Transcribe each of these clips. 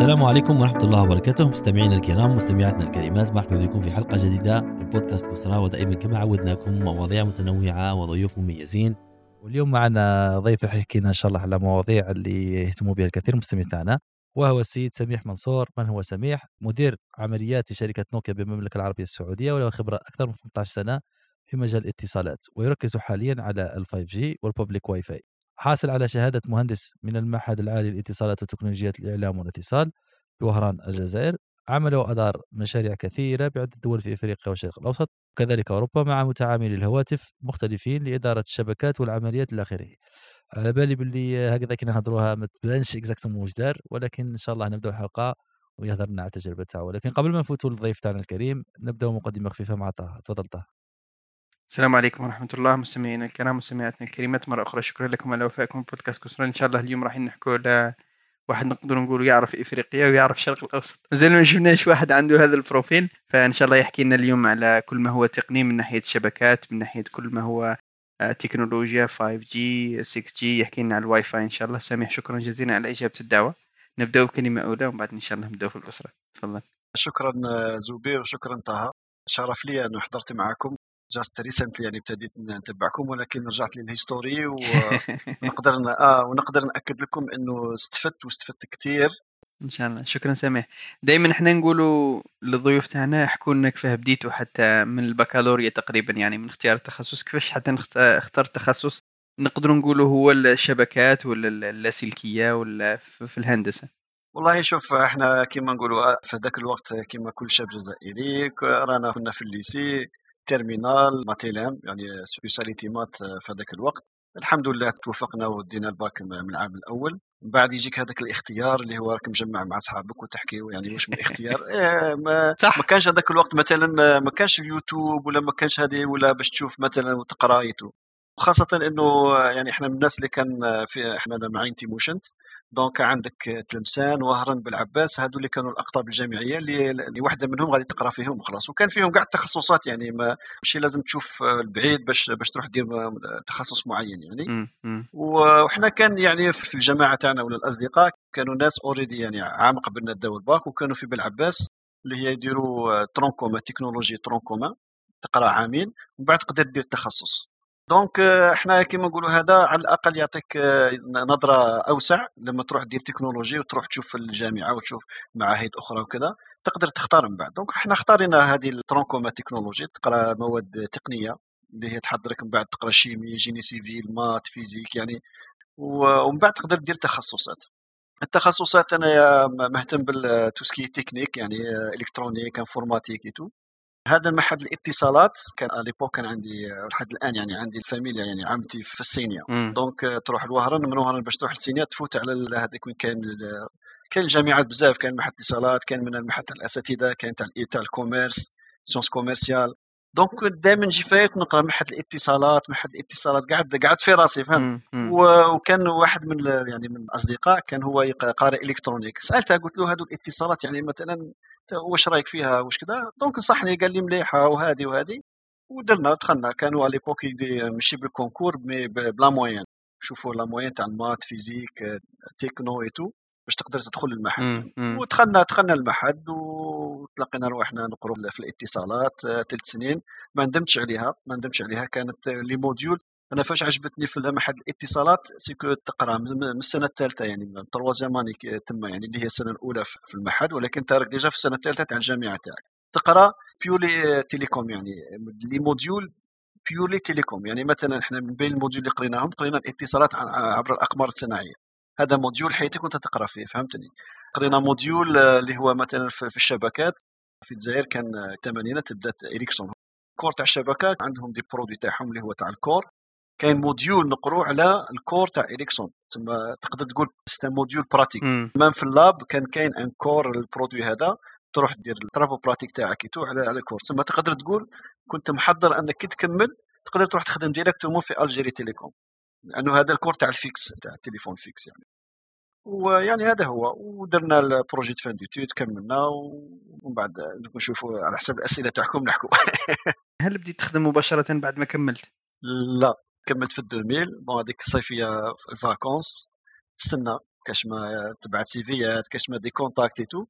السلام عليكم ورحمة الله وبركاته، مستمعينا الكرام مستمعاتنا الكريمات، مرحبا بكم في حلقة جديدة من بودكاست كسرى. ودائما كما عودناكم مواضيع متنوعة وضيوف مميزين. واليوم معنا ضيف رح يحكي لنا إن شاء الله على مواضيع اللي يهتموا بها الكثير من المستمعين تاعنا، وهو السيد سميح منصور. من هو سميح؟ مدير عمليات في شركة نوكيا بالمملكة العربية السعودية، وله خبرة أكثر من 18 سنة في مجال الاتصالات، ويركز حاليا على ال 5G والببليك واي فاي. حاصل على شهادة مهندس من المعهد العالي للاتصالات وتكنولوجيات الإعلام والاتصال بوهران الجزائر. عمل وأدار مشاريع كثيرة بعدة دول في إفريقيا والشرق الأوسط وكذلك أوروبا مع متعاملي الهواتف مختلفين لإدارة الشبكات والعمليات إلى آخره. على بالي باللي هكذا كي نهضروها ما تبانش اكزاكتومون واش دار، ولكن إن شاء الله نبداو الحلقة ويهضر لنا على التجربة تاعو. ولكن قبل ما نفوتوا للضيف تاعنا الكريم نبداو مقدمة خفيفة مع طه. تفضل طه. السلام عليكم ورحمة الله مستمعينا الكرام مستمعاتنا الكريمات، مرة أخرى شكرا لكم على وفائكم بودكاست كسرى. إن شاء الله اليوم راح نحكوا على واحد نقدر نقول يعرف إفريقيا ويعرف الشرق الأوسط. مازال ما شفناش واحد عنده هذا البروفيل، فإن شاء الله يحكي لنا اليوم على كل ما هو تقني من ناحية الشبكات، من ناحية كل ما هو تكنولوجيا 5G 6G. يحكي لنا على الواي فاي إن شاء الله. سامح شكرا جزيلا على إجابة الدعوة. نبدأ بكلمة أولى ومن بعد إن شاء الله نبدأ في الأسرة. تفضل. شكرا زبير وشكرا طه. شرف لي أنه حضرت معكم. جاست ريسنتلي يعني ابتديت نتبعكم، ولكن رجعت للهيستوري ونقدر نأكد لكم أنه استفدت كتير ان شاء الله. شكرا سامح. دائما احنا نقولوا للضيوف تاعنا احكوا لنا كيفاه بديتوا حتى من البكالوريا تقريبا، يعني من اختيار التخصص، كيفاش حتى اخترت تخصص نقدروا نقولوا هو الشبكات ولا اللاسلكيه ولا في الهندسه. والله شوف، احنا كما نقولوا في ذاك الوقت كما كل شاب جزائري رانا كنا في الليسي تيرمينال ماتيلام، يعني سبيشاليتي مات في ذاك الوقت. الحمد لله توفقنا ودينا الباك من العام الاول. من بعد يجيك هذاك الاختيار اللي هو راك مجمع مع اصحابك وتحكيوا يعني واش من الاختيار. ما صح. كانش هذاك الوقت مثلا، ما كانش اليوتيوب ولا ما كانش هذه ولا باش تشوف مثلا وتقرا يوتيوب. وخاصة انه يعني احنا من الناس اللي كان في احنا معين تيموشنت. دونك عندك تلمسان وهران بالعباس، هادو اللي كانوا الاقطاب الجامعيه اللي واحده منهم غادي تقرا فيهم وخلاص. وكان فيهم كاع التخصصات، يعني ماشي لازم تشوف البعيد باش تروح دير تخصص معين يعني. وحنا كان يعني في الجماعه تاعنا ولا الاصدقاء كانوا ناس اوريدي يعني عام قبلنا داو الباك، وكانوا في بالعباس اللي هي يديروا ترونكوما تكنولوجي ترونكوما، تقرا عامين ومن بعد تقدر دير التخصص. دونك احنا كما نقولوا هذا على الاقل يعطيك نظره اوسع لما تروح دير تكنولوجي وتروح تشوف الجامعه وتشوف معاهد اخرى وكذا، تقدر تختار من بعد. دونك احنا اختارينا هذه الترونكوما تكنولوجي، تقرا مواد تقنيه اللي هي تحضرك من بعد تقرا شيمي جيني سيفيل مات فيزيك يعني. ومن بعد تقدر دير تخصصات. التخصصات انا مهتم بالتوسكي تكنيك، يعني الكترونيك انفورماتيك ايتو. هذا المعهد الاتصالات كان ليبوك كان عندي لحد الان يعني عندي الفاميليا، يعني عمتي في السينيا. دونك تروح لوهران، من وهران باش تروح للسينيا تفوت على هذاك وين كاين الجامعات بزاف. كاين معهد اتصالات، كاين من المعهد تاع الاساتذه، كاين تاع الكوميرس سيونس كوميرسيال. دونك دائما نجي فايت نقرا معهد الاتصالات قاعد في راسي فهمت. وكان واحد من يعني من الاصدقاء كان هو قارئ الكترونيك، سالته قلت له هذو الاتصالات يعني مثلا واش رايك فيها واش كذا. دونك نصحني قال لي مليحه وهذه ودرنا دخلنا. كانوا على ليبوك ماشي بالكونكور مي بلا موين، شوفوا لا موين تاع المات فيزيك تكنو ايتو باش تقدر تدخل المعهد. ودخلنا المعهد وتلقينا روحنا نقروا في الاتصالات 3 سنين. ما ندمتش عليها كانت لي موديول. انا فاش عجبتني في معهد الاتصالات سيكو تقرا من السنه الثالثه، يعني من التروازيام اني تما، يعني اللي هي السنه الاولى في المعهد، ولكن تارك ديجا في السنه الثالثه تاع الجامعه تاعك تقرا بيولي تيليكوم، يعني لي موديول بيولي تيليكوم. يعني مثلا احنا من بين الموديول اللي قرينا الاتصالات عبر الاقمار الصناعيه. هذا موديول حياتك وانت تقرا فيه فهمتني. قرينا موديول اللي هو مثلا في الشبكات في الجزائر كان الثمانينات بدات إريكسون كور تاع الشبكات عندهم دي برودوي تاعهم اللي هو تاع الكور. كاين موديول نقرو على الكور تاع إريكسون، تسمى تقدر تقول سيستم موديول براتيك. مان في اللاب كان كاين ان كور البرودوي هذا، تروح دير الترافو براتيك تاعك يتو على الكور. تسمى تقدر تقول كنت محضر انك كي تكمل تقدر تروح تخدم ديريكتومون في الجيري تيليكوم، لانه هذا الكور تاع الفيكس تاع التليفون فيكس يعني. ويعني هذا هو. ودرنا البروجي فان ديتود كملنا، ومن بعد نشوفوا على حسب الاسئله تاعكم نحكوا. هل بديت تخدم مباشره بعد ما كملت؟ لا كملت في 2000 بون هذيك الصيفيه الفاكونس تستنى كاش ما تبعت سيفيات، كاش ما دي كونتاكت تو.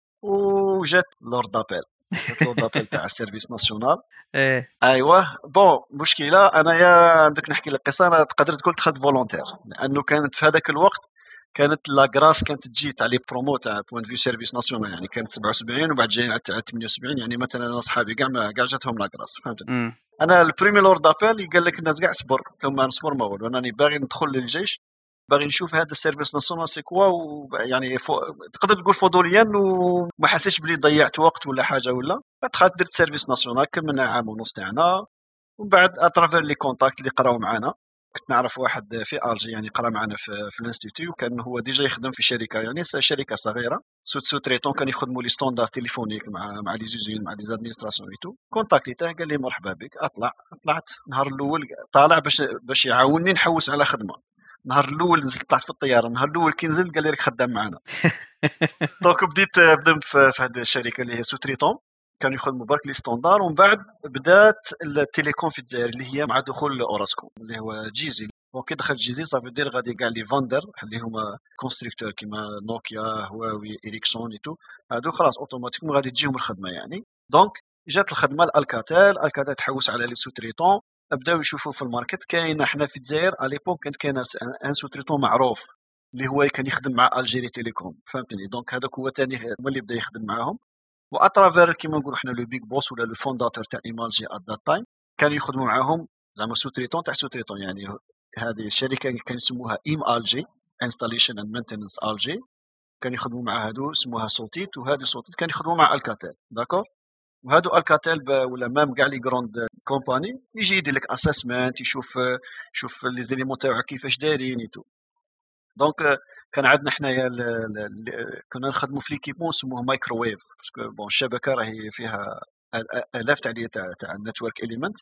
وجات لورد دابيل، جات لورد دابيل تاع السيرفيس ناسيونال. ايه ايوه بون مشكله انايا عندك نحكي لك قصه. انا تقدر تقول دخلت فولونتير لانه كانت في هذاك الوقت كانت لا غراس كانت تجي تاع لي برومو تاع بوين فيو سيرفيس ناسيونال، يعني كانت 77 وبعد جايين على 78. يعني مثلا انا اصحابي كاع جاتهم لا غراس، فهمتني. انا البريمي لورد ابيل قال لك الناس كاع صبر، قلت ما نصبر ما والو، انني باغي ندخل للجيش، باغي نشوف هذا السيرفيس ناسيونال سي كوا. يعني تقدر تقول فضوليا وما حسيتش بلي ضيعت وقت ولا حاجه ولا. دخلت درت سيرفيس ناسيونال كملنا عام ونص تاعنا. ومن بعد اترافير لي كونتاكت اللي قراو معانا، كنت نعرف واحد في الجي يعني قرا معنا في الانستيتيو، وكان هو ديجا يخدم في شركه يعني شركه صغيره سو تريتون، كان يخدموا لي ستاندار تليفونيك مع لي زوزين مع لي زادمينستراسيون اي تو. كونتاكتيته قال لي مرحبا بك. طلعت نهار الاول طالع باش يعاونني نحوس على خدمه. نهار الاول نزلت طلعت في الطياره، نهار الاول كي نزلت قال لي راك خدام معنا. دونك بديت في هذه الشركه اللي هي سو تريتون، كانوا يخدموا برك لي ستاندار. ومن بعد بدات التليكوم في الجزائر اللي هي مع دخول اوراسكوم اللي هو جيزي. وكي دخل جيزي صافي دير غادي كاع لي فاندر اللي هما كونستركتور كيما نوكيا هواوي إريكسون ايتو، هادو خلاص اوتوماتيكمون غادي تجيهم الخدمه يعني. دونك جات الخدمه الكاتال تحوس على لي سوتريتون، بداو يشوفوا في الماركت. كاين احنا في الجزائر على ليبوك كانت كاين ان سوتريتون معروف اللي هو كان يخدم مع الجيري تيليكوم، فهمتني. دونك هذاك هو ثاني هو اللي بدا يخدم معاهم. واترافير كيما نقولوا حنا لو بيك بوس ولا لو فونداتور تاع ايمالجي ات ذات تايم كانوا يخدموا معاهم زعما سوتريتون تاع سوتريتون. يعني هذه الشركه كان يسموها الجي انستاليشن اند مينتيننس الجي، كانوا يخدموا مع هادو سموها صوتيت. وهذه صوتيت كان يخدموا مع الكاتيل، داكور. وهادو الكاتيل ولا مام كاع لي غروند كومباني يجي يدير لك اسسمنت، يشوف لي زيليمون تاعو كيفاش دايرين ايتو. دونك كان عندنا حنايا كنا نخدموا في ليكيبمون سموه مايكروويف، باسكو بون الشبكه راهي فيها الاف تاع النتورك اليمنت.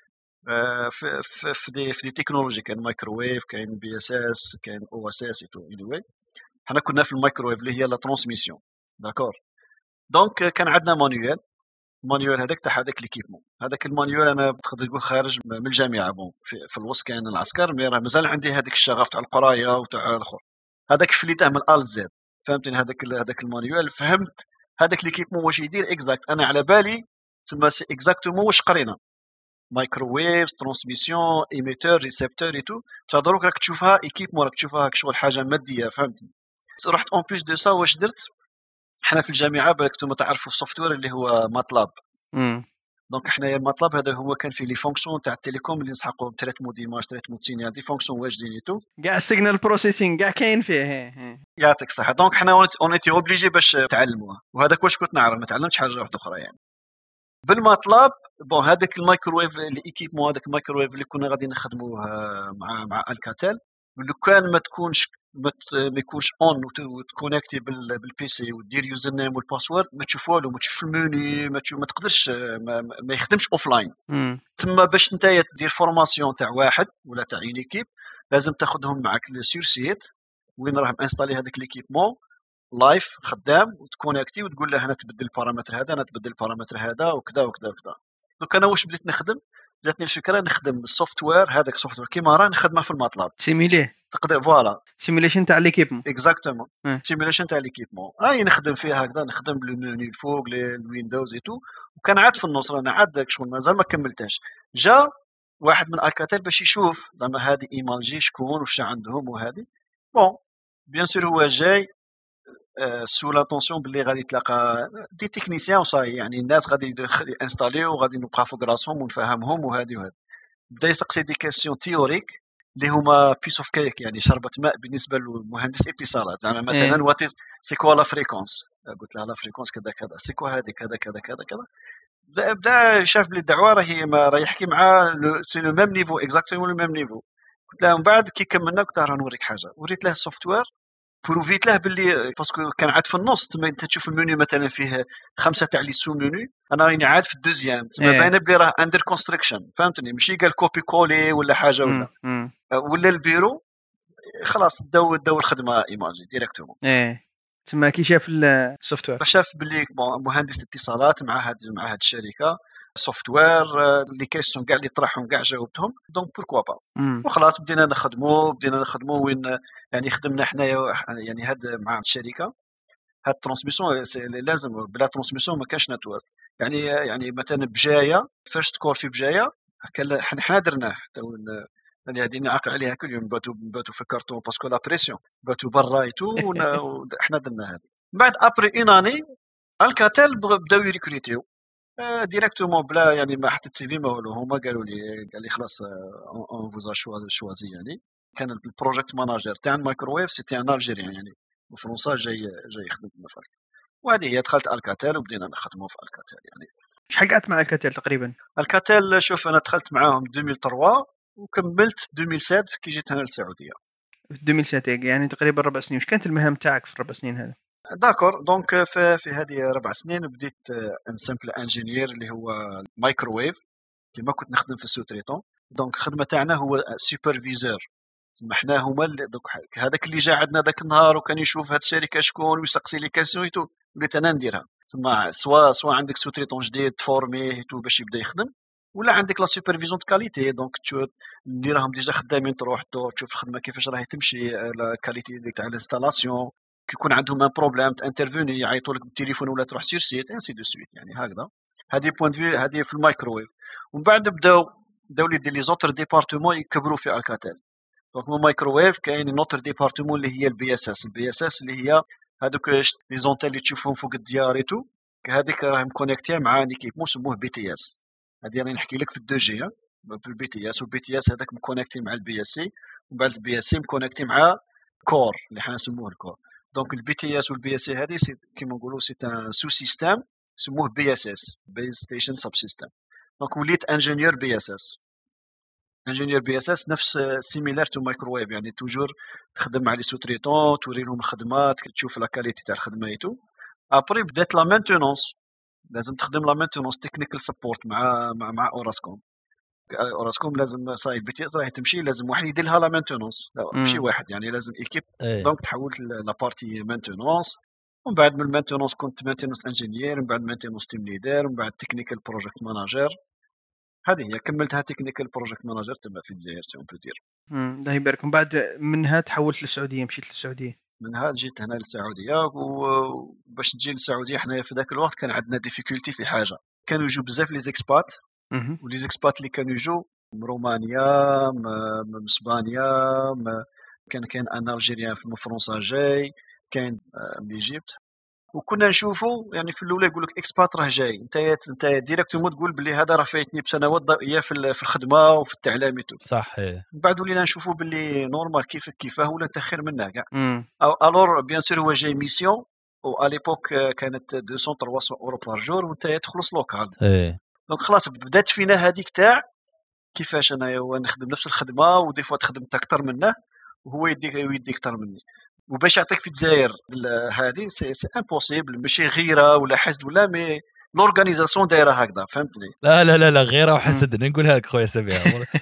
في دي تكنولوجي كاين مايكروويف، كاين بي اس اس، كاين او اس اس ايتو. اني حنا كنا في المايكروويف اللي هي لا ترانسميسيون، داكور. دونك كان عندنا مانيوال هذاك تاع هذاك ليكيبمون. هذاك المانيوال انا تقدر تقول خارج من الجامعه. بون في الوسط كاين العسكر، مي راه مازال عندي هذاك الشغف تاع القرايه وتاع الاخر. هذاك فليته من ال زد، فهمتني. هذاك المانيوال فهمت هذاك ليكيبمون واش يدير اكزاكت. انا على بالي تسمى سي اكزاكتومون واش قرينا، مايكروويف ترانسميسيون ايميتور ريسبتور اي تو. دروك راك تشوفها ايكيبمون، راك تشوفها كشغل حاجه ماديه، فهمتني. رحت اون بليس دو سا واش درت حنا في الجامعه بالك نتوما تعرفوا السوفتوير اللي هو ماتلاب. دونك حنايا الماتلاب هذا هو كان فيه لي فونكسيون تاع التليكوم اللي نسحقوا تريتمون ديماج تريتمون سينيال، دي فونكسيون واجدين ايتو كاع السيجنال بروسيسينغ كاع كاين فيه. يعطيك الصحه. دونك حنا اونيتي اوبليجي باش تعلموها، وهذاك واش كنت نعرف، ما تعلمتش حاجه واحده اخرى يعني بالماتلاب. بون هذاك المايكروويف الايكيبمون، هذاك المايكروويف اللي كنا غادي نخدموه مع الكاتل، لو كان ما يكونش اون وتكونيكتي بالبي سي ودير يوزر نيم والباسورد، ما تشوف والو، ما تشوف الموني، ما تقدرش ما يخدمش اوفلاين. تما باش نتايا دير فورماسيون تاع واحد ولا تاع اون ايكيب لازم تاخذهم معك سور سيت وين راهم انستالي هذاك ليكيبمون لايف خدام، وتكونيكتي وتقول له انا تبدل البارامتر هذا، انا تبدل البارامتر هذا، وكذا وكذا وكذا. دونك انا واش بديت نخدم، جاتني الفكره نخدم السوفتوير هذاك السوفتوير كيما راه نخدمه في الماتلاب سيميليه، تقدر فوالا سيميليشن تاع ليكيبمون اكزاكتومون سيميليشن تاع ليكيبمون. راهي نخدم فيها هكذا، نخدم بالمنيو الفوق الويندوز ايتو. وكان عاد في النص انا عاد داك شغل مازال ما كملتهاش. جا واحد من الكاتل باش يشوف زعما هذه ايمالجي شكون واش عندهم وهذه. بون بيان سور هو جاي سو لاتونسيون باللي غادي تلاقى دي تكنيسيان وصاي، يعني الناس غادي انستاليو وغادي نبقى فوق راسهم ونفهمهم وهذه وهذه. بدا يسقسي دي كيسيون تيوريك اللي هما بيس اوف كيك، يعني شربة ماء بالنسبه للمهندس اتصالات. زعما مثلا وات سي كوا لا فريكونس، قلت لها لا فريكونس كذا كذا، سي كوا هذه كذا كذا كذا كذا. بدا شاف بلي الدعوه راهي يحكي مع سي لو ميم نيفو اكزاكتومون لو ميم نيفو. قلت لها من بعد كي كملنا قلت لها نوريك حاجه، وريت له السوفتوير بروفيت له باللي باسكو كان عاد في النص تما انت تشوف المنيو مثلا فيه 5 تاع لي سو منيو، انا راني عاد في الدوزيام تما باينه بلي راه اندر كونستركشن، فهمتني. ماشي قال كوبي كولي ولا حاجه ولا البيرو خلاص داو الخدمه ايماجي ديريكتومون. تما كي شاف السوفتوير شاف باللي مهندس اتصالات مع هاد الشركه سوفتوير لي كيسيون كاع اللي طرحهم كاع جاوبتهم دونك بوركوا با مم. وخلاص بدينا نخدموا وين يعني خدمنا حنايا يعني هاد مع الشركه هاد الترانسميسيون لازم بلا ترانسميسيون ما كانش نتورك يعني مثلا بجايه فيرست كور في بجايه كان حنا درناه حتى يعني هذه نعقل عليها كل يوم باتوا في كارتون باسكو لا بريسيون باتوا برا ايتو وحنا درنا هذا بعد ابري اون اني الكاتيل بداو يريكريتيو ديريكتومون بلا يعني ما حطيت سي في ما والو هما قال لي خلاص اون فوزا شوازي يعني كان البروجيكت ماناجر تاع الميكروويف سيتي ان الجيريان يعني وفرنسا جاي يخدم في المفرق وهذه هي دخلت الكاتيل وبدينا نخدموا في الكاتيل يعني شحال قعدت مع الكاتيل تقريبا؟ الكاتيل شوف انا دخلت معاهم 2003 وكملت 2007 كي جيت هنا للسعوديه في 2007 يعني تقريبا 4 سنين. وش كانت المهام تاعك في ال4 سنين هذا؟ داكور دونك في هذه 4 سنين بديت ان سامبل انجينير اللي هو مايكروويف كيما كنت نخدم في السوتريتون دونك الخدمه تاعنا هو سوبرفيزور تسمى حنا هما دوك هذاك اللي جا عندنا ذاك النهار وكان يشوف هاد الشركه شكون ويسقسي لي كاسيون ايتو وليت انا نديرها تسمى سوا عندك سوتريتون جديد تفورميه ايتو باش يبدا يخدم ولا عندك لا سوبرفيزيون دو كاليتي دونك تشوف اللي راهم ديجا خدامين تروح دور تشوف الخدمه كيفاش راهي تمشي لا كاليتي تاع الانستالاسيون كيكون عندهم ان بروبليم تانترفوني يعيطوا لك بالتليفون ولا تروح سير سيت انسي دو سويت يعني هكذا هذه بوين فيو هذه في الميكروويف ومن بعد بداو يدير لي زوتر ديبارتمون يكبروا في الكاتيل دونك مو مايكروويف كاين نوتر ديبارتمون اللي هي البي اس اس اللي هي هذوك لي زونتيل اللي تشوفهم فوق الديار ايتو هذيك راهم كونيكتي مع ان ايكيبمون سموه بي تي اس هذه راني نحكي لك في الدو جي في البي تي اس والبي تي اس هذاك مكونيكتي مع البي اس سي ومن بعد البي اس سي مكونيكتي مع كور اللي حنا نسموه الكور دونك البي تي اس والبي اس سي هذه كيما نقولوا سي ان سو سيستيم سموه بي اس اس بيز ستيشن سب سيستم دونك وليت انجينيور بي اس اس انجينيور بي اس اس نفس سيميلار تو مايكروويف يعني توجور تخدم مع لي سوتريتون توري لهم الخدمات تشوف لا كاليتي تاع الخدمه ايتو ابري بدات لا مانتونونس لازم تخدم لا مانتونونس تكنيكال سبورت مع اوراسكوم اوراسكوم لازم صاي البي تي اس راهي تمشي لازم واحد يدير لها لا مانتونونس ماشي واحد يعني لازم ايكيب دونك تحولت لابارتي مانتونونس ومن بعد من المانتونونس كنت مانتونونس انجينير ومن بعد مانتونونس تيم ليدر ومن بعد تكنيكال بروجيكت ماناجر هذه هي كملتها تكنيكال بروجيكت ماناجر تما في الجزائر سي اون بو دير الله يبارك. من بعد منها تحولت للسعوديه مشيت للسعوديه منها جيت هنا للسعوديه وباش تجي للسعوديه حنايا في ذاك الوقت كان عندنا ديفيكولتي في حاجه كانوا يجوا بزاف لي زيكسبات ولي زيكسبات اللي كانوا يجوا من رومانيا من اسبانيا كان ان الجيريان في فرنسا جاي كاين من ايجيبت وكنا نشوفوا يعني في الاولى يقول لك اكسبات راه جاي انت ديريكتومون تقول بلي هذا راه فايتني بسنوات ضوئيه في الخدمه وفي التعليم صح من بعد ولينا نشوفوا باللي نورمال كيفاه ولا انت خير منه كاع الور بيان سور هو جاي ميسيون و اليبوك كانت 200 300 اورو بار جور وانت تخلص لوكال دونك خلاص بدات فينا هذيك تاع كيفاش انا نخدم نفس الخدمه ودي فوا خدمت اكثر منه وهو يديك اكثر مني وباش يعطيك في الجزائر هذه سي امبوسيبل ماشي غيره ولا حسد ولا مي لورغانيزاسيون دايره هكذا فهمتني لا غيره وحسد نقولها لك خويا سبيع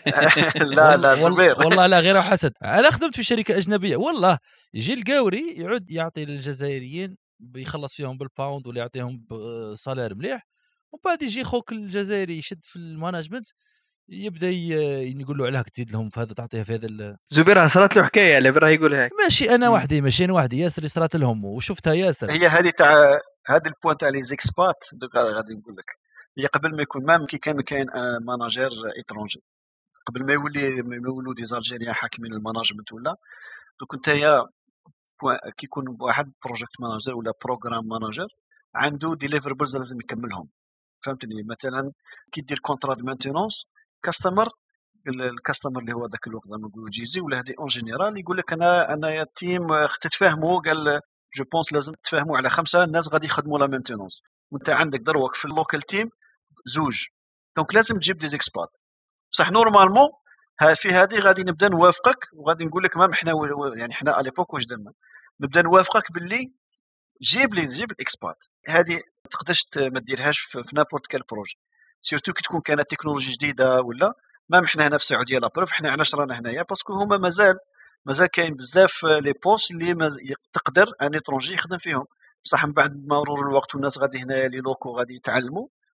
لا زبير والله لا غيره وحسد انا خدمت في شركه اجنبيه والله يجي القاوري يعود يعطي للجزائريين بيخلص فيهم بالباوند ولا يعطيهم صالير مليح وبعد يجي خوك الجزائري يشد في المانجمنت يبدا يقول له عليك تزيد لهم في هذا تعطيها في هذا زبير صارت له حكايه اللي براه يقول هيك ماشي انا وحدي ماشي انا وحدي ياسر صارت لهم وشفتها ياسر هي هذه تاع هذا البوينت تاع لي زيكسبات غادي نقول لك هي قبل ما يكون مام كي كان ماناجير ايترونجي قبل ما يولوا دي زالجيريان حاكمين الماناجمنت ولا دوك نتايا كي يكون واحد بروجيكت ماناجر ولا بروغرام ماناجر عنده ديليفربلز لازم يكملهم فهمتني مثلا كي دير كونترا دو مانتينونس كاستمر الكاستمر اللي هو ذاك الوقت زعما نقولوا جيزي ولا هذه اون جينيرال يقول لك انا يا تيم تتفاهموا قال جو بونس لازم تتفاهموا على 5 ناس غادي يخدموا لا مينتينونس وانت عندك دروك في اللوكال تيم زوج دونك لازم تجيب دي زيكسبات بصح نورمالمون في هذه غادي نبدا نوافقك وغادي نقول لك ما حنا يعني حنا على ليبوك واش درنا نبدا نوافقك باللي جيب الاكسبات هذه ما تقدرش ما ديرهاش في نابورت كال بروجي سيرتو كي تكون كانت تكنولوجي جديده ولا ما حنا هنا في السعوديه لا بروف حنا علاش رانا هنايا باسكو هما مازال كاين بزاف لي بوست اللي تقدر ان اترونجي يخدم فيهم بصح من بعد مرور الوقت والناس غادي هنايا لي لوكو غادي يتعلموا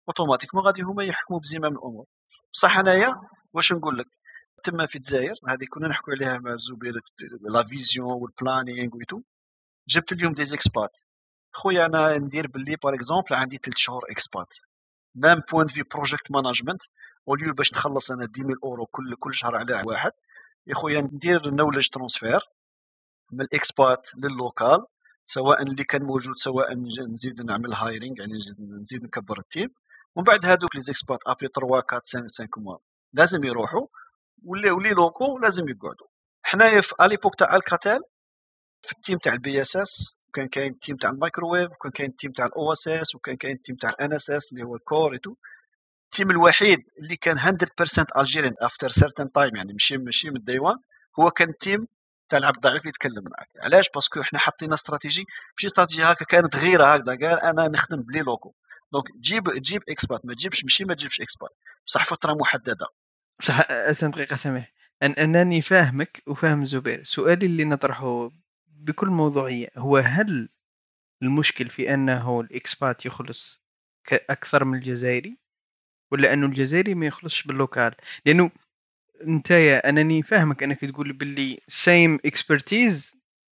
اوتوماتيكمون غادي هما يحكموا بزمام الامور. بصح انايا واش نقول لك، تما في الجزائر هذه كنا نحكوا عليها مع الزبير، لا فيزيون والبلانينغ ويتو. جبت اليوم دي زيكسبات خويا، انا ندير باللي باغ اكزومبل عندي 3 شهور اكسبات، ميم بوين في بروجيكت مانجمنت، اوليو باش نخلص انا 10,000 اورو كل شهر على واحد، يا خويا ندير نولج ترانسفير من الاكسبات لللوكال، سواء اللي كان موجود، سواء نزيد نعمل هايرينغ يعني نزيد نكبر التيم، ومن بعد هذوك لي زيكسبات ابري 3 4 5 موا لازم يروحوا، ولي لوكو لازم يقعدوا. حنايا في اليبوك تاع الكاتيل في التيم تاع البي اس اس، وكان كاين التيم تاع المايكروويف، وكان كاين التيم تاع الاو اس اس، وكان كاين التيم تاع الان اس اس اللي هو الكور ايتو. التيم الوحيد اللي كان 100% الجيريان افتر سيرتن تايم، يعني ماشي من الديوان، هو كان التيم تاع العبد الضعيف اللي يتكلم معك. علاش؟ باسكو احنا حطينا استراتيجي، ماشي استراتيجي هكا كانت غيره هكذا، قال انا نخدم بلي لوكو. دونك تجيب اكسبات، ما تجيبش ماشي ما تجيبش اكسبات، بصح فتره محدده. بصح دقيقة سامح، أنني فاهمك وفاهم زبير. سؤالي اللي نطرحه بكل موضوعية هو: هل المشكل في أنه الإكسبات يخلص أكثر من الجزائري، ولا أنه الجزائري ما يخلصش باللوكال؟ لأنه نتايا أنني فاهمك أنك تقول باللي same expertise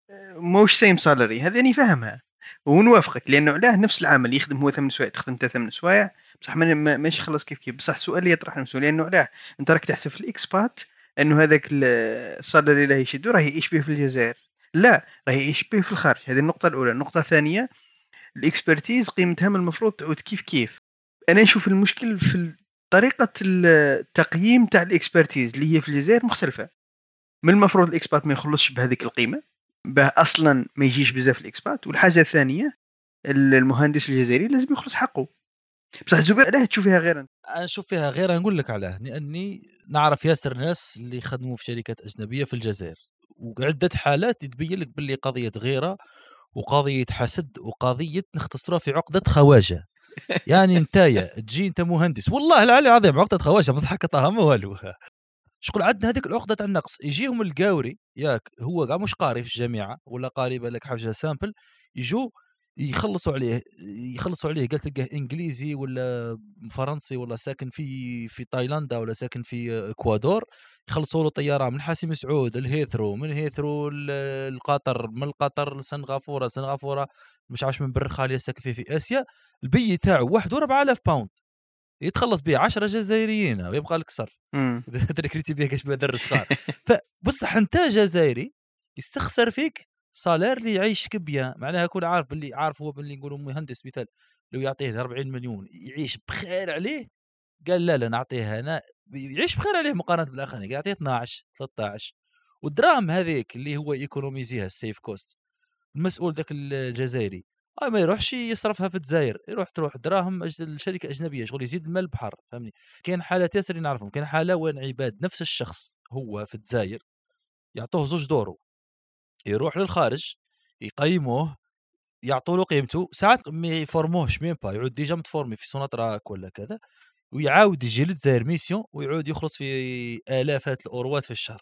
موش same salary، هذا أني فاهمها ونوافقك، لأنه علاه نفس العمل يخدم هو 8 سوايع تخدم انت 8 سوايع، بصح ماشي خلص كيف كيف. بصح السؤال اللي يطرح نفسه، لأنه علاه أنت راك تحسب في الإكسبات أنه هذاك السالري اللي يشدو راه يعيش به في الجزائر، لا راه يعيش به في الخارج. هذه النقطة الأولى. النقطة الثانية، الإكسبرتيز قيمتها من المفروض تعود كيف كيف. أنا نشوف المشكل في طريقة التقييم تاع الإكسبرتيز اللي هي في الجزائر مختلفة. من المفروض الإكسبات ما يخلصش بهذيك القيمة، به أصلا ما يجيش بزاف الإكسبات. والحاجة الثانية، المهندس الجزائري لازم يخلص حقه. بصح زبير علاه تشوفيها غير أنت؟ انا نشوف فيها غير، نقول لك علاه، لاني نعرف ياسر ناس اللي يخدموا في شركات اجنبيه في الجزائر، وعده حالات تبين لك باللي قضيه غيره وقضيه حسد وقضيه نختصروها في عقده خواجه. يعني نتايا تجي انت مهندس، والله العلي العظيم عقده خواجه، ما ضحك طه ما والو. شكون عندنا هذيك العقده تاع النقص؟ يجيهم القاوري ياك، هو كاع مش قاري في الجامعه ولا قاري بالك حاجه سامبل، يجوا يخلصوا عليه قال تلقاه انجليزي ولا فرنسي ولا ساكن في تايلاندا ولا ساكن في اكوادور، يخلصوا له طياره من حاسم سعود الهيثرو، من هيثرو القطر، من القطر لسنغافوره مش عارف من بر خاليه ساكن في اسيا. البي تاعو 4000 باوند يتخلص به 10 جزائريين ويبقى لك صرف. تركريتي بيه كاش بدر الصغار. فبصح انت جزائري يستخسر فيك صالير اللي يعيشك بيان، معناها يكون عارف باللي عارف هو باللي نقولوا مهندس مثال لو يعطيه 40 مليون يعيش بخير عليه، قال لا نعطيه انا يعيش بخير عليه مقارنه بالاخرين، قال يعطيه 12 13. والدراهم هذيك اللي هو يكونوميزيها السيف كوست، المسؤول ذاك الجزائري ما يروحش يصرفها في الجزائر، تروح دراهم الشركه اجنبيه، شغل يزيد المال البحر، فهمني. كاين حالات ياسر نعرفهم، كاين حاله وين عباد نفس الشخص هو في الجزائر يعطوه 2 دورو، يروح للخارج يقيموه يعطوا له قيمته، ساعات ما يفورموهش ميم با، يعود ديجا متفورمي في سوناتراك ولا كذا، ويعاود يجي للجزائر ميسيون ويعود يخلص في الافات الاوروات في الشهر.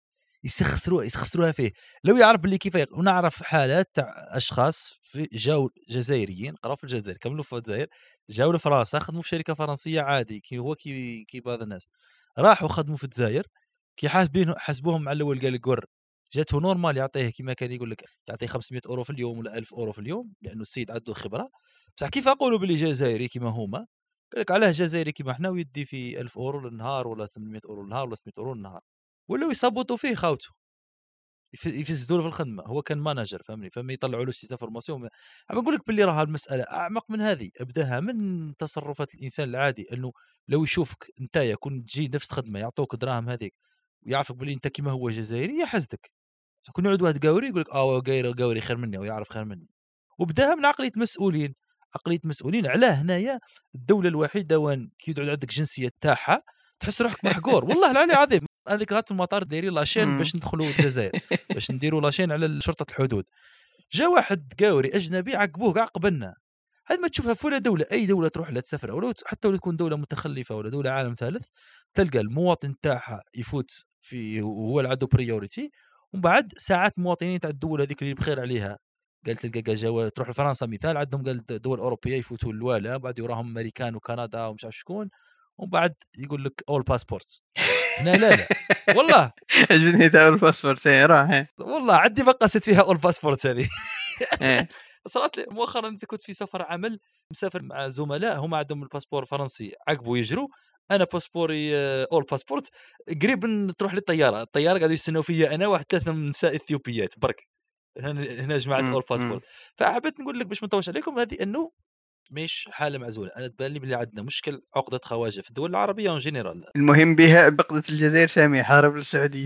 يسخسروها فيه. لو يعرف باللي كيف ونعرف حالات تاع اشخاص في جاو جزائريين قراو في الجزائر كملوا في الجزائر، جاو لفرنسا خدموا في شركه فرنسيه عادي كي بعض الناس راحوا خدموا في الجزائر، كي حاسبوهم على الاول قال لك قر جاته نورمال يعطيه كما كان يقول لك يعطيه 500 اورو في اليوم ولا 1000 اورو في اليوم، لانه السيد عنده خبره. بصح كيف اقولوا باللي جزائري كما هما، قال لك علاه جزائري كما احنا ويدي في 1000 اورو للنهار ولا 800 اورو للنهار ولا 600 اورو للنهار، ولاو يصبطوا فيه خاوته يفسدوا له في الخدمه. هو كان مانجر فهمني، فما يطلعوا له شي فورماسيون. نقول لك باللي راه المساله اعمق من هذه، ابداها من تصرفات الانسان العادي، انه لو يشوفك نتايا كون تجي نفس الخدمه يعطوك دراهم هذيك ويعرفك باللي انت كيما هو جزائري يحسدك. كون يعود واحد قاوري يقول لك قاوري خير مني ويعرف خير مني، وبداها من عقليه مسؤولين. علاه هنايا الدوله الوحيده وين كي يقعد عندك جنسيه تاعها تحس روحك محقور. والله العلي العظيم انا ذيك في المطار دايرين لاشين باش ندخلوا الجزائر، باش نديروا لاشين على شرطه الحدود، جا واحد قاوري اجنبي عقبوه كاع قبلنا. هذا ما تشوفها في ولا دوله، اي دوله تروح لها تسافر ولا حتى لو تكون دوله متخلفه ولا دوله عالم ثالث، تلقى المواطن تاعها يفوت في هو اللي عنده بريوريتي، ومن بعد ساعات مواطنين تاع الدول هذيك اللي بخير عليها قال تلقى جوال تروح لفرنسا مثال عندهم قال دول اوروبيه يفوتوا الوالا بعد يراهم امريكان وكندا ومش عارف شكون ومن بعد يقول لك اول باسبورتس هنا لا والله عجبني تاع الباسبور سيارة. والله عندي بقست فيها اول باسبورتس هذه ايه صارت لي مؤخرا انت كنت في سفر عمل مسافر مع زملاء هم عندهم الباسبور الفرنسي عقبوا يجروا انا باسبوري اول باسبورت قريب تروح للطياره قاعدوا يستنوا فيا انا واحد 3 من نساء اثيوبيات برك هنا جماعه اول باسبورت فحبيت نقول لك باش ما نطولش عليكم هذه انه مش حاله معزوله انا تبان لي بلي عندنا مشكل عقده خواجه في الدول العربيه اون جينيرال المهم بها بقدة الجزائر سامي حارب للسعودية.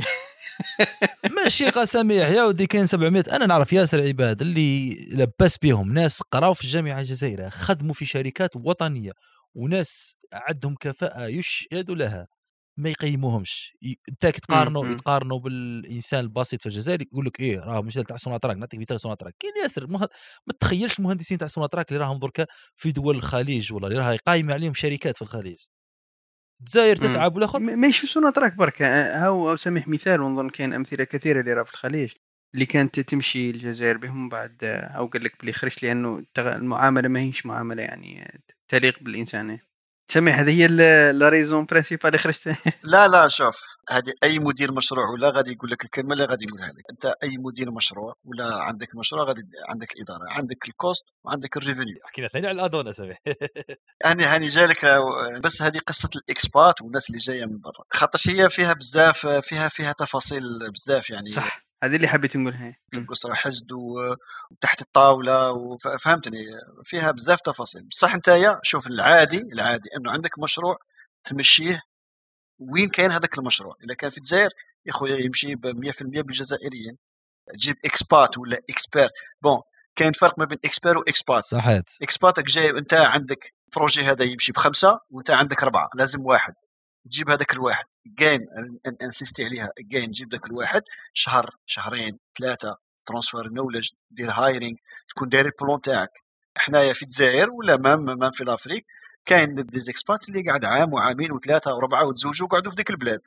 ماشي قسميح يا ودي كاين 700 انا نعرف ياسر عباد اللي لبس بهم ناس قراو في الجامعه الجزائريه خدموا في شركات وطنيه وناس عندهم كفاءه يشهدوا لها ما يقيموهمش انت يتقارنوا بالانسان البسيط في الجزائر يقول لك ايه راه مثال تاع سوناطراك نعطيك مثال سوناطراك كاين ياسر ما تخيلش المهندسين تاع سوناطراك اللي راهم دركا في دول الخليج ولا اللي راهي قايمه عليهم شركات في الخليج الجزائر تتعب والاخر ماشي سوناطراك برك هاو سامح مثال ونظن كاين امثله كثيره اللي راه في الخليج اللي كانت تمشي الجزائر بهم بعد او قال لك بلي خرجت لانه المعامله ما هيش معامله يعني تليق بالانسان. سامح هذه هي لا ريزون برينسيبال اللي خرجت. لا شوف هذه اي مدير مشروع ولا غادي يقول لك الكلمه اللي غادي يقولها لك انت اي مدير مشروع ولا عندك مشروع غادي عندك الاداره عندك الكوست وعندك الريفينيو. حكينا ثاني على الادونه سامح هاني جالك بس هذه قصه الاكسبات والناس اللي جايه من برا خاطر هي فيها بزاف فيها تفاصيل بزاف يعني صح هذه اللي حبيت نقولها القصرة حزد وتحت الطاولة فهمتني فيها بزاف تفاصيل بصح انت شوف العادي انه عندك مشروع تمشيه وين كاين هذاك المشروع اذا كان في الجزائر يا خويا يمشي ب 100% بالجزائريين تجيب اكسبات ولا اكسبيرت بون كاين فرق ما بين اكسبير واكسبات صحيت اكسباتك جاي انت عندك بروجي هذا يمشي ب5 وانت عندك 4 لازم واحد تجيب هذاك الواحد جين انسيستي عليها جين تجيب ذاك الواحد شهر شهرين 3 ترانسفير نولج دير هايرينغ تكون داير البلون تاعك حنايا في الجزائر ولا مام في الافريق كاين دي اكسبات اللي قاعد عام وعامين و3 و4 وتزوجوا قعدوا في ديك البلاد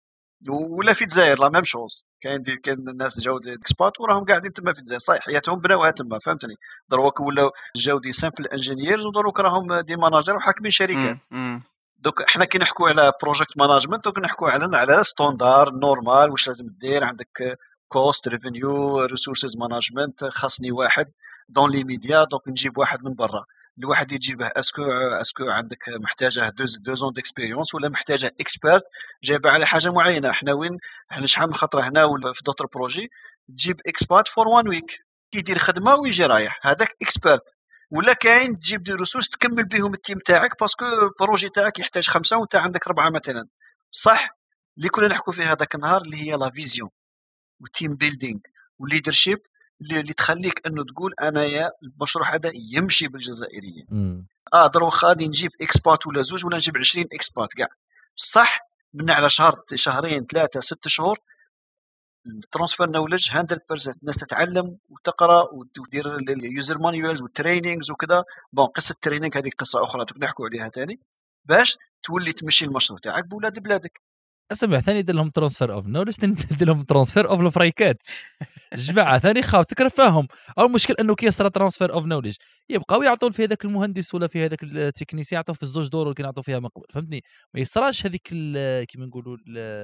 ولا في الجزائر لا ميم شوز كاين الناس جاو دي اكسبات وراهم قاعدين تما في الجزائر صحيح حياتهم بناوها تما فهمتني دروك ولا جاو دي سامبل انجينيرز ودروك راهم دي ماناجر وحاكمين شركات دوك احنا كي نحكوا على بروجكت مانجمنت دوك نحكوا على ستاندار نورمال واش لازم دير عندك كوست ريفينيو ريسورسز مانجمنت خاصني واحد دون لي ميديا دونك نجيب واحد من برا الواحد يجيبه اسكو عندك محتاجه 2 زون ديكسبيريونس ولا محتاجه اكسبيرت جايبه على حاجه معينه احنا شحال من خطره هنا ولا في دوتر بروجي تجيب اكسبيرت فور 1 ويك يدير خدمه ويجي رايح هذاك اكسبيرت ولا كاين تجيب دي ريسورس تكمل بهم التيم تاعك باسكو البروجي تاعك يحتاج 5 وانت عندك 4 مثلا صح اللي كنا نحكوا فيه هذاك النهار اللي هي لا فيزيون والتيم بيلدينغ والليدرشيب اللي تخليك انه تقول انايا المشروع هذا يمشي بالجزائريين دروك غادي نجيب اكسبات ولا زوج ولا نجيب 20 اكسبات كاع صح من على شهر شهرين 3 6 شهور الترانسفير نولج 100% الناس تتعلم وتقرا وتدير اليوزر مانيوالز والتريننجز وكذا بون قصه التريننج هذه قصه اخرى نحكوا عليها ثاني باش تولي تمشي المشروع تاعك بولاد بلادك اسمع ثاني دير لهم ترانسفير اوف نولج ثاني دير لهم ترانسفير اوف الفريكات جماعه ثاني خاف تكرفاهم او المشكل انه كي يصرى ترانسفير اوف نولج يبقاو يعطون في هذاك المهندس ولا في هذاك التكنيسيان يعطوا في الزوج دور اللي كنعطوا فيها من قبل فهمتني ما يصراش هذيك كيما نقولوا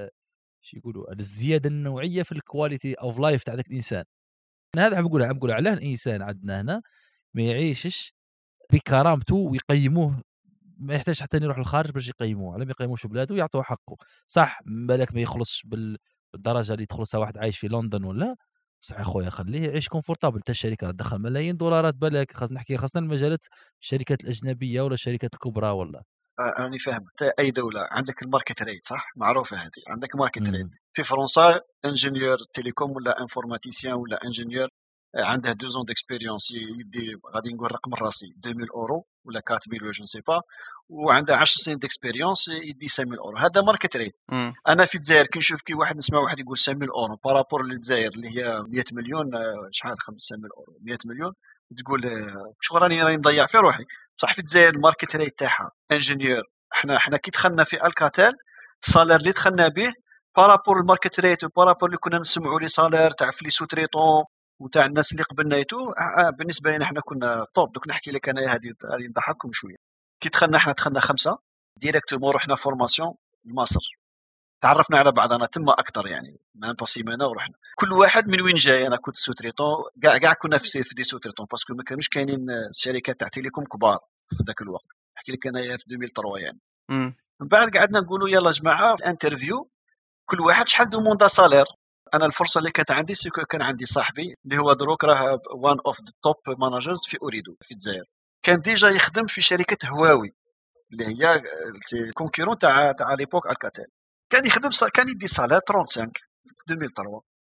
شي يقولوا الزياده النوعيه في الكواليتي اوف لايف تاع ذاك الانسان انا هذا عم نقول على الانسان عندنا هنا ما يعيشش بكرامته ويقيموه ما يحتاج حتى يروح للخارج باش يقيموه على ما يقيموش بلاده ويعطوه حقه صح بالك ما يخلصش بالدرجه اللي تخلصها واحد عايش في لندن ولا صح اخويا خليه يعيش كونفورتابل حتى الشركه تدخل ملايين دولارات بالك خاصنا المجالات الشركات الاجنبيه ولا الشركات الكبرى ولا أنا فاهم أي دولة عندك الماركت ريت صح معروفة هذه عندك ماركت ريت في فرنسا انجينيور تيليكوم ولا انفورماتيسيان ولا انجينيور عنده 2 زون ديكسبيريونس يدي غادي نقول رقم راسي 2000 اورو ولا 4000 ولا جو سي با وعنده 10 سنين ديكسبيريونس يدي 5000 اورو هذا ماركت ريت انا في الجزائر كي نشوف كي واحد نسمع واحد يقول 5000 اورو بارابور للجزائر اللي هي 100 مليون شحال 5000 اورو 100 مليون تقول شو راني نضيع في روحي صح في الجزائر الماركت ريت تاعها انجينيور احنا كي دخلنا في الكاتيل الصالير اللي دخلنا به بارابور الماركت ريت وبارابور اللي كنا نسمعوا لي صالير تاع في لي سوتريطون وتاع الناس اللي قبلنا يتو بالنسبه لنا احنا كنا طوب. دوك نحكي لك انا هذه نضحككم شويه. كي دخلنا 5 ديريكتومون رحنا فورماسيون لمصر، تعرفنا على بعضنا تما اكثر يعني ما سيمانه ورحنا كل واحد من وين جاي. انا كنت سوتريتون كاع كنا في دي سوتريتون باسكو ما كانوش كاينين شركات تاع تيليكوم كبار في ذاك الوقت. احكي لك انايا في 2003 يعني. من بعد قعدنا نقولوا يلا جماعه انترفيو كل واحد شحال دوموندا سالير. انا الفرصه اللي كانت عندي سيكو كان عندي صاحبي اللي هو دروك راه وان اوف ذا توب مانجرز في اوريدو في الجزائر، كان ديجا يخدم في شركه هواوي اللي هي كونكورون تاع ليبوك الكاتيل. كان يخدم كان يدي سالير 35 في 2003.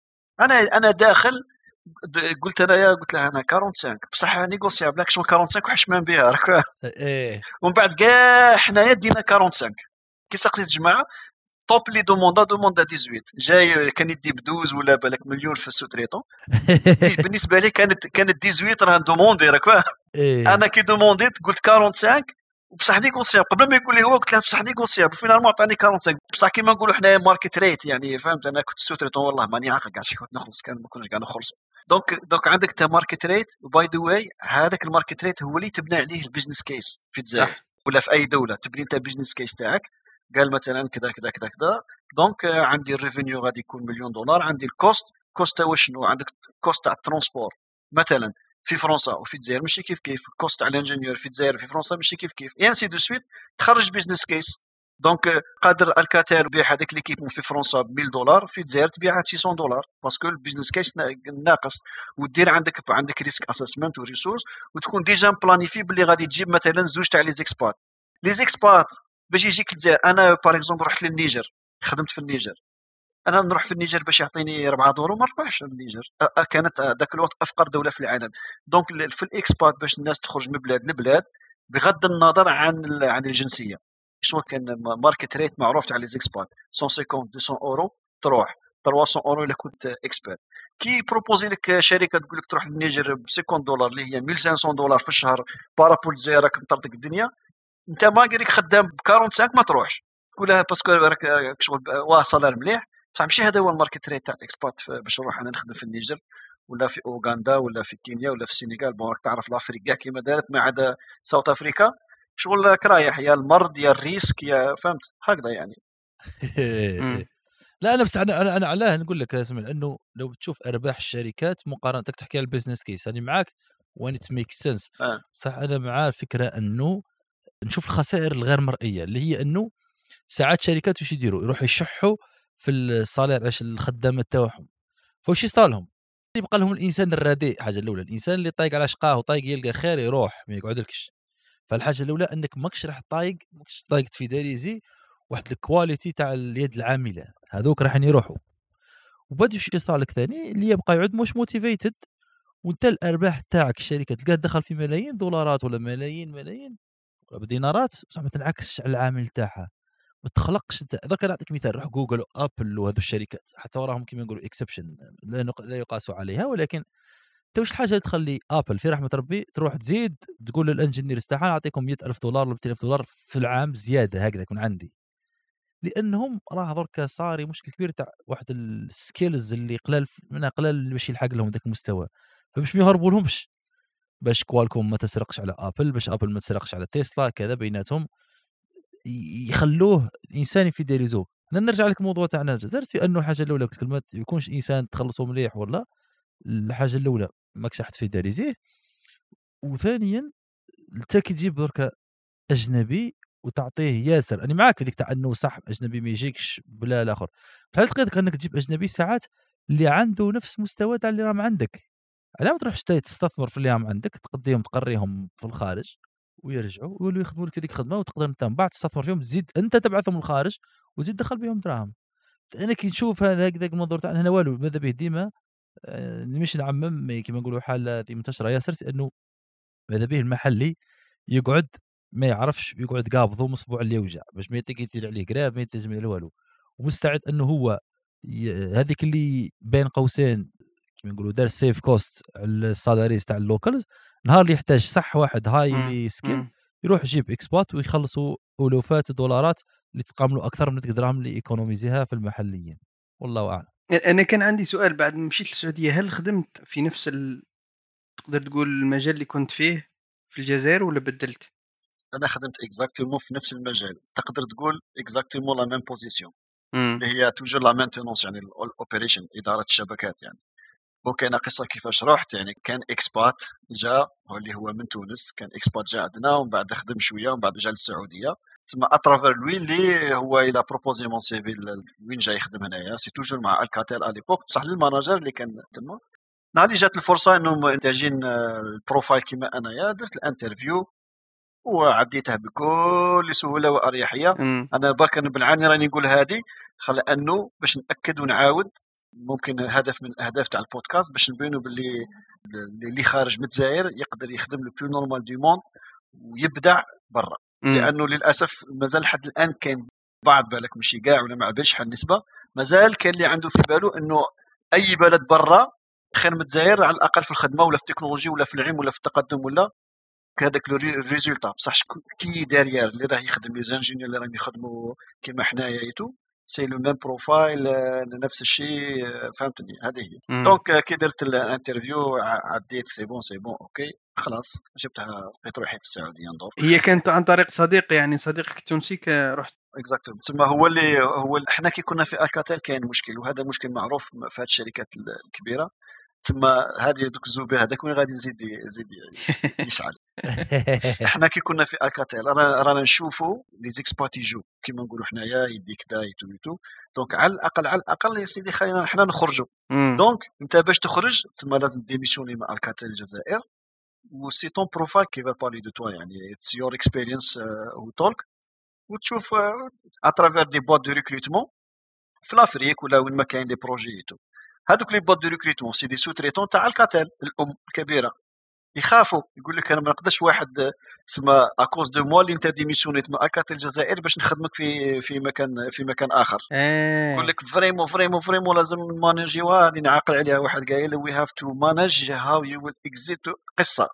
انا داخل قلت لها انا 45 بصح نيغوسيابل لك شنو 45 وحشمان بها راك ايه. ومن بعد كاع حنايا دينا 45. كي سقيت الجماعه توب لي دوموندا 18 جاي كان يدي بدوز ولا بالك مليون في السوتريتون. بالنسبه لي كانت 18 راه دوموندي راك إيه. انا كي دومونديت قلت 45 وبصح نيغوسيابل قبل ما يقول لي هو قلت له بصح نيغوسيابل فينالمون عطاني 45 بصح كيما نقولوا حنايا ماركت ريت يعني فهمت. انا كنت سوتريتون والله ماني عاقل كاع شي كنت نخلص كان ما كناش كاع نخلص. دونك عندك تا ماركت ريت وباي ذا واي هذاك الماركت ريت هو اللي تبنى عليه البيزنس كيس في الجزائر ولا في اي دوله. تبني انت بيزنس كيس تاعك قال مثلا كذا كذا كذا كذا دونك عندي الريفينيو غادي يكون $1,000,000 عندي الكوست تاع شنو عندك كوست تاع الترونسبور مثلا في فرنسا وفي الجزائر ماشي كيف الكوست تاع الانجينيور في الجزائر وفي فرنسا ماشي كيف انسي دو سويت تخرج بيزنس كيس. دونك قادر الكاتيل يبيع هذيك ليكيبمون في فرنسا $1,000 في الجزائر تبيعها $600 باسكو البيزنس كيس ناقص ودير عندك ريسك اسسمنت وريسورس وتكون ديجا بلانيفي باللي غادي تجيب مثلا زوج تاع لي زيكسبات باش يجيك الجزائر. انا باغ اكزومبل رحت للنيجر خدمت في النيجر. انا نروح في النيجر باش يعطيني 4 دورو ما نروحش للنيجر. كانت ذاك الوقت افقر دوله في العالم. دونك في الاكسبات باش الناس تخرج من بلاد لبلاد بغض النظر عن الجنسيه شنو كان ماركت ريت معروف تاع لي زيكسبات 150 200 اورو تروح 300 اورو الا كنت اكسبيرت. كي بروبوزي لك شركه تقول لك تروح للنيجر ب $50 اللي هي $1,500 في الشهر بارابول الجزائر راك مطردك الدنيا انت ما قريك خدام ب 45 ما تروحش تقولها باسكو راك شغل واه صالير مليح بصح ماشي هذا هو الماركت ريت تاع الاكسبات باش نروح انا نخدم في النيجر ولا في اوغندا ولا في كينيا ولا في السنغال. بون راك تعرف لافريك كاع كيما دارت ما عدا ساوث افريكا شغل كرايح يا المرض يا الريسك يا فهمت هكذا يعني. لا انا بس انا علاه نقول لك اسمع انه لو بتشوف ارباح الشركات مقارنه تحكي على البزنس كيس انا معاك وين ات ميك سنس صح. انا مع فكره انه نشوف الخسائر الغير مرئيه اللي هي انه ساعات شركات وش يديروا يروحوا يشحوا في الصالير عش الخدامات تاعهم فوش يصير لهم يبقى لهم الانسان الرديء. حاجه الاولى الانسان اللي طايق على شقاه وطايق يلقى خير يروح ما يقعدلكش. فالحاجه الاولى انك ماكش راح ماكش طايق تفيداليزي واحد الكواليتي تاع اليد العامله هذوك راح يروحوا. وبعد وش يصير لك ثاني اللي يبقى يعود مش موتيفيتد وانت الارباح تاعك الشركه تلقاه دخل في ملايين دولارات ولا ملايين ولا بدينارات بصح ما تنعكسش على العامل تاعها ما تخلقش. ذاك نعطيك مثال روح جوجل وابل وهذو الشركات حتى وراهم كما نقولوا اكسبشن لا يقاسوا عليها ولكن انت واش الحاجه اللي تخلي ابل في رحمه ربي تروح تزيد تقول للانجينير تاعها نعطيكم $100,000 ولا $200,000 في العام زياده هكذا يكون عندي لانهم راه درك صاري مشكل كبير تاع واحد السكيلز اللي قلال باش يلحق لهم ذاك المستوى فباش ما يهربوا لهمش باش كوالكوم ما تسرقش على ابل باش ابل ما تسرقش على تسلا كذا بيناتهم يخلوه الانسان يفيداليزوه. نرجع لك الموضوع تاعنا الجزائر انه الحاجه الاولى قلت كلمه يكونش انسان تخلصه مليح ولا الحاجه الاولى ماكش راح تفيداليزيه. وثانيا انت كي تجيب درك اجنبي وتعطيه ياسر انا معاك في ديك تاع انه صح اجنبي ما يجيكش بلا الاخر بحال تقدر انك تجيب اجنبي ساعات اللي عنده نفس مستوى تاع اللي راهم عندك على ما تروح تستثمر في اللي راهم عندك تقضيهم تقريهم في الخارج ويرجعوا ويولوا يخدموا لك هذيك الخدمه وتقدر انت من بعد تستثمر فيهم تزيد انت تبعثهم للخارج وتزيد تدخل بهم دراهم. انا كي نشوف هذا المنظور تاعنا هنا والو ماذا به ديما مش نعمم كما نقولوا حاله هذه منتشره ياسر انه ماذا به المحلي يقعد ما يعرفش يقعد قابضه مصبوع اللي يوجع باش ما يتير عليه قراب ما يتجمع له والو ومستعد انه هو هذيك اللي بين قوسين كما نقولوا دار سيف كوست على السالاريز تاع اللوكالز نهار اللي يحتاج صح واحد هاي سكيل يروح يجيب اكسبات ويخلصوا الوفات الدولارات اللي تقام له اكثر من الدراهم اللي ايكونوميزيها في المحليين. والله اعلم. انا كان عندي سؤال بعد ما مشيت للسعوديه، هل خدمت في نفس تقدر تقول المجال اللي كنت فيه في الجزائر ولا بدلت؟ انا خدمت اكزاكتومون في نفس المجال، تقدر تقول اكزاكتومون لا ميم بوزيسيون امم اللي هي توجور لا مينتينونس، يعني الاوبريشن، اداره الشبكات يعني. وكاين قصه كيفاش رحت، يعني كان اكسبات جا اللي هو من تونس، كان اكسبات جا عندنا ومن بعد خدم شويه ومن بعد جا للسعوديه. تسمى اترافير لوي اللي هو الى بروبوزي مون سي في وين جاي يخدم هنايا، سي توجور مع الكاتيل ا ليبوك، بصح للماناجر اللي كان تما. نهار اللي جات الفرصه انه محتاجين البروفايل كيما انايا، درت الانترفيو وعديته بكل سهوله واريحيه. امم انا برك بالعاني راني نقول هذه خل انه باش ناكد ونعاود، ممكن هدف من الاهداف تاع البودكاست باش نبينوا باللي اللي خارج من الجزائر يقدر يخدم لو بلو نورمال دو موند ويبدع برا. لانه للاسف مازال لحد الان كاين بعض، بالك ماشي كاع ولا ما عبالش حال النسبه، مازال كاين اللي عنده في باله انه اي بلد برا خير من الجزائر، على الاقل في الخدمه ولا في التكنولوجي ولا في العلم ولا في التقدم ولا كهذاك الريزولتا. بصح كي داريير اللي راه يخدم لي زانجينيور اللي راهم يخدموا كيما حنايا ايتو، سي لو ميم بروفايل، نفس الشيء. فهمتني؟ هذه هي. دونك كي درت الانترفيو عديت سي بون اوكي خلاص، جبتها لقيت روحي في السعوديه ندور. هي كانت عن طريق صديق، يعني صديقك التونسي رحت؟ اكزاكتوم. تسمى هو احنا كي كنا في الكاتيل كاين مشكل، وهذا مشكل معروف في هذه الشركات الكبيره. تسمى هذه دوك الزبير هذاك وين غادي يزيد يشعل. احنا كي كنا في الكاتيل رانا نشوفوا لي زيكسبات يجوا كيما نقولوا حنايا يديك دا يتو. دونك على الاقل يا سيدي خلينا حنا نخرجوا. دونك انت باش تخرج تسمى لازم ديميسيوني مع الكاتيل الجزائر، و سي طون بروفايل كي فا بارلي دو توا، يعني اتس يور اكسبيرينس و توك، وتشوف اترافير دي بوات دو ريكروتمون في لافريك ولا وين ما كاين لي بروجي تو. هذوك لي بوات دو ريكروتمون سي دي سو تريتون تاع الكاتيل الام الكبيره، يخافوا يقول لك انا ما نقدرش واحد سما اكوز دو موا اللي انت ديميسيونيت من الكاتيل الجزائر باش نخدمك في مكان اخر. يقول لك فريمون لازم نمانجيو هذه، نعقل عليها. واحد قايل وي هاف تو مانج هاو يو ويل اكزيت قصه،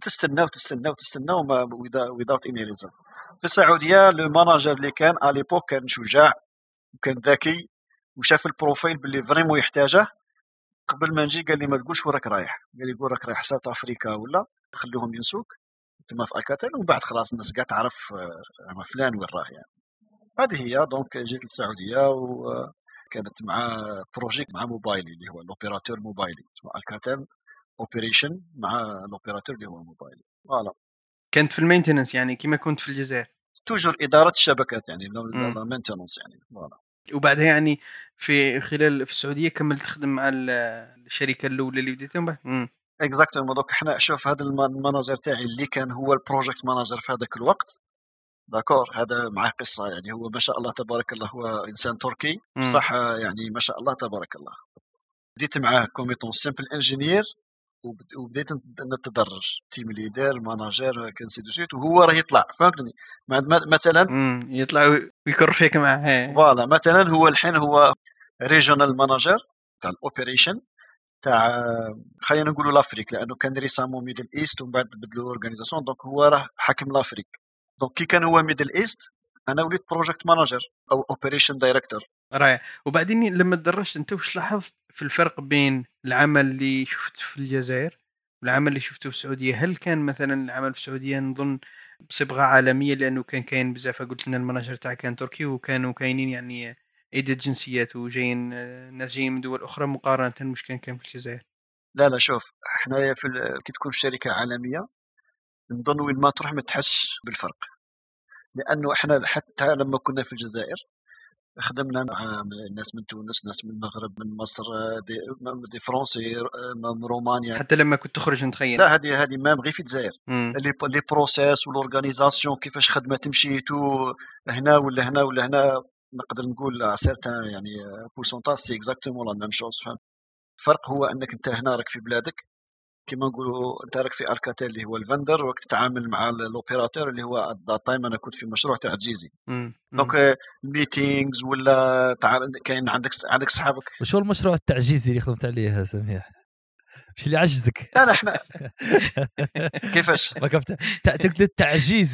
وتستنى وما without any result. في السعوديه لو ماناجر اللي كان على ليبوك كان شجاع وكان ذكي وشاف البروفايل باللي فريمون يحتاجه. قبل ما نجي قال لي ما تقولش وراك رايح، قال لي قول راك رايح ساوث افريكا ولا خليهم ينسوك تما في الكاتل، ومن بعد خلاص الناس قاعد تعرف فلان وين راه يعني. هذه هي. دونك جيت للسعوديه وكانت مع بروجيكت مع موبايلي اللي هو الاوبيراتور موبايلي، اسمه الكاتل اوبريشن مع الاوبيراتور اللي هو موبايلي. فوالا كنت في المينتنس يعني كيما كنت في الجزائر؟ توجور اداره الشبكات يعني لا مينتينونس يعني. فوالا. وبعدها يعني في السعوديه كملت تخدم مع الشركه الاولى اللي بديتها من بعد؟ اكزاكتومون. دوك حنا شوف هذا الماناجر تاعي اللي كان هو البروجكت ماناجر في هذاك الوقت، داكور، هذا معاه قصه يعني. هو ما شاء الله تبارك الله هو انسان تركي صح يعني، ما شاء الله تبارك الله. بديت معاه كوميتون سيمبل انجينير وبديت نتدرج تيم ليدر ماناجر كنسي دو سيت، وهو راه يطلع فهمتني. مثلا يطلع ويكر فيك معاه. فوالا مثلا هو الحين هو ريجونال ماناجر تاع الاوبريشن تاع خلينا نقولوا لافريك، لانه كان ريسامون ميدل ايست ومن بعد بدلوا اورغانيزاسيون. دونك هو راه حاكم لافريك. دونك كي كان هو ميدل ايست انا وليت بروجكت مانجر او اوبريشن دايركتور. رائع. وبعدين لما تدرجت انت وش لاحظت في الفرق بين العمل اللي شفت في الجزائر والعمل اللي شفته في السعوديه؟ هل كان مثلا العمل في السعوديه نظن بصبغه عالميه لانه كان كاين بزاف، قلت لنا المانجر تاعك كان تركي وكانوا كاينين يعني عده جنسيات وجايين ناس جايين من دول اخرى مقارنه مش كان في الجزائر؟ لا شوف حنايا كي تكون في شركه عالميه نظن وين ما تروح ما تحسش بالفرق، لانه احنا حتى لما كنا في الجزائر خدمنا مع ناس من تونس، ناس من المغرب، من مصر، دي فرنسي، من رومانيا. حتى لما كنت تخرج نتخيل. لا هذه مام غير في الجزائر لي بروسيس والاورغانيزاسيون كيفاش خدمه تمشي تو هنا ولا هنا ولا هنا. نقدر نقول سيرتان يعني بورسونتاج سي اكزاكتومون لا ميم شوز. الفرق هو انك انت هنا راك في بلادك كيما نقولوا، انت راك في الكاتيل اللي هو الفندر، وراك تتعامل مع الاوبيراتور اللي هو ذات تايم. انا كنت في مشروع تاع جيزي. دونك الميتينغز ولا كاين عندك صحابك. وشو المشروع التعجيزي اللي خدمت عليه سميح؟ مش اللي عجزك؟ لا احنا كيفاش ما كنت تقول التعجيزي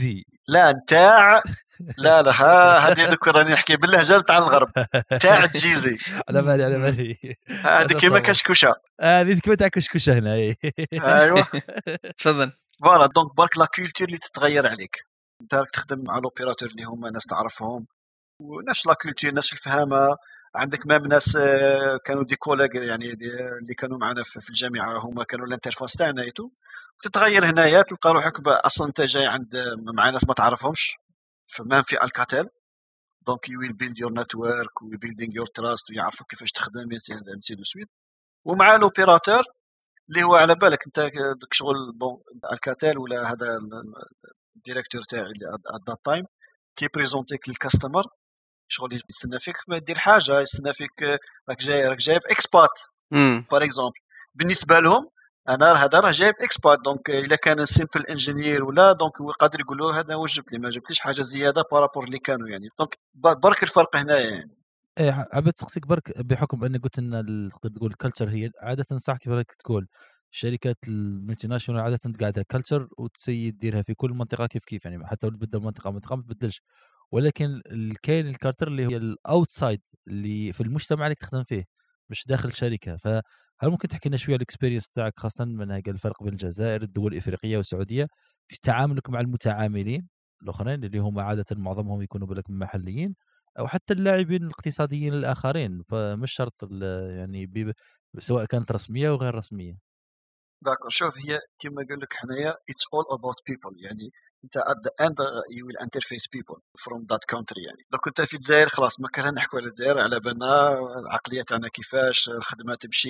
لا نتاع لا هذه ذكر راني نحكي باللهجه تاع الغرب تاع الجيزي على بالي هذه كيما كشكوشه هذه كيما تاع كشكوشه هنا ايوه تفضل. فوالا دونك برك لا كولتور اللي تتغير عليك انت راك تخدم مع لوبيراتور اللي هما ناس تعرفهم ونفس لا كولتور نفس الفهامه عندك مام ناس كانوا دي كوليغ يعني اللي كانوا معنا في الجامعه هما كانوا الانترفاس تاعنا ايتو تتغير هنايا تلقى روحك اصلا انت جاي عند مع ناس ما تعرفهمش فما في الكاتيل دونك يو ويل بيلد يور نتورك و بيلدينغ يور تراست ويعرفوا كيفاش تخدم انسي دو سويت ومع لوبيراتور اللي هو على بالك انت داك شغل بون الكاتيل ولا هذا الديريكتور تاعي ات ذات تايم كي بريزونتيك للكاستمر شغل يستنى فيك ما دير حاجه يستنى فيك راك جايب اكسبات بار اكزومبل بالنسبه لهم انا هذا راه جايب اكسبات دونك الا كان سيمبل انجينير ولا دونك هو قادر يقول له هذا واش جبت لي ما جبتليش حاجه زياده بارابور اللي كانوا يعني دونك برك الفرق هنايا يعني ايه عبيت تسقسيك برك بحكم اني قلت ان تقدر تقول الكلتشر هي عاده صح كيف راك تقول الشركات الملتي ناشونال عاده قاعده كلتشر وتسيد ديرها في كل منطقه كيف يعني حتى لو تبدل منطقه ما تبدلش ولكن كاين الكارتر اللي هي الاوتسايد اللي في المجتمع اللي تخدم فيه مش داخل الشركه فهل ممكن تحكي لنا شويه الاكسبيرينس تاعك خاصه من هذا الفرق بين الجزائر الدول الافريقيه والسعوديه في تعاملك مع المتعاملين الاخرين اللي هم عاده معظمهم يكونوا بالك محليين او حتى اللاعبين الاقتصاديين الاخرين فمش شرط يعني سواء كانت رسميه او غير رسميه. داكور شوف هي كما قال لك حنايا it's all about people يعني انت at the end you will interface people from that country يعني لو كنت في الجزائر خلاص ما كان نحكوا على الجزائر على بالنا العقليه تاعنا كيفاش الخدمه تمشي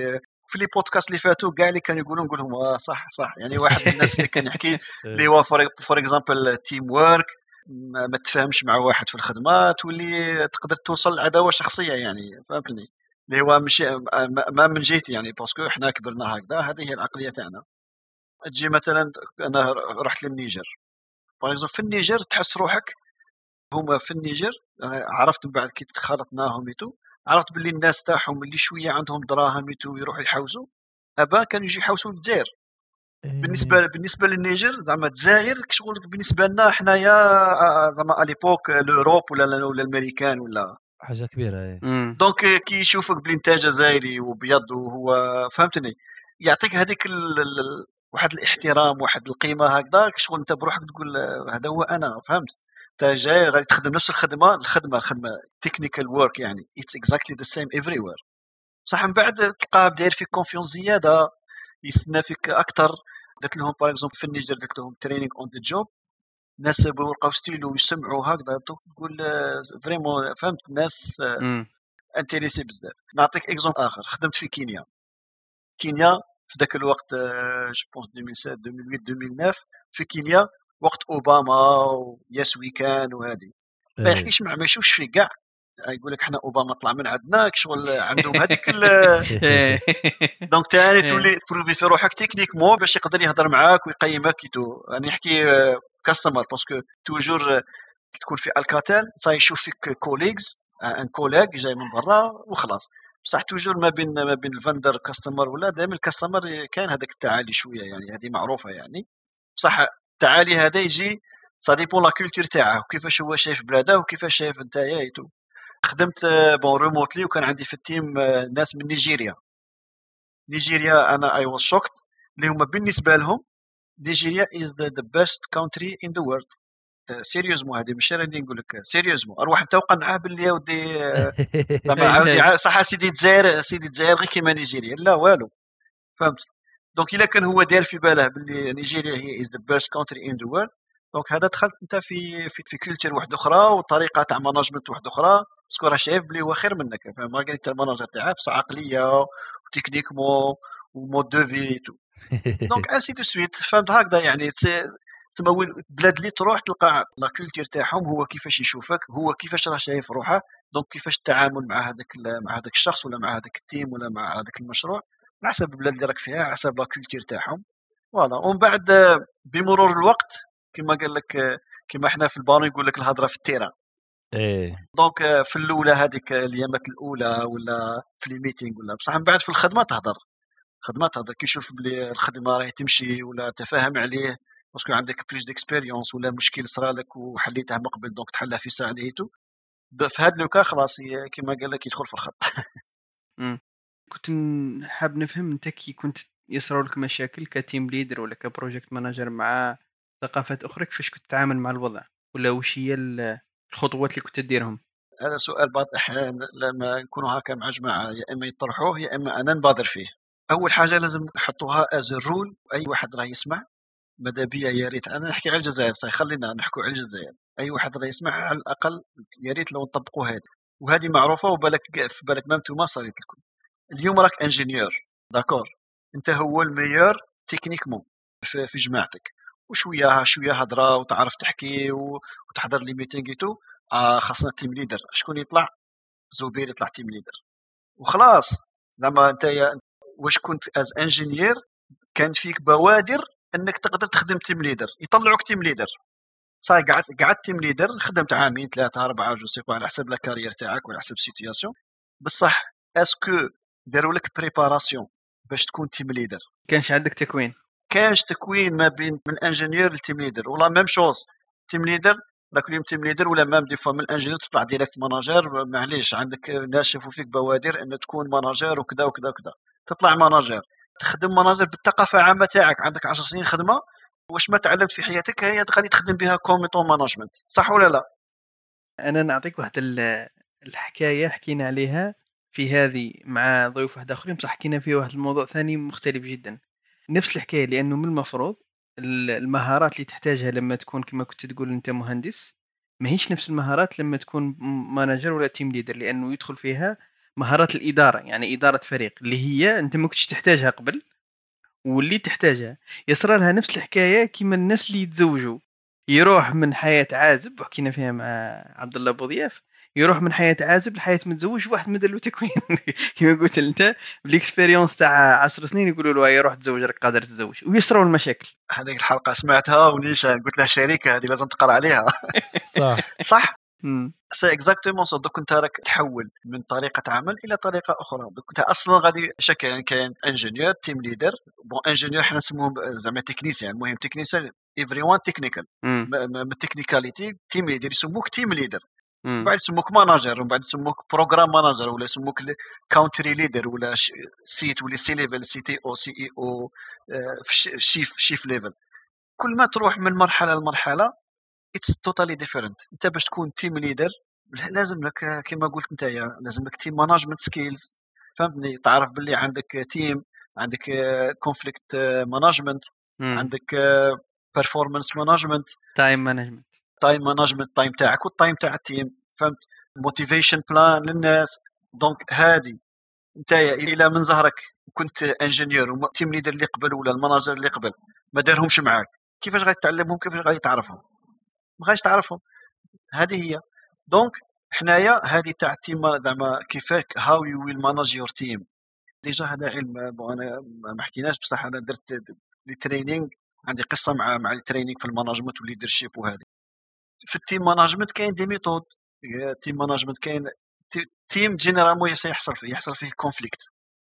في لي بودكاست اللي فاتوا كاع اللي كانوا يقولوا نقول لهم صح يعني واحد من الناس اللي كان يحكي اللي هو فور اكزامبل تيم وورك ما تفهمش مع واحد في الخدمه تولي تقدر توصل لعداوه شخصيه يعني فهمتني اللي هو مش ما من جهتي يعني باسكو احنا كبرنا هكذا هذه هي العقليه تاعنا تجي مثلا انا رحت للنيجر في النيجر تحس روحك هما في النيجر عرفت من بعد كي تخالطناهم يتو عرفت باللي الناس تاعهم اللي شويه عندهم دراهم يتو يروحوا يحوزوا ابا كانوا يجي يحوسوا في الجزائر بالنسبه للنيجر زعما الجزائر شغل بالنسبه لنا حنايا زعما اليبوك لوروب ولا الامريكان ولا حاجه كبيره دونك كي يشوفك بلي انت جزائري وبيض وهو فهمتني يعطيك هذيك واحد الاحترام واحد القيمه هكذا شغل انت بروحك تقول هذا هو انا فهمت انت جاي غادي تخدم نفس الخدمه تكنيكال وورك يعني اتس اكزاكتلي ذا سيم افريوير صح من بعد تلقاه داير فيك كونفيونس زياده يستنى فيك اكثر قلت لهم باغ اكزومبل في النيجر قلت لهم تريننج اون ذا جوب ناس بورقه ستيلو يسمعوا هكذا تقول فريمون فهمت الناس انتريسي بزاف نعطيك اكزومبل اخر خدمت في كينيا في ذاك الوقت جو بونس 2007 2008 2009 في كينيا وقت اوباما وياس ويكان وهذه ما يحكيش ما يشوفش فيه كاع يقول لك احنا اوباما طلع من عندنا شغل عندهم هذيك دونك ثاني تولي تبروفي في روحك تكنيكمون باش يقدر يهضر معاك ويقيمك يعني يحكي كاستمر باسكو توجور تكون في الكاتل صاي يشوف فيك كوليجز ان كوليج جاي من برا وخلاص بصح توجور ما بين الفندر كاستمر ولا دائما الكاستمر كاين هذاك التعالي شويه يعني هذه معروفه يعني بصح التعالي هذا يجي سا ديبون لا كولتور تاعه وكيفاش هو شايف بلاده وكيفاش شايف نتايا ايتو خدمت بون ريموتلي وكان عندي في التيم ناس من نيجيريا انا اي واز شوكت اللي هما بالنسبه لهم نيجيريا از ذا بيست كونتري ان ذا وورلد سيريوزمون هذه مش راني نقول لك سيريوزمون اروح انت وقنعه باللي يا ودي زعما عاودي صح سيدي الجزائر غير كيما نيجيريا لا والو فهمت دونك الا كان هو داير في باله باللي نيجيريا هي از ذا بيست كونتري ان ذا وورلد دونك هذا دخلت انت في كولتور واحده اخرى وطريقه تاع ماناجمنت واحده اخرى باسكو راه شايف بلي هو خير منك فاهم ما قال انت الماناجر تاعك بصح عقليه وتكنيكمون ومود دو في تو دونك انسي دو سويت فهمت هكذا يعني تسمى البلاد اللي تروح تلقى لا كولتور تاعهم هو كيفاش يشوفك هو كيفاش راه شايف روحه دونك كيفاش التعامل مع هذاك الشخص ولا مع هذاك التيم ولا مع هذاك المشروع على حسب البلاد اللي راك فيها على حسب لا كولتور تاعهم فوالا ومن بعد بمرور الوقت كما قال لك كما احنا في البالون يقول لك الهضره في التيران دونك في الاولى هذيك اليامات الاولى ولا في لي ميتينغ ولا بصح من بعد في الخدمه تهضر كي يشوف بلي الخدمه راهي تمشي ولا تفاهم عليه باسكو عندك بلوس ديكسبيريونس ولا مشكل صرالك وحليته من قبل دونك تحلها في ساعه نهيتو. في هذا لوكا خلاص كما قال لك يدخل في الخط. كنت حاب نفهم انت كي كنت يصروا لك مشاكل كتيم ليدر ولا كبروجكت مانجر مع ثقافات اخرى، كيفاش كنت تتعامل مع الوضع، ولا وش هي الخطوات اللي كنت تديرهم؟ هذا سؤال بعض الأحيان لما نكونوا هكا مع جماعة يا إما يطرحوه يا إما أنا نبادر فيه. أول حاجة لازم نحطوها از رول، أي واحد راه يسمع ماذا بيا يا ريت أنا نحكي على الجزائر صحيح، خلينا نحكوا على الجزائر. أي واحد راه يسمع على الأقل يا ريت لو نطبقوا هذه، وهذه معروفة وبالك في بالك ما انتوما صارت لكم. اليوم راك انجينيور داكور، انت هو الميور تكنيكمون في جماعتك، وشويه هضره وتعرف تحكي وتحضر لي ميتينغ تو. خاصنا تيم ليدر، شكون يطلع؟ زبير يطلع تيم ليدر وخلاص. زعما انت واش كنت از انجينير كانت فيك بوادر انك تقدر تخدم تيم ليدر، يطلعوك تيم ليدر صاي. قعدت تيم ليدر، خدمت عامين 3 4 جو سي على حسب لا كارير تاعك وعلى حسب السيتوياسيون. بصح اسكو داروا لك بريباراسيون باش تكون تيم ليدر؟ كانش عندك تكوين؟ كانش تكوين ما بين من الانجينير للتيم ليدر، ولا ميم شوز تيم ليدر راك اليوم تيم ليدر ولا مام دي فوا من الانجينير تطلع ديريكت ماناجر. معليش عندك ناس شافوا فيك بوادر ان تكون ماناجر وكذا وكذا وكذا، تطلع ماناجر تخدم ماناجر بالثقافه العامه تاعك. عندك 10 سنين خدمه، واش ما تعلمت في حياتك هي غادي تخدم بها كوميتون مانجمنت، صح ولا لا؟ انا نعطيك واحد الحكايه حكينا عليها في هذه مع ضيوف واحد اخرين، بصح حكينا فيه واحد الموضوع ثاني مختلف جدا، نفس الحكايه. لانه من المفروض المهارات اللي تحتاجها لما تكون كما كنت تقول انت مهندس ما هيش نفس المهارات لما تكون مانجر ولا تيم ليدر، لانه يدخل فيها مهارات الاداره، يعني اداره فريق اللي هي انت ما كنتش تحتاجها قبل واللي تحتاجها. يصرى لها نفس الحكايه كيما الناس اللي يتزوجوا، يروح من حياه عازب، وحكينا فيها مع عبد الله بوضياف، يروح من حياه عازب لحياه متزوج، واحد مدلو تكوين كما قلت انت بالاكسبيريونس تاع 10 سنين يقولوا له يروح تزوج راك قادر تتزوج، ويصروا المشاكل. هذيك الحلقه سمعتها ونيشان قلت له شركه هذه لازم تقرا عليها. صح صح. سي اكزاكتومون سو. دوك انت راك تحول من طريقه عمل الى طريقه اخرى. دوك انت اصلا غادي شكل يعني كاين انجينيور تيم ليدر. بون انجينيور حنا نسموهم زعما تكنيسيان، المهم تكنيسيان ايفري وان تكنيكال. من التكنيكاليتي تيم ليدر يسموك تيم ليدر، بعد يسموك ماناجر، ومن بعد يسموك بروغرام ماناجر، ولا يسموك كاونتري ليدر، ولا سيت ولا سي ليفل سي تي او سي اي او شيف ليفل. كل ما تروح من مرحله لمرحله it's totally different. انت باش تكون تيم ليدر لازم لك كما قلت انت لازم لك تيم مانجمنت سكيلز، فهمتني؟ تعرف باللي عندك تيم، عندك كونفليكت مانجمنت، عندك بيرفورمانس مانجمنت، تايم مانجمنت، تايم تاعك والتايم تاع التيم، فهمت؟ موتيفيشن بلان للناس. دونك هذه انت الى من ظهرك كنت انجينير وتيم ليدر اللي قبل ولا الماناجر اللي قبل ما دارهمش معاك، كيفاش غادي تعلمهم؟ كيفاش غادي تعرفهم؟ ما غاديش تعرفهم. هذه هي. دونك حنايا هذه تاع التيم زعما كيفاش هاو يو ويل ماناج يور تيم. ديجا هذا علم. انا ما حكيناش بصح انا درت لي ترينينغ، عندي قصه مع الترينينغ في المانجمنت والليدرشيب. وهذه في التيم مانجمنت كاين دي ميثود. تيم مانجمنت كاين تيم جينيرالمون يحصل فيه كونفليكت.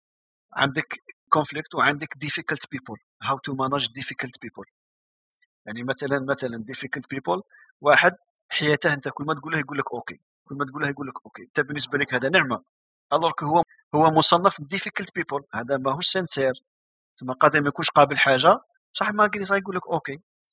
عندك كونفليكت وعندك difficult people. how to manage difficult people. يعني مثلا difficult people، واحد حياته انت كل ما تقول له يقول لك اوكي، كل ما تقول له يقول لك اوكي، انت بالنسبه لك هذا نعمه. الوغ هو مصنف difficult people، هذا ماهوش سنسير، ما قادر ما يكونش قابل حاجه، صح؟ ما قادر يقول لك اوكي.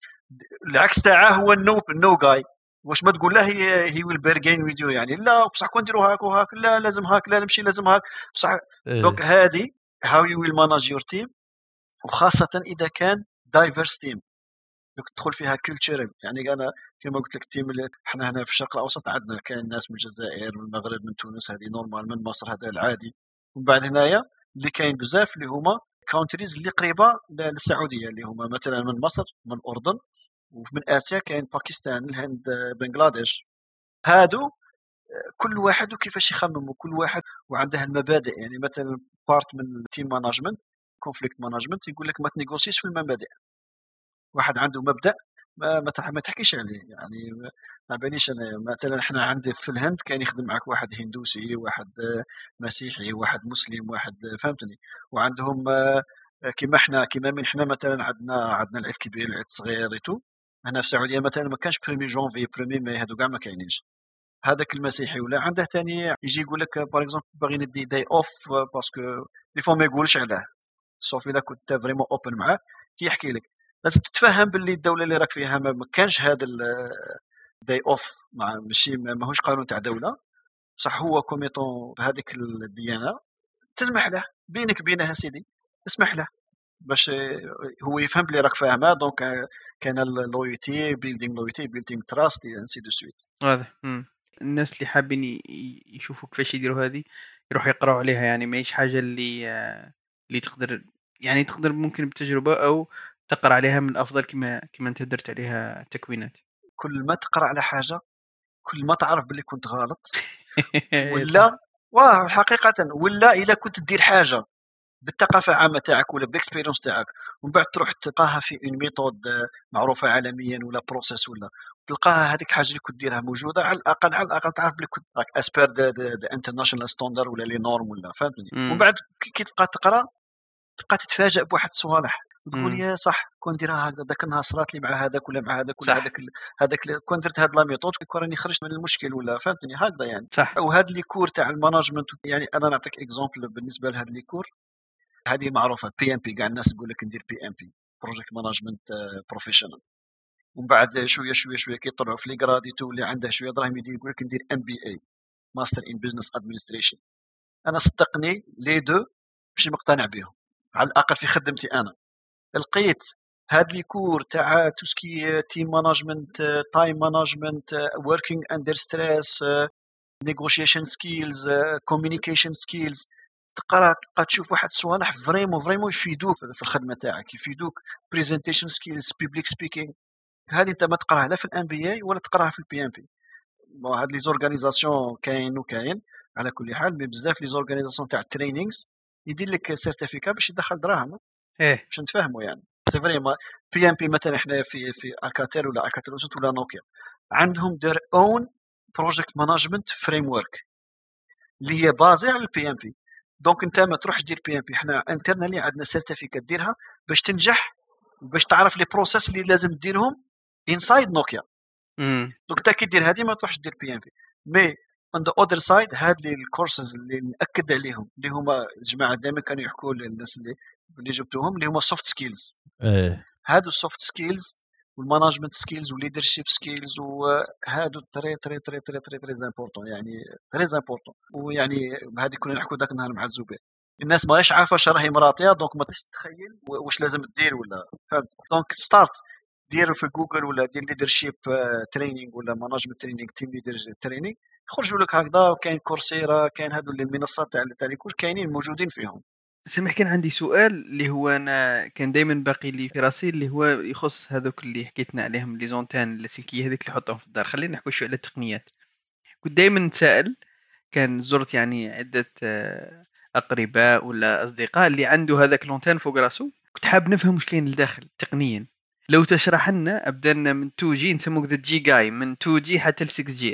العكس تاعه هو النو جاي. واش ما تقول له هي ويل بيرجين فيديو، يعني لا بصح كون نديروا هاك وهاك، لا لازم هاك، لا نمشي لازم هاك بصح. دونك هذه هاو يو ويل ماناج يور تيم، وخاصه اذا كان دايفرس تيم. دوك تدخل فيها كولتورال. يعني انا كما قلت لك التيم اللي احنا هنا في الشرق الاوسط عندنا كاين ناس من الجزائر، من المغرب، من تونس، هذه نورمال، من مصر هذا العادي. ومن بعد هنايا اللي كاين بزاف اللي هما كونتريز اللي قريبه للسعوديه، اللي هما مثلا من مصر، من الاردن، ومن اسيا كاين باكستان، الهند، بنغلاديش. هادو كل واحد وكيفاش يخمم، وكل واحد وعنده المبادئ. يعني مثلا بارت من التيم مانجمنت كونفليكت مانجمنت يقول لك ما تنيغوسيش في المبادئ. واحد عنده مبدا ما تحكيش عليه. يعني ما باليش انا مثلا احنا عندي في الهند كان يخدم معك واحد هندوسي، واحد مسيحي، واحد مسلم، واحد، فهمتني؟ وعندهم كيما من حنا مثلا عندنا العيد كبير العيد صغير ريتو. هنا في السعوديه مثلا ما كانش برومي جونفي برومي ماي هادو كاع ما كاينينش. هذاك المسيحي ولا عنده ثاني يجي يقول لك باغ اكزومبل باغي ندي داي اوف باسكو دي فوا ما يقولش علاه. سوف الا كنت فريمون اوبن معاه كيحكي لك لازم تتفهم باللي الدوله اللي راك فيها ما كانش هذا الداي اوف ماشي ماهوش قانون تاع دوله. بصح هو كوميطون في هذيك الديانه تسمح له بينك بينها سيدي اسمح له باش هو يفهم بلي راك فاهمه. دونك كان اللويتي بيلدينغ لويتي بيلدينغ تراست انسي دو سويت. هذا الناس اللي حابين يشوفوا كيفاش يديروا هذه يروحوا يقراوا عليها، يعني ماهيش حاجه اللي تقدر، يعني تقدر ممكن بتجربه او تقرا عليها من الافضل كما انت درت عليها تكوينات. كل ما تقرا على حاجه كل ما تعرف باللي كنت غلط صح. ولا واه حقيقه. ولا الا كنت دير حاجه بالثقافه العامه تاعك ولا بالاكسبيريونس تاعك ومن بعد تروح تلقاها في اون ميثود معروفه عالميا ولا بروسيس ولا تلقاها هذيك الحاجه اللي كنت ديرها موجوده، على الاقل تعرف بلي كنت راك اسبير ذا انترناشونال ستاندر ولا لي نورم ولا فهمتني. ومن بعد كي تبقى تقرا تبقى تتفاجئ بواحد الصوالح وتقول يا صح كون نديرها هكذا ذاك النهار صرات لي مع هذاك ولا مع هذاك ولا صح. هذاك كون درت هاد لا ميثود كون راني خرجت من المشكل ولا فهمتني هكذا يعني. صح. وهاد لي كور تاع المانجمنت يعني انا نعطيك اكزومبل بالنسبه لهاد لي كور هذه معروفه بي ام بي. كاع الناس تقول لك ندير بي ام بي بروجكت مانجمنت بروفيشنال. ومن بعد شويه شويه شويه كي يطلعوا في لي غراديتو اللي عنده شويه دراهم يقول لك ندير ام بي اي ماستر ان بزنس ادمنستريشن. انا صدقني لي دو ماشي مقتنع بهم على الاقل في خدمتي انا. لقيت هاد لي كور تاع توسكي تيم مانجمنت تايم مانجمنت وركينغ اندر ستريس نيغوشيشن سكيلز كوميونيكيشن سكيلز تقرا تبقى تشوف واحد الصوالح فريمون يفيدوك في الخدمه تاعك يفيدوك بريزنتيشن سكيلز بيبليك سبيكينغ. هذه انت ما تقراها لا في الام بي اي ولا تقراها في البي ام بي. هاد لي زورغانيزاسيون كاين وكاين على كل حال. مي بزاف لي زورغانيزاسيون تاع الترينينغز يدير لك سيرتيفيكا باش يدخل دراهم باش نتفاهموا يعني. سي فري بي ام بي مثلا احنا في الكاتيل ولا الكاتيل ولا نوكيا عندهم their own project management framework اللي هي بازي على البي ام بي. دونك انت ما تروحش دير بي ام بي. احنا انترنالي عندنا سيرتيفيكات ديرها باش تنجح باش تعرف لي بروسيس اللي لازم ديرهم انسايد نوكيا. دونك انت كي دير هذه ما تروحش دير بي ام بي. مي on the other side هاد لي الكورسز اللي ناكد عليهم اللي هما الجماعه دائما كانوا يحكوا للناس اللي جبتوهم اللي هما سوفت سكيلز. هادو السوفت سكيلز والمانجمنت سكيلز والليدرشيب سكيلز وهادو تري تري تري تري تري تري امبورطون يعني تري امبورطون. ويعني هذه كنا نحكوا ذاك النهار مع الزبير الناس ماهيش عارفه راهي مراتيه دونك ما تتخيل واش لازم دير ولا فهمت. دونك ستارت دير في جوجل ولا دير ليدرشيب تريننج ولا مانجمنت تريننج تيم ليدر تريننج يخرجوا لك هكذا. كاين كورسيرا كاين هادو المنصات تاع الكورس كاينين موجودين فيهم. سمح كان عندي سؤال اللي هو انا كان دائما باقي لي في راسي اللي هو يخص هذوك اللي حكيتنا عليهم لي زونتان اللاسلكيه هذيك اللي يحطهم في الدار. خلينا نحكوا شويه على التقنيات. كنت دائما نتساءل، كان زرت يعني عده اقرباء ولا اصدقاء اللي عنده هذاك لونتان فوق راسه، كنت حاب نفهم واش كاين لداخل تقنيا. لو تشرح لنا ابدالنا من 2 جي نسموك ذا جي جاي من 2 جي حتى ل 6 جي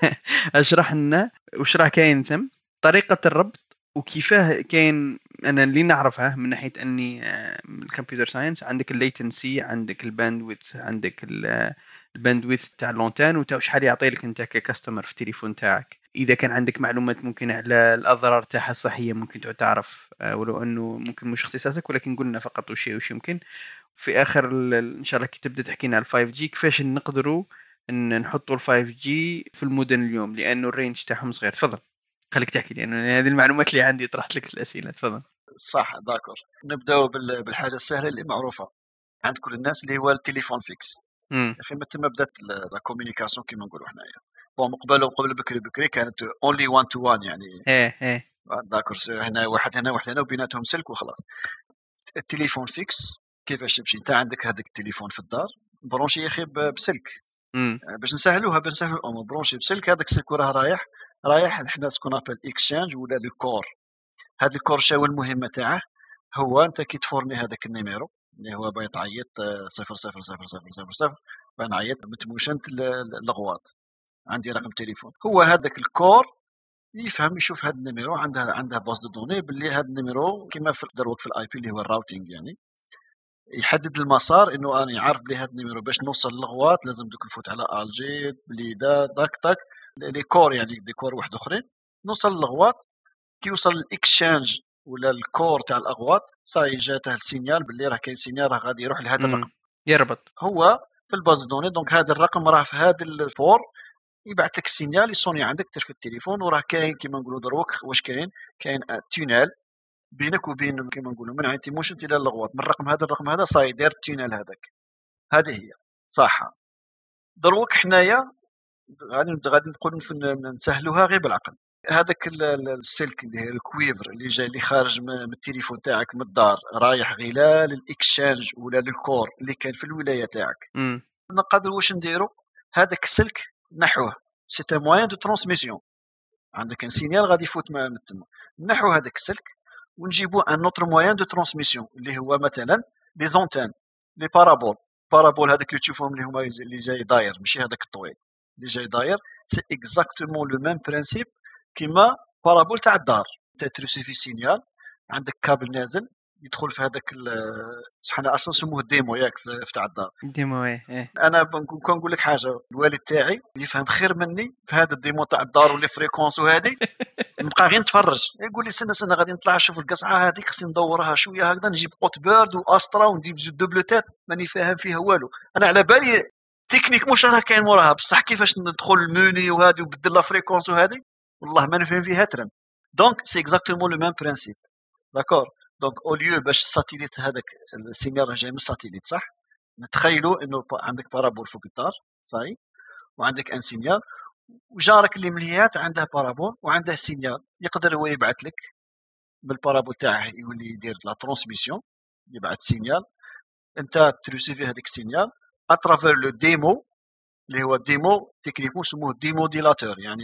اشرح لنا واش راه كاين ثم طريقه الربط وكيفاه كاين. انا اللي نعرفها من ناحيه اني من الكمبيوتر ساينس عندك الليتنسي عندك الباندويث عندك الباندويث تاع اللونتان وتا شحال يعطي لك انت ككاستمر في التليفون تاعك. اذا كان عندك معلومات ممكن على الاضرار تاعها الصحيه ممكن تعرف ولو انه ممكن مش اختصاصك ولكن قلنا فقط وش يمكن. في اخر ان شاء الله كي تبدا تحكينا على 5 جي كيفاش نقدروا ان نحطوا ال 5 جي في المدن اليوم لانه الرينج تاعهم صغير. تفضل خليك تحكي لانه هذه المعلومات اللي عندي طرحت لك الاسئله. تفضل. صح داكور. نبداو بالحاجه السهله اللي معروفه عند كل الناس اللي هو التليفون فيكس. يا اخي ما تما بدات لا كومونيكاسيون كيما نقولوا حنايا. بون قبل بكري كانت اونلي 1 تو 1 يعني داكور. هنا واحد هنا وبيناتهم سلك وخلاص. التليفون فيكس كيفاش تمشي انت عندك هذاك التليفون في الدار برونشي يا اخي بسلك باش نسهلوها بنسهل الامور. برونشي بسلك هذاك السلك وراه رايح حنا سكون ابل اكسشينج ولا الكور. هذا الكور شاو المهمه تاعه هو انت كي تفورني هذاك النيميرو اللي هو باغي تعيط 00000 باغي نعيط متموشنت لغواط عندي رقم تليفون. هو هذاك الكور يفهم يشوف هذا النيميرو عندها باز دو دوني باللي هذا النيميرو كما في دروك في الاي بي اللي هو الراوتينغ، يعني يحدد المسار انه انا عارف بلي هذا النيميرو باش نوصل للغوات لازم دوك نفوت على الجي بلي داك لي كور، يعني دي كور واحد اخرين نوصل للغوات. كي يوصل الاكشانج ولا الكور تاع الاغواط صاي جاته السينيال باللي راه كاين سينيال راه غادي يروح لهذا الرقم يربط هو في الباز دوني. دونك هذا الرقم راه في هذا الفور يبعث لك السينيال يصوني عندك في التليفون، وراه كاين كيما نقولوا دروك واش كاين تونيل بينك وبين كيما نقولوا من عند تيموشن الى اللغوات من الرقم هذا صاي داير التونيل هذاك. هذه هي صح. دروك حنايا غادي نقول نسهلوها غير بالعقل. هذاك السلك اللي هي الكويفر اللي جاي اللي خارج من التليفون تاعك من الدار رايح غير للاكشانج ولا للكور اللي كان في الولايه تاعك، نقدر واش نديرو هذاك السلك نحوه سي ان موين دو ترانسميسيون. عندك ان سينيال غادي يفوت من تما، نحو هذاك السلك ونجيبو ان اوتر موين دو ترانسميسيون اللي هو مثلا لي زونتين لي بارابول هذاك اللي تشوفهم اللي هما اللي جاي داير ماشي هذاك الطويل اللي جاي داير. سي اكزاكتومون لو ميم برينسيپ كيما بارابول تاع الدار. انت تريسيفي سينيال عندك كابل نازل يدخل في هذاك حنا اصلا نسموه الديمو ياك في تاع الدار ديمو. ايه انا نقول لك حاجه، الوالد تاعي يفهم خير مني في هذا الديمو تاع الدار ولي فريكونس وهذه نبقى غير نتفرج يقول لي سنه غادي نطلع نشوف القصعه هذيك خصني ندورها شويه هكذا نجيب قوت بيرد واسترا وندير زوج دوبل تات ماني فاهم فيها والو. انا على بالي تكنيك مش راه كاين موراها بصح كيفاش ندخل الموني وهذه وبدل لا فريكونس وهذه والله ما نفهم فيها ترم. دونك سي اكزاكتومون لو ميم برينسيپ داكور. دونك او ليو باش الساتيليت هذاك السينيال جاي من الساتيليت صح، نتخيلوا انه عندك بارابول فوق الدار صاي وعندك ان سينيال وجارك اللي مليات عنده بارابول وعنده سينيال يقدر هو يبعث لك بالبارابول تاعه يولي يدير لا ترانسميسيون يبعث سينيال انت تريسيفي هذيك السينيال اترافير لو ديمو اللي هو الديمو تكنيكو يسموه ديمو ديلاتور، يعني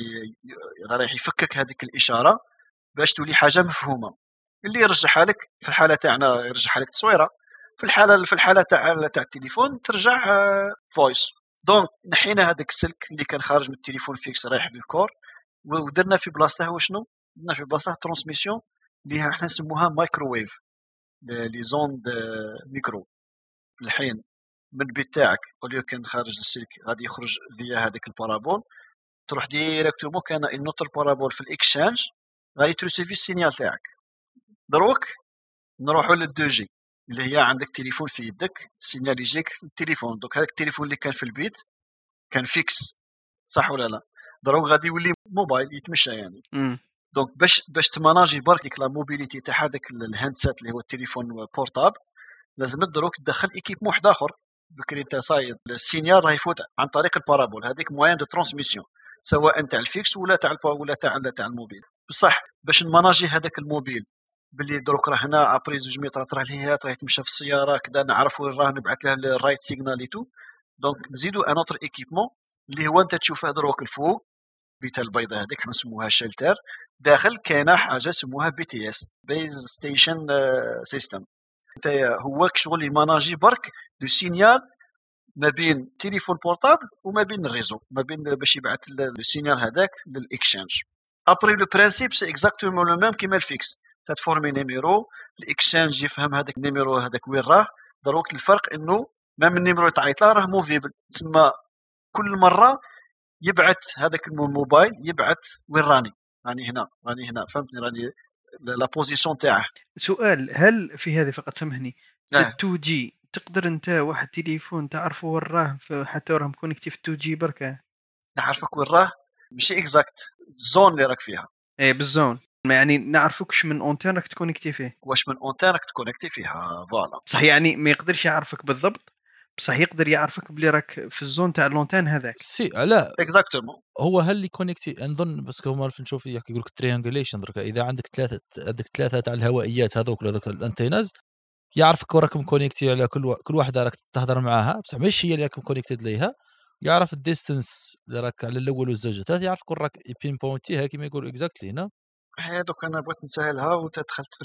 رايح يفكك هذيك الاشاره باش تولي حاجه مفهومه اللي يرجعها لك. في الحاله تاعنا يرجعها لك تصويره، في الحاله تاع التليفون ترجع فويس. دونك نحينا هذاك السلك اللي كان خارج من التليفون فيكس رايح للكور ودرنا في بلاصته وشنو درنا في بلاصته ترانسميسيون اللي احنا نسموها مايكروويف لي زوند ميكرو. الحين من البيت تاعك اوليو كان خارج السلك غادي يخرج فيا هذاك البارابول تروح ديريكتومون كان النوتر بارابول في الاكشانج غادي ترسيفي السينيال تاعك. دروك نروحوا لل2 جي اللي هي عندك تليفون في يدك السينيال يجيك التليفون. دوك هذاك التليفون اللي كان في البيت كان فيكس صح ولا لا، دروك غادي يولي موبايل يتمشى يعني. دونك باش تماناجي برك ديك لا موبيليتي تاع هذاك الهاندسيت اللي هو التليفون بورتابل لازم دروك تدخل ايكيبمون واحد اخر. بكري انت صايد السينيال راه يفوت عن طريق البارابول هذيك موين دو ترانسميسيون سواء تاع الفيكس ولا تاع الموبيل. بصح باش نماناجي هذاك الموبيل باللي دروك راه هنا ابري 2 متر راه لهيه راه يتمشى في السياره كذا نعرف وين راه نبعث له الرايت سيغنال ايتو. دونك نزيدو ان اوتر ايكيبمون اللي هو انت تشوفه دروك الفوق بيتا البيضاء هذيك حنا نسموها شيلتر داخل كاينه حاجه سموها بي تي اس بيز ستيشن سيستم. انت هو شغل يماناجي برك لو سينيال ما بين تليفون بورتابل وما بين الريزو ما بين باش يبعث السينيال هذاك للاكشانج. ابري لو برينسيپ سي اكزاكتومون لو ميم كيما الفيكس تتفورمي نيميرو الاكشانج يفهم هذاك النيميرو هذاك وين راه. دروك الفرق انه ما من النيميرو تعيط له راه موفيبل تسمى كل مره يبعث هذاك الموبايل يبعث وين راني راني هنا فهمتني راني لا بوزيسيون تاعه. سؤال، هل في هذه فقط سامحني في 2 جي تقدر انت واحد تليفون تعرفه وين راه حتى راه مكونكتي في 2 جي بركه نعرفك وين راه ماشي اكزاكت الزون اللي راك فيها ايه بالزون يعني نعرفكش من اونتين راك تكونكتي فيه واش من اونتين راك تكونكتي فيها فوالا صح. يعني ما يقدرش يعرفك بالضبط بصح يقدر يعرفك بلي راك في الزون تاع لونتين هذاك سي لا اكزاكتومون هو هل اللي كونيكتي نظن بس هما نشوف يحكي يقول لك تريانجوليشن درك اذا عندك ثلاثه تاع الهوائيات هذوك الانتيناز يعرفك وراك مكونيكتي على كل واحده راك تهضر معاها بصح ماشي هي اللي راك مكونيكتد ليها يعرف الديستنس اللي راك على الاول والزوج الثالث يعرفك وراك بين بوينتيها كما يقولوا اكزاكتلي هنا. دوك انا بغيت نسهلها وانت دخلت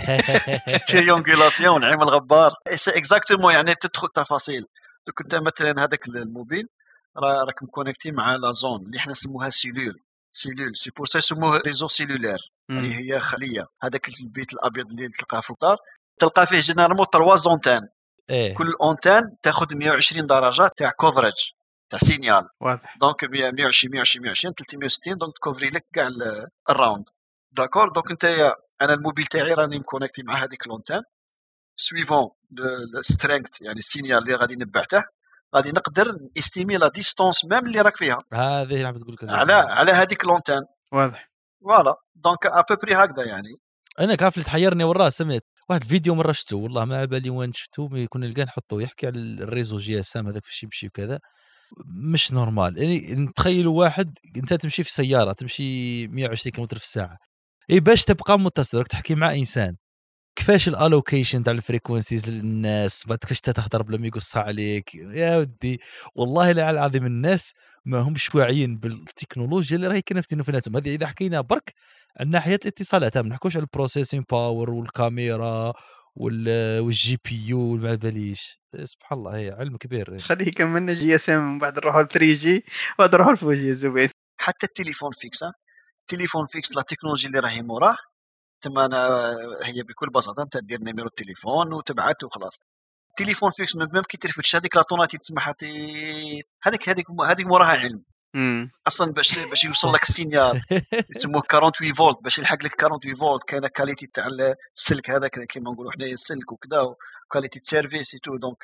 في التريونغولاسيون نعيم الغبار سي اكزاكتومون يعني تدخل تفاصيل. دوك انت مثلا هذاك الموبيل راك مكونيكتي مع لا زون اللي احنا نسموها سيلول سيلول سي بور سا يسموه ريزو سيلولير، يعني هي خليه. هذاك البيت الابيض اللي تلقاه في الدار تلقى فيه جينيرالمون 3 زونتان، كل اونتان تاخذ 120 درجه تاع كوفرج تاع سينيال. واضح. دونك 120 120 120 360، دونك تكوفري لك كاع الراوند. داكور. دونك انت انا الموبيل تاعي راني مكونيكتي مع هذيك لونتان سويفون السترينغث، يعني السينيال اللي غادي نبعته غادي نقدر استيمي لا ديستونس ميم اللي راك فيها. هذه اللي عم تقول لك على هذيك لونتان. واضح. فوالا دونك ابوبري هكذا يعني. انا كيف اللي تحيرني وراه سمعت واحد الفيديو مره شفته والله ما على بالي وين شفته، ما يكون نلقاه نحطه يحكي على الريزو جي اس ام هذاك فاش يمشي وكذا. مش نورمال يعني. نتخيلوا واحد انت تمشي في سياره تمشي 120 كم في الساعه، اي باش تبقى متصل تحكي مع انسان كيفاش الالوكيشن تاع الفريكونسيز للناس، بعد كيفاش تهضر بلا ما يقص عليك يا ودي. والله لا العظيم الناس ما همش واعيين بالتكنولوجيا اللي راهي كاينه في تليفوناتهم هذه. اذا حكينا برك عن ناحيه الاتصالات ما نحكوش على البروسيسين باور والكاميرا والجي بي يو ما باليش. سبحان الله هي علم كبير. خليه يكملنا جي اس ام بعد نروحوا 3 جي وبعد نروحوا 4 جي الزبيد. حتى التليفون فيكس، التليفون فيكس لا تكنولوجي اللي راهي موراه تما أنا هي بكل بساطه انت دير نيميرو التليفون وتبعت وخلاص. التليفون فيكس ميم كي ترفدش هذيك لاطوناتي تسمعها هذيك موراها علم. اصلا باش يوصل لك السينيال يسموه 48 فولت، باش يلحق لك 48 فولت كاينه كاليتي تاع السلك هذاك كيما نقولوا حنايا السلك وكذا، وكاليتي سيرفيس تو. دونك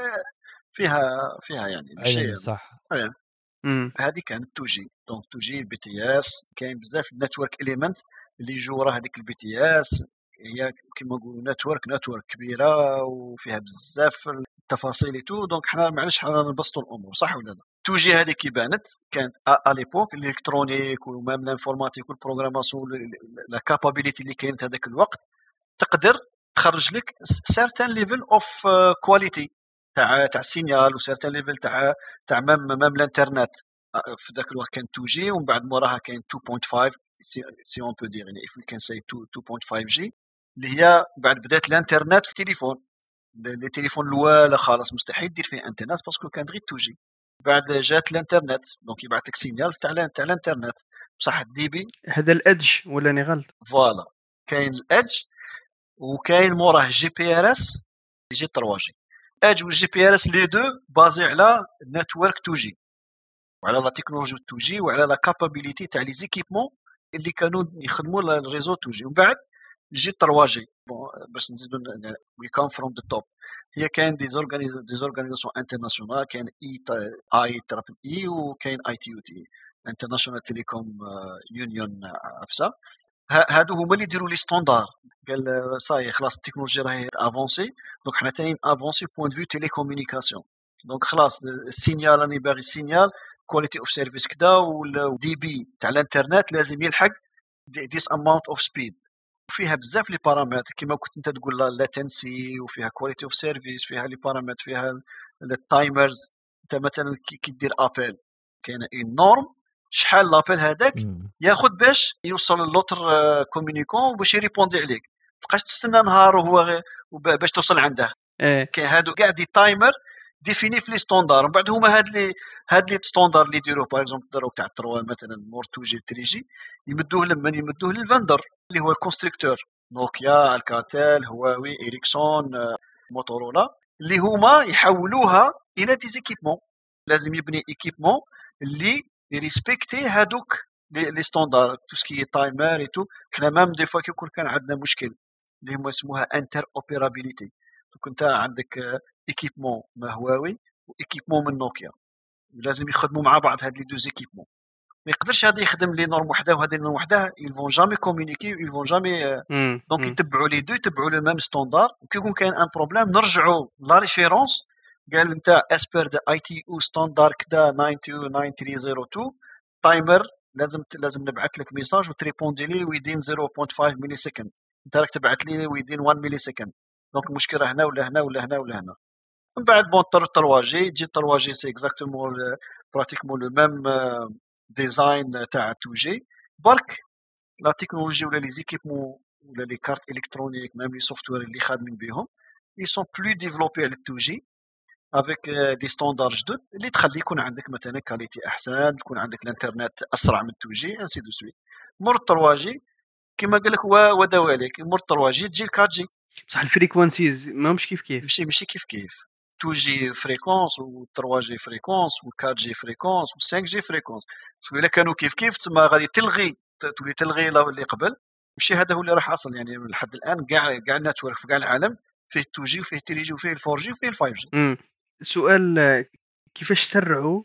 فيها يعني علم صح. هذه كانت 2 جي. دونك 2 جي البي تي اس كاين بزاف نتورك اليمنت اللي يجوا ورا هذيك البي تي اس. هي كيما نقولوا نتورك كبيره وفيها بزاف التفاصيل تو. دونك حنا معليش حنا نبسطوا الامور صح ولا لا. 2 جي هذه كي بانت كانت اليبوك الالكترونيك ومام الانفورماتيك والبروغراماسيون لا كابابيليتي اللي كانت هذاك الوقت تقدر تخرج لك سيرتان ليفل اوف كواليتي تاع السينيال وسيرتان ليفل تاع مام الانترنت. في ذاك الوقت كان 2 جي ومن بعد موراها كاين 2.5 سي اون بو دير يعني اف وي كان سي 2.5 جي اللي هي بعد بدات الانترنت في التليفون. لي تليفون الاول خلاص مستحيل دير فيه انترنت باسكو كان غير 2 جي. بعد جات الانترنت دونك يبعث لك سينيال تاع الانترنت بصح الدي بي. هذا الادج ولا ني غلط؟ فوالا كاين الادج وكاين موراه جي بي ار اس يجي 3 جي. ادج والجي بي ار اس لي دو بازي على نتورك 2 جي وعلى لا تكنولوجيا 2 جي وعلى لا كابابيليتي تاع لي زيكيبمون اللي كانوا يخدموا الريزو 2 جي. ومن بعد يجي 3 جي باش نزيدوا وي كام فروم ذا توب. هي كاين دي زورغانيزاسيون انترناسيونال، كاين اي ترابل اي وكاين اي تي يو تي انترناشونال تيليكوم يونيون افسا. هادو هما اللي يديروا لي ستاندار. قال صاي خلاص التكنولوجيا راهي افونسي دونك حنا تاني افونسي بوين دو فيو تيليكومونيكاسيون. دونك خلاص السينيال راني باغي السينيال كواليتي اوف سيرفيس كدا والدي بي تاع الانترنت لازم يلحق ديس اماونت اوف سبيد. وفيها بزاف لي بارامتر كيما كنت انت تقول لاتنسي وفيها كواليتي اوف سيرفيس فيها لي بارامتر فيها التايمرز. انت مثلا كي دير ابل كاينه اون نورم شحال لابيل هذاك ياخذ باش يوصل للوتر كومونيكون باش يريبوندي عليك. تبقاش تستنى نهار وهو باش توصل عنده. كاين هادو كاع دي تايمر ديفيني في لي ستاندار. ومن بعد هما هاد لي ستاندار اللي يديروه باغ اكزومبل داروك تاع 3 مثلا مور 2 جي 3 جي يمدوه لمن يمدوه للفندر اللي هو الكونستركتور نوكيا الكاتيل هواوي إريكسون موتورولا اللي هما يحولوها الى دي زيكيبمون. لازم يبني ايكيبمون اللي يريسبكتي هادوك لي ستاندار تو سكي تايمر اي تو. حنا مام دي فوا كيكون كان عندنا مشكل اللي هما يسموها انتر اوبيرابيليتي. دونك انت عندك ايكيبمون من هواوي وايكيبمون من نوكيا لازم يخدموا مع بعض هاد لي دو زيكيبمون. ما يقدرش هذا يخدم لي نورم وحده وهذا نورم وحده يلفون جامي كومونيكي يلفون جامي. دونك يتبعوا لي دو يتبعوا لو ميم ستاندار. وكي يكون كاين ان بروبليم نرجعوا لا ريفيرونس. قال انت اسبر ذا اي تي او ستاندار كدا 929302 تايمر لازم نبعث لك ميساج وتريبوندي لي ويدين 0.5 ملي سكند. انت راك تبعث لي ويدين 1 ملي سكند. دونك المشكله هنا ولا هنا ولا هنا ولا هنا. من بعد بون 3 جي تجي 3 جي سي اكزاكتومون براتيكمون لو ميم ديزاين تاع 2 جي. برك لا تكنولوجي ولا لي زيكيبمون ولا لي كارت الكترونيك ميم لي سوفتوير اللي خادمين بهم ils sont plus développés على 2 جي افيك دي ستاندار جدد اللي تخلي يكون عندك مثلا كاليتي احسن، تكون عندك الانترنت اسرع من 2 جي انسي دو سويت. مور 3 جي كما قال لك ودوالك، مور 3 جي تجي 4 جي. بصح الفريكوانسيز ماهمش كيف كيف. ماشي كيف كيف. 2 جي فريكونس و 3 جي فريكونس و 4 جي فريكونس و 5 جي فريكونس. الا كانوا كيف كيف تما غادي تلغي، تولي تلغي اللي قبل. ماشي هذا هو اللي راح حاصل يعني لحد الان. كاع النتورك في كاع العالم فيه 2 جي وفيه 3 جي وفيه 4 جي وفيه 5 جي. سؤال، كيفاش سرعوا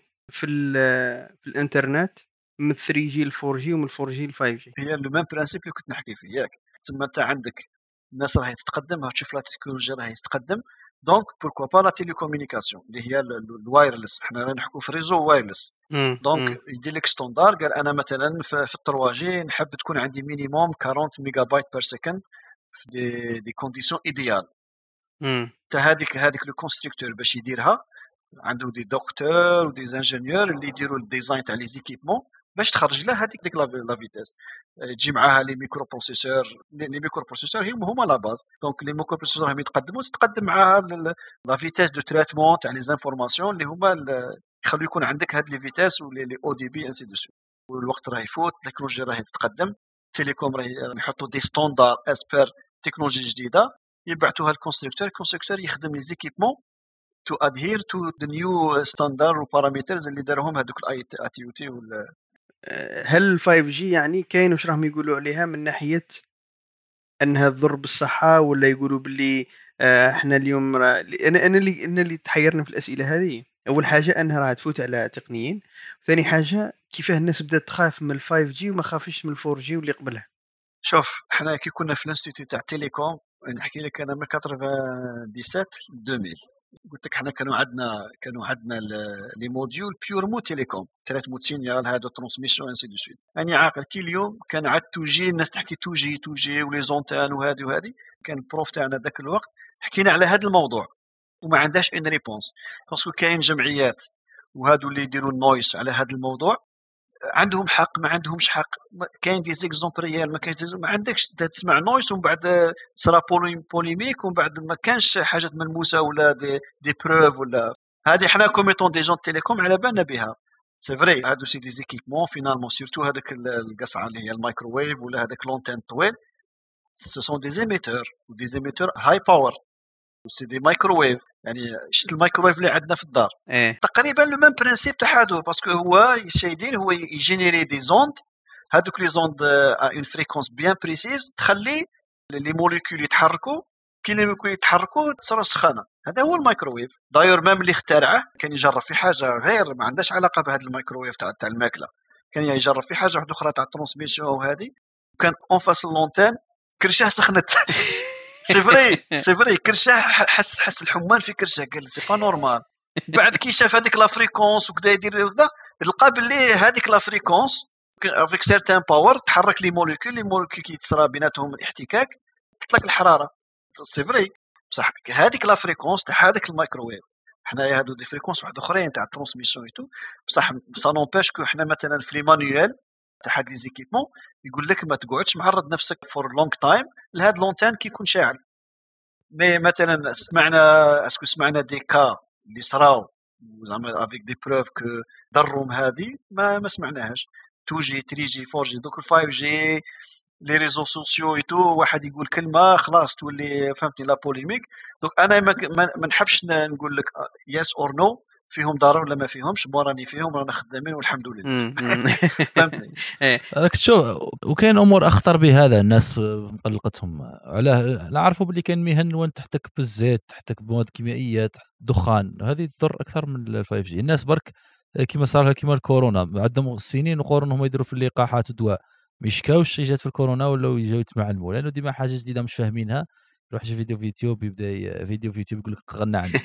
في الانترنت من 3 جي ل 4 جي ومن 4 جي ل 5 جي؟ هي لو ميم برانسيب اللي كنت نحكي فيه ياك. تما انت عندك الناس راهي تتقدم، تشوف لا تكنولوجيا راهي تتقدم. دونك بوركوا با لا تيليكومونيكاسيون اللي هي الوايرلس، حنا راه نحكوا في ريزو وايرلس. دونك يدير لك ستاندار، قال انا مثلا في 3 جي نحب تكون عندي مينيموم 40 ميجا بايت بير سكند في دي كونديسيون ايديال. تا هذيك لو كونستركتور باش يديرها عنده دي دكتور ودي انجينيور اللي يديروا الديزاين تاع لي زيكيبمون باش تخرج له هذيك لا فيتاس. تجي معاها لي ميكرو بروسيسور. لي ميكرو بروسيسور هما لا باز. دونك لي ميكرو بروسيسور هم يتقدموا، تتقدم معاها لا فيتاس دو تريتمون تاع لي زانفورماسيون اللي هما يخلوا يكون عندك هاد لي فيتاس ولي او دي بي انسي دو سويت. والوقت راه يفوت، التكنولوجيا راهي تتقدم، تيليكوم راه يحطوا دي ستاندار اسبير تكنولوجي جديده، يبعثوها الكونستركتور يخدم لي زيكيبمون to adhere to the new standard و parameters اللي دارهم هذوك الاي تي او تي. هل ال 5 جي يعني كاين واش راهم يقولوا عليها من ناحيه انها تضر بالصحه، ولا يقولوا باللي احنا اليوم انا اللي تحيرنا في الاسئله هذه. اول حاجه انها راح تفوت على تقنيين، ثاني حاجه كيفاه الناس بدات تخاف من ال 5 جي وما خافش من ال 4 جي واللي قبلها. شوف حنا كي كنا في الانستيتوت تاع تيليكوم، نحكي لك انا من 97 2000 قلت لك حنا كانوا عندنا لي موديول بيور مو تيليكوم تريتمون سينيال هادو ترانسميسيون انسي دو سويت. يعني عاقل كي اليوم كان عاد 2 جي الناس تحكي 2 جي ولي زونتان وهذه. كان البروف تاعنا ذاك الوقت حكينا على هذا الموضوع وما عندهاش ان ريبونس، باسكو كاين جمعيات وهادو اللي يديروا النويس على هذا الموضوع عندهم حق ما عندهمش حق. كاين دي زيكزومبل ريال ما كاينش، ما عندكش تسمع نويس ومن بعد صرا بوليميك ومن بعد ما كانش حاجه ملموسه ولا دي بروف ولا هذه. حنا كوميتون دي جون تيليكوم على بالنا بها سي فري. هادو سي دي زيكيبمون فينالمون سيرتو هذاك القصعه اللي هي المايكروويف ولا هذاك لونتين طويل، سو سون دي زيميتور ودي زيميتور هاي باور سي دي مايكروويف. يعني شفت المايكروويف اللي عندنا في الدار تقريبا لو ميم برينسيپ تاع هادو، باسكو هو يدير هو يجينيري دي زوند. هادوك لي زوند ا اون فريكونس بيان بريسيز تخلي لي موليكول يتحركوا. كي لي موليكول يتحركوا تصير سخانه. هذا هو المايكروويف. دايور ميم اللي اخترعه كان يجرب في حاجه غير ما عندهاش علاقه بهذا المايكروويف تاع الماكله، كان يجرب في حاجه واحده اخرى تاع الترانسميسيون وهذه. كان اون فاس لونتين كرشاه سخنت سي فري كرشاه حس الحمان في كرشاه، قال سي با نورمال. بعد كي شاف هذيك لا فريكونس وكذا يدير هكذا لقى باللي هذيك لا فريكونس افيك سيرتان باور تحرك لي موليكول كي تصرى بيناتهم الاحتكاك تطلق الحراره. سي فري بصح هذيك لا فريكونس تاع هذاك المايكروويف. حنايا هادو دي فريكونس واحد اخرين تاع الترانسميسيون ايتو، بصح سا نومباش كو حنا مثلا في لي مانيوال تاع هاد لي زيكيبمون يقول لك ما تقعدش معرض نفسك فور لونغ تايم لهاد لونتان كي يكون شاعل. مي مثلا سمعنا دي كا اللي صراو زعما افيك دي بروف كو ضرهم هذه ما سمعناهاش. 2 جي 3 جي 4 جي دوك 5 جي لي ريزو سوسيو ايتو واحد يقول كلمه خلاص تولي فهمتني لا بوليميك. دونك انا ما نحبش نقول لك يس اور نو فيهم ضرر ولا ما فيهمش، راني فيهم رانا خدامين والحمد لله. فهمتني. راك تشوف وكاين امور اخطر بهذا الناس مقلقتهم علاه. نعرفوا باللي كاين مهن وين تحتك بالزيت تحتك بمواد كيميائيه دخان، هذه تضر اكثر من ال 5 جي. الناس برك كما صار كما الكورونا عندهم سنين وقرون هم يديروا في اللقاحات ودواء ميشكاوش جات في الكورونا ولا يجيو يتمعلموا لانه ديما حاجه جديده مش فاهمينها. يروح شي فيديو في يوتيوب يبدا فيديو في يوتيوب يقول لك غنى عنه.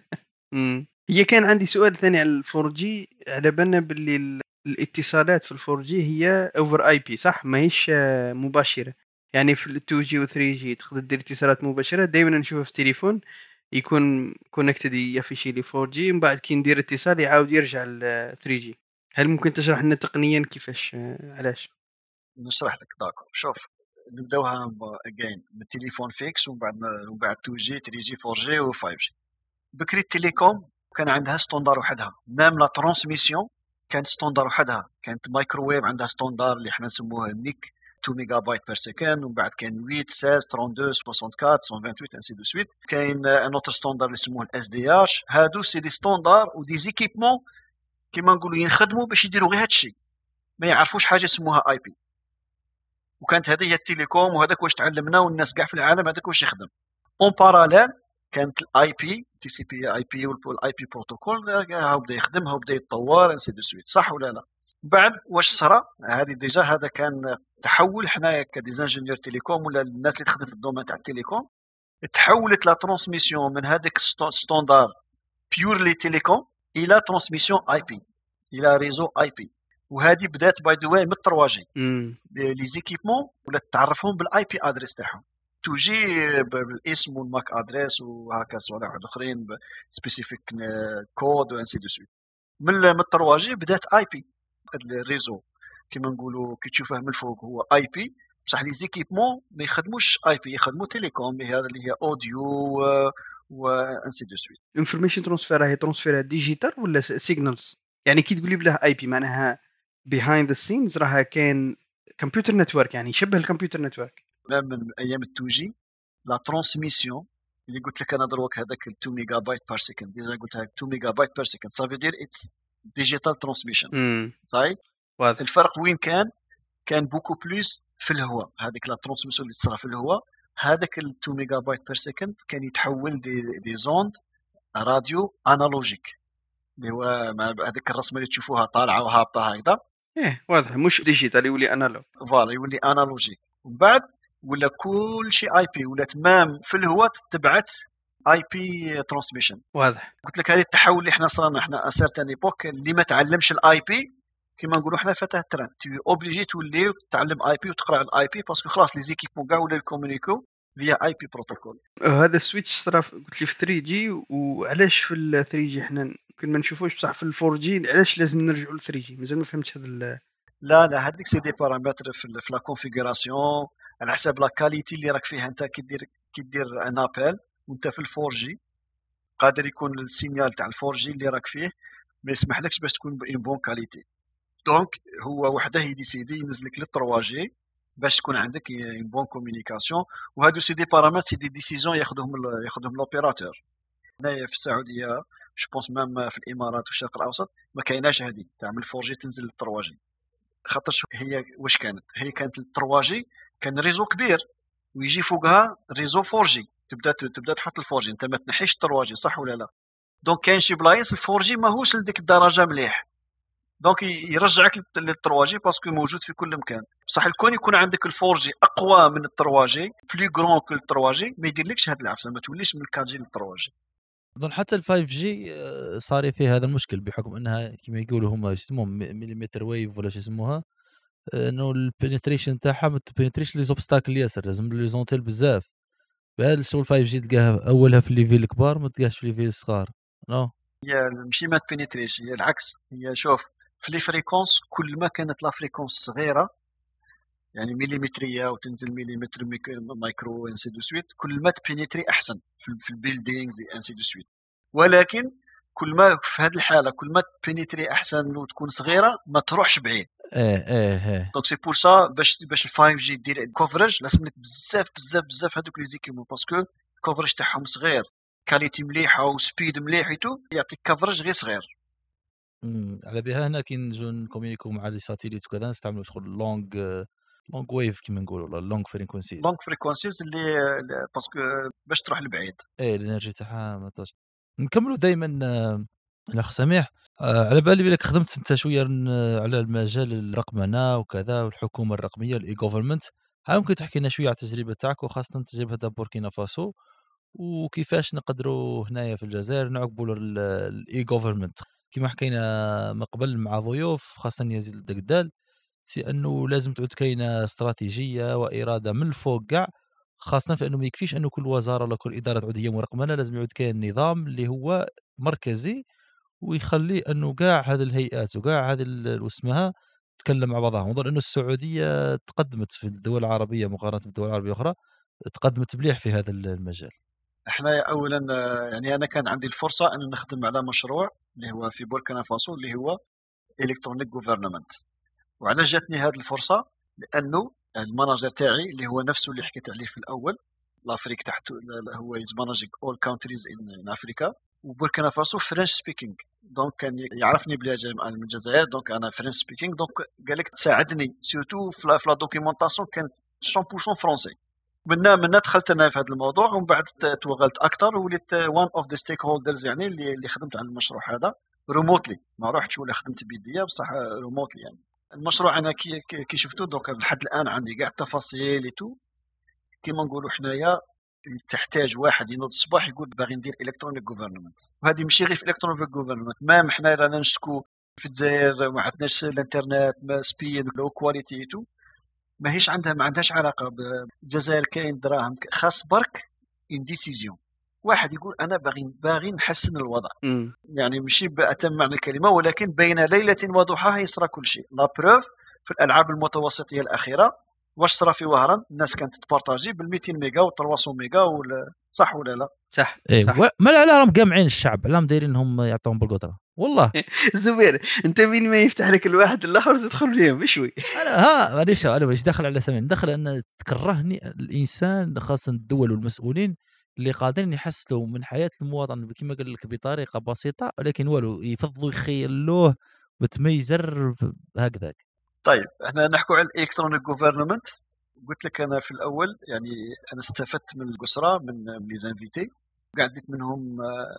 هي كان عندي سؤال ثاني على ال 4G. على بالنا باللي الاتصالات في ال 4G هي اوفر اي بي صح، ما هيش مباشره. يعني في ال 2G و 3G تقدر دير اتصالات مباشره. دائما نشوفها في التليفون يكون كونكتد يفيشي لي 4G من بعد كي ندير اتصال يعاود يرجع ل 3G. هل ممكن تشرح لنا تقنيا كيفاش علاش؟ نشرح لك داكور. شوف نبداوها اجين من التليفون فيكس ومن بعد 2G 3G 4G و 5G. بكري التليكوم كان عندها ستوندار وحدها، مام لا ترانسميسيون كانت ستوندار وحدها، كانت مايكروويف عندها ستوندار اللي احنا نسموه نيك 2 ميجا بايت بير سكند، ومن بعد كاين 8 16 32 64 128 انسي دو سويت. كاين ان اوتر ستوندار اللي يسموه الاس دي اتش. هادو سي دي ستوندار ودي زيكيبمون كيما نقولوا ينخدموا باش يديروا غير هادشي، ما يعرفوش حاجه يسموها اي بي. وكانت هذه هي التليكوم، وهذاك واش تعلمنا، والناس كاع في العالم هذاك واش يخدم. اون باراليل كانت الاي بي تي سي بي اي بي والاي بي بروتوكول هاو بدا يخدم، هاو بدا يتطور انسي دو سويت، صح ولا لا؟ بعد واش صرا هذه ديجا، هذا كان تحول. حنايا كديزانجينيور تيليكوم ولا الناس اللي تخدم في الدومين تاع التليكوم، تحولت لا ترانسميسيون من هذاك ستوندار بيورلي تيليكوم الى ترانسميسيون اي بي، الى ريزو اي بي. وهذه بدات باي ذا واي من 3 جي. لي زيكيبمون ولا تعرفهم بالاي بي ادريس تاعهم، توجي بالاسم والماك ادريس وهكا صوالح اخرين سبيسيفيك كود وانسي دو سويت. من 3 جي بدات اي بي. الريزو كيما نقولوا كي تشوفه من الفوق هو اي بي، بصح لي زيكيبمون ما يخدموش اي بي، يخدموا تيليكوم، هذا اللي هي اوديو وانسي دو سويت. انفورميشن ترانسفير هي ترانسفير ديجيتال ولا سيجنالز؟ يعني كي تقولي بله اي بي معناها بيهايند ذا سينز راها كان كمبيوتر نتورك، يعني يشبه الكمبيوتر نتورك. من ايام التوجي لا ترانسميسيون اللي قلت لك انا دروك هذاك 2 ميجا بايت بير سكند، ديجا قلتها 2 ميجا بايت بير سكند، سافو دير اتس ديجيتال ترانسميشن. صحيح. واضح. الفرق وين كان بوكو بلوس في الهواء. هذيك لا ترانسميسيون اللي تصرا في الهواء، هذاك 2 ميجا بايت بير سكند كان يتحول دي زوند راديو انالوجيك، اللي هو هذيك الرسمه اللي تشوفوها طالعه وهابطه هكذا. واضح، مش ديجيتال، يولي انالوج. فوالا يولي انالوجيك. ومن بعد ولا كل شيء اي بي، ولات مام في الهواء تبعت اي بي ترانسميشن. واضح. قلت لك هذه التحول اللي احنا صرنا احنا اسيرتان ايبوك اللي ما تعلمش الاي بي كيما نقولوا احنا فتاه التران، تي اوبليجي تولي تعلم اي بي وتقرا الاي بي، باسكو خلاص لي زيكيبمون كاع ولا يكومونيكو فيا اي بي بروتوكول. هذا السويتش صرا قلت لي في 3 جي، وعلاش في ال 3 جي احنا يمكن ما نشوفوش، بصح في ال 4 جي علاش لازم نرجعوا ل 3 جي؟ مازال ما فهمتش هذا. لا هذيك سي دي بارامتر في لا كونفيغوراسيون على حساب لا كاليتي اللي راك فيها انت. كي دير ان ابل وانت في ال 4 جي، قادر يكون السينيال تاع ال 4 جي اللي راك فيه ما يسمحلكش باش تكون بون بون كاليتي. دونك هو وحده يديسيدي ينزلك لل 3 جي باش تكون عندك اون بون كومونيكاسيون. وهادو سي دي بارامتر، سي دي ديسيزيون ياخذهم لوبيراتور. هنايا في السعوديه جو بونس مام في الامارات والشرق الاوسط ما كايناش هذه تاع من 4 جي تنزل لل 3 جي. خاطر هي واش كانت، هي كانت لل 3 جي كان ريزو كبير ويجي فوقها ريزو 4 جي، تبدا تحط ال 4 جي، انت ما تنحيش 3 جي، صح ولا لا؟ دونك كاين شي بلايص ال 4 جي ماهوش لديك الدرجه مليح، دونك يرجعك لل 3 جي باسكو موجود في كل مكان. بصح الكون يكون عندك ال 4 جي اقوى من ال 3 جي، بلو غران كو ال 3 جي، ما يديرلكش هاد العفسه، ما توليش من 4 جي لل 3 جي. اظن حتى ال 5 جي صار فيه هذا المشكل، بحكم انها كما يقولوا هم يسموهم مليمتر ويف ولا شو يسموها، انه البنتريشن تاعها ما تبنتريش لي زوبستاكل ياسر، لازم لي زونتيل بزاف. بهذا الشغل 5 جي تلقاها اولها في الليفيل الكبار، ما تلقاهاش في الليفيل الصغار. نو هي ماشي ما تبينيتريش، هي العكس. هي شوف في لي فريكونس كل ما كانت لا فريكونس صغيره، يعني مليمتريه وتنزل مليمتر مايكرو انسي دو سويت، كل ما تبينيتري احسن في البيلدينغز انسي دو سويت. ولكن كل ما في هذه الحاله كل ما تبينيتري احسن وتكون صغيره ما تروحش بعيد. دونك سي بور سا باش ال 5 جي دير كوفرج لازم لك بزاف هذوك لي زيكيمون، باسكو الكوفرج تاعهم صغير، كاليتي مليحه وسبيد مليح تو يعطيك كفرج غير صغير. على بها هنا كي نجو نكومونيكو مع لي ساتيليت وكذا نستعملوا شغل لونغ ويف كيما نقولوا، ولا لونغ فريكونسيز اللي باسكو باش تروح لبعيد. الانرجي تاعها ما توش. نكملوا دائما الاخ سميح، على بالي بلك خدمت انت شويه على المجال الرقمنه وكذا والحكومه الرقميه الاي جوفرمنت. هل ممكن تحكي لنا شويه على التجربه تاعك، وخاصه تجربه تاع بوركينا فاسو، وكيفاش نقدروا هنايا في الجزائر نعقبوا الاي جوفرمنت كما حكينا من قبل مع ضيوف، خاصه يزيد الدقدال، سي انه لازم تعود كاينه استراتيجيه واراده من الفوق كاع، خاصه في انه ما يكفيش انه كل وزاره ولا كل اداره تعود هي مرقمنه، لازم يعود كاين نظام اللي هو مركزي ويخلي انه كاع هذه الهيئات وكاع هذه اسمها تتكلم مع بعضها. نظن انه السعوديه تقدمت في الدول العربيه مقارنه بالدول العربيه الاخرى، تقدمت مليح في هذا المجال. احنا اولا يعني انا كان عندي الفرصه ان نخدم على مشروع اللي هو في بوركينا فاسو اللي هو الكترونيك جوفرنمنت. وعلاش جاتني هذه الفرصه؟ لانه المانجر تاعي اللي هو نفسه اللي حكيت عليه في الاول، لافريك تحت هو از مانجينج اول كونتريز ان افريكا، وبوركينا فاسو فرنش سبيكينغ. دونك كان يعرفني بلي انا من الجزائر، دونك انا فرنش سبيكينغ، دونك قال لك تساعدني سورتو في لا دوكيومونطاسيون كان 100% فرونسي. من دخلت انا في هذا الموضوع، ومن بعد توغلت اكثر وليت وان اوف ذا ستيك هولدرز، يعني اللي خدمت على المشروع هذا ريموتلي، ما روحتش ولا خدمت بيديا بصح ريموتلي. يعني المشروع انا كي شفتو دوك لحد الان عندي كاع التفاصيل لي تو. كيما نقولوا حنايا تحتاج واحد ينوض الصباح يقول باغي ندير الكترونيك جوفرنمنت، وهذه ماشي غير في الكترونيك جوفرنمنت، مام حنا رانا نشكو في الجزائر ما عندناش الانترنت، ما سبيد لو كواليتي تو، ما عندهاش علاقه بالجزائر. كاين دراهم خاص برك ان ديسيزيون، واحد يقول انا باغي نحسن الوضع. يعني ماشي بأتم معنى الكلمه، ولكن بين ليله وضحاها يصرى كل شيء. لا بروف في الالعاب المتوسطيه الاخيره واش صرا في وهران؟ الناس كانت تبارطاجي بال 200 ميجا و 300 ميجا صح ولا لا؟ صح. إيه ما لا راهم قامعين الشعب، لا دايرينهم يعطوهم بالقدره والله. زبير انت مين ما يفتح لك الواحد الاخر تدخل فيهم بشوي. انا انا مش داخل على سمين، داخل ان تكرهني الانسان، خاصه الدول والمسؤولين اللي قادرين يحسنوا من حياه المواطن كما قال لك بطريقه بسيطه، ولكن والو يفضلوا يخيلوه بتميزر هكذاك. طيب احنا نحكوا على الالكترونيك جوفرنمنت. قلت لك انا في الاول يعني انا استفدت من القسرة من لي زانفيتي، قعدت منهم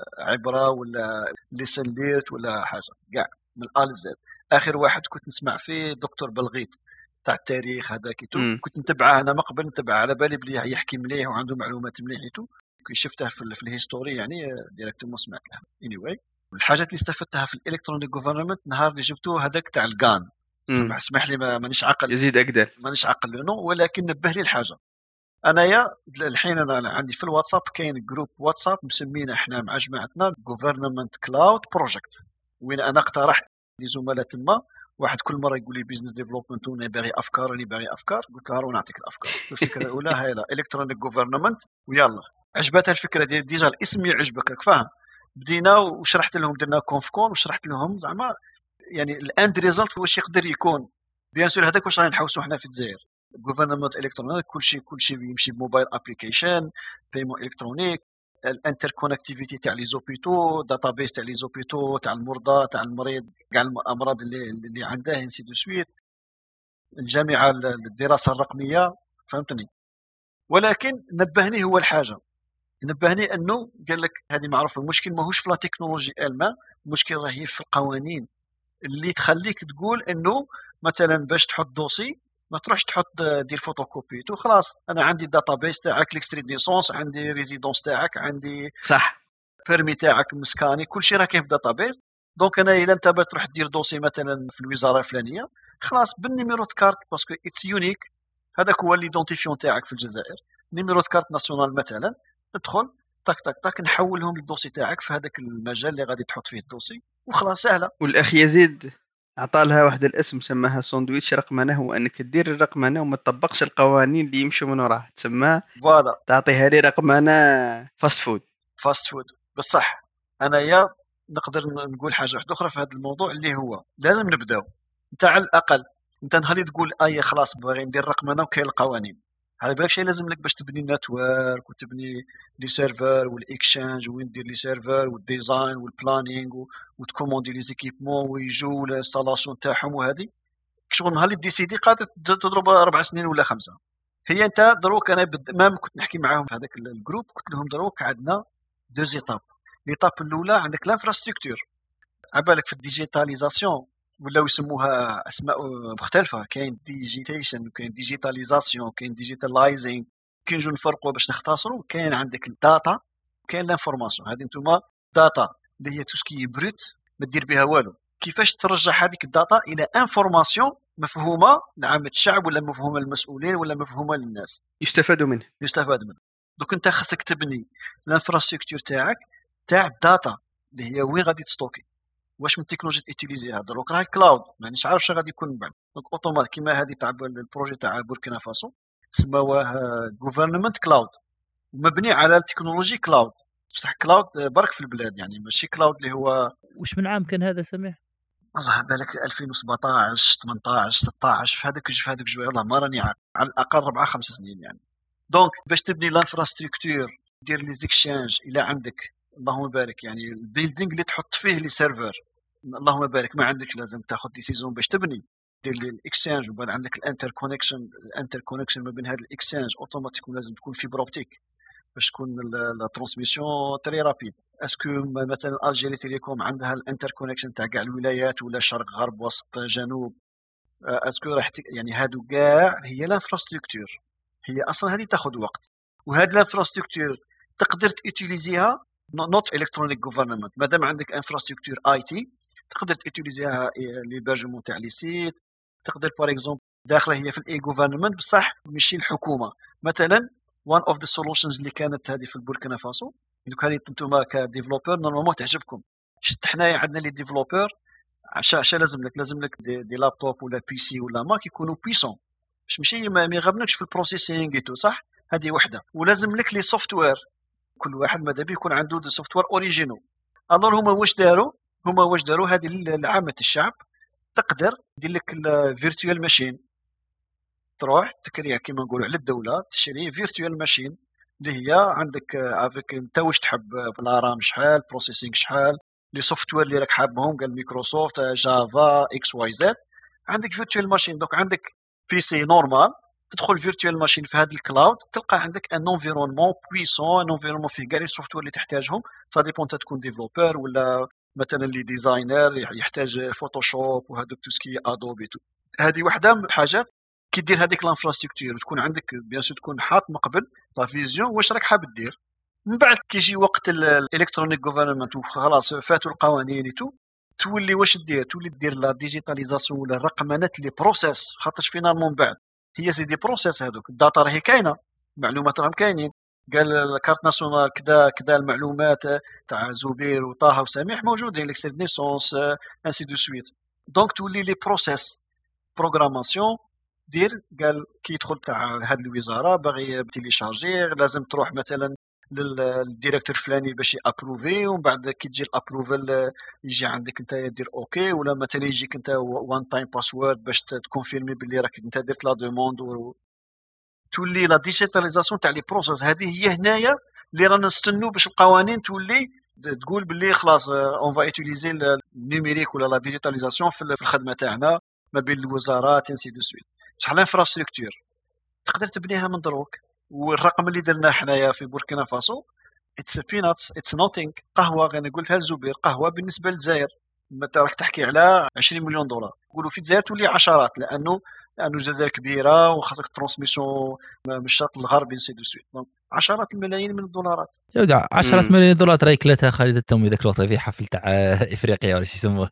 عبره ولا ليسن ليرت ولا حاجه كاع من الال زد. اخر واحد كنت نسمع فيه دكتور بلغيت تاع التاريخ هذاك كنت نتبعه انا، ما قبل نتبعه على بالي بلي يحكي مليح وعنده معلومات مليحته. كي شفته في الهيستوري يعني ديريكتومون سمعت له. anyway الحاجات اللي استفدتها في الالكترونيك جوفرنمنت نهار اللي جبتوه هذاك تاع الغان، اسمح لي مانيش عاقل يزيد اقدر، مانيش عاقل لانه، ولكن نبه لي الحاجه. انايا الحين انا عندي في الواتساب كاين جروب واتساب مسمينه احنا مع جماعتنا جوفرنمنت كلاود بروجكت، وين انا اقترحت لزملاء تما. واحد كل مره يقول لي بيزنس ديفلوبمنت وانا باغي افكار، قلت له نعطيك الافكار. الفكره الاولى هاي لا الكترونيك جوفرنمنت، ويلا عجبتها الفكره ديجا الاسم يعجبك راك فاهم. بدينا وشرحت لهم، درنا كونف كول وشرحت لهم زعما يعني الاند ريزلت واش يقدر يكون. بيان سور هذاك واش رانا نحوسوا حنا في الجزائر، جوفرنمنت الكترونيك، كل شيء يمشي بموبايل ابليكيشن، بايمون الكترونيك، الانتر كونكتيفيتي تاع لي زوبيتو، داتابيس تاع لي زوبيتو تاع المرضى تاع المريض كاع الامراض اللي عنده انسي دو سويت، الجامعه الدراسه الرقميه، فهمتني. ولكن نبهني هو الحاجه، نبهني انه قال لك هذه معروفه، المشكل ماهوش في لا تكنولوجي الما، المشكل راهي في القوانين اللي تخليك تقول انه مثلا باش تحط دوسي ما تروحش تحط دير فوتوكوبي تو خلاص. انا عندي الداتابيس تاعك، ليكستري نيسونس، عندي ريزيدونس تاعك، عندي صح بيرمي تاعك مسكاني، كل شيء راه كاين في داتابيس. دونك انا الا انت تروح دير دوسي مثلا في الوزاره الفلانيه خلاص بالنيميرو كارت باسكو اتس يونيك، هذاك هو ليدونتيفيون تاعك في الجزائر، نيميرو كارت ناسيونال مثلا، ادخل تاك تاك تاك نحولهم للدوسي تاعك في هذاك المجال اللي غادي تحط فيه الدوسي وخلاص سهله. والاخ يزيد عطى لها واحد الاسم سماها ساندويتش رقمنه، هو انك تدير الرقمنه وما تطبقش القوانين اللي يمشوا من وراها، تسمى فوالا تعطيها لي رقمنه فاست فود. بصح انا يا نقدر نقول حاجه واحده اخرى في هذا الموضوع اللي هو لازم نبداو. انت على الاقل انت نهار تقول خلاص باغي ندير رقمنه وكاين القوانين، هذا بالك شيء لازم لك باش تبني نتورك وتبني لي سيرفر والاكشانج وين دير لي سيرفر والديزاين والبلانينغ وتكوموندي لي زيكيبمون ويجوا الانستالاسيون تاعهم. وهذه شغل نهار اللي ديسيدي قادر تضرب 4 سنين ولا 5. هي انت دروك انا ما كنت نحكي معاهم في هذاك الجروب، قلت لهم دروك عندنا دو زيتاب. ليطاب الاولى عندك الانفراستركتور، عبالك في الديجيتاليزاسيون ولاو يسموها اسماء مختلفه، كاين ديجيتيشن، كاين ديجيتاليزاسيون، كاين ديجيتالايزينغ، كاين نجو نفرقوا باش نختصروا. كاين عندك الداتا وكاين لانفورماسيون. هذه نتوما داتا اللي هي توسكي بروت ما دير بها والو، كيفاش ترجع هذيك الداتا الى انفورماسيون مفهومه لعامه الشعب ولا مفهومه للمسؤولين ولا مفهومه للناس يستفاد منه. دوك انت خصك تبني الانفراستركتور تاعك تاع الداتا اللي هي وين غادي تستوكي، واش من تكنولوجيا تيتيليزيها. دروك راه الكلاود مانيش عارف اش غادي يكون من بعد. دونك اوتومات كيما هذه تاع البروجي تاع بوركينا فاسو سماوه غوفرنمنت كلاود، مبني على التكنولوجي كلاود. بصح كلاود برك في البلاد، يعني ماشي كلاود اللي هو وش من عام كان هذا سميح؟ والله بالك 2017 18 16 في هذوك جوي، والله ما راني عارف، على الاقل 4 5 سنين يعني. دونك باش تبني لانفراستركتور دير لي زيكشانج الى عندك، اللهم بارك، يعني البيلدينغ اللي تحط فيه لي سيرفر، اللهم بارك، ما عندكش لازم تاخذ ديسيزون باش تبني، دير لي الاكسشينج، وبعد عندك الانتر كونيكشن ما بين هذا الاكسشينج اوتوماتيكون لازم تكون فيبر اوبتيك باش تكون لا ترانسميسيون تري رابيد. اسكو مثلا الجيري تيليكوم عندها الانتر كونيكشن تاع كاع الولايات ولا شرق غرب وسط جنوب؟ اسكو راح يعني هادو كاع هي لانفراستركتور، هي اصلا هذه تاخذ وقت، وهاد لانفراستركتور تقدر تيتيليزيها نوت الكترونيك غوفرنمنت. مادام عندك انفراستركتور اي تي تقدر تيتيليزيها ليبرجمون تاع لي سيت، تقدر باغ اكزومبل داخله هي في الاي غوفرنمنت بصح ماشي الحكومه. مثلا وان اوف ذا سولوشنز اللي كانت هذه في البوركينا فاسو، دوك هذه انتوما كديفلوبر نورمالمون تعجبكم. شفت حنايا عندنا لي ديفلوبر عشا لازم لك دي لابتوب ولا بي سي ولا ماك يكونوا بيسون، باش ماشي ما يغبنكش في البروسيسينغ ايتو، صح؟ هذه وحده. ولازم لك لي سوفتوير، كل واحد ماذا بيه يكون عنده دي سوفتوير اوريجينو. الور هما واش داروا هذه لعامه الشعب تقدر دير لك الفيرتوال ماشين، تروح تكريها كيما نقولوا على الدوله، تشري فيرتوال ماشين اللي هي عندك افيك انت واش تحب، لا رام شحال، بروسيسينغ شحال، لي سوفتوير اللي راك حابهم، قال مايكروسوفت جافا اكس واي زد، عندك فيرتوال ماشين. دوك عندك بي سي نورمال، تدخل فيرتوال ماشين في هذا الكلاود، تلقى عندك ان انفيرونمون بويسون، ان انفيرونمون فيه كاع لي سوفتوير اللي تحتاجهم. سا ديبون انت تكون ديفلوبر ولا مثلا اللي ديزاينر يحتاج فوتوشوب وهذوك تو سكي ادوبي تو. هذه واحده من الحاجات كي دير هذيك لانفراستركتور وتكون عندك بيان سور تكون حاط مقبل لا فيزيون واش راك حاب دير. من بعد كيجي وقت الالكترونيك غوفرنمنت وخلاص فاتوا القوانين ايتو، تولي واش دير، تولي دير لا ديجيتاليزاسيون ولا الرقمنه لي بروسيس، خاطرش فينالمون بعد هي سي دي بروسيس. هذوك الداتا راهي كاينه، المعلومات راهم كاينين، قال الكارت ناسيونال كذا المعلومات تاع زبير وطه وسميح موجودين، ليكستري نيسونس انسي دو سويت. دونك تولي لي بروسيس بروغراماسيون دير، قال كي يدخل تاع هاد الوزاره باغي بتيليشارجي لازم تروح مثلا للديريكتور فلاني باش يابروفي، ومن بعد كي تجي الابروفل يجي عندك انت دير اوكي، ولا مثلا يجيك انت وان تايم باسورد باش تكونفيرمي باللي راك انت درت لا دوموند. تولي لا ديجيتاليزاسيون تاع لي بروسيس. هذه هي هنايا اللي رانا نستنوا باش القوانين تولي تقول باللي خلاص اون فا ايتيليزي النيميريك ولا لا ديجيتاليزاسيون في الخدمه تاعنا ما بين الوزارات انسي دو سويت. شحال الانفراستركتور تقدر تبنيها من دروك. والرقم اللي درناه حنايا في بوركينا فاسو اتس بيناتس اتس نوتينغ. قهوه انا قلتها لزبير، قهوه بالنسبه للجزائر متى راك تحكي على 20 مليون دولار، نقولوا في الجزائر تولي عشرات، لانه الجزائر كبيره وخاصك ترانسميسيون من الشرق للغرب انسي دو سويت. دونك عشرات الملايين من الدولارات. يودع 10 مليون دولار تراي كلتها خالد التومي ذاك الوقت في حفل تاع افريقيا ولا شو يسموه.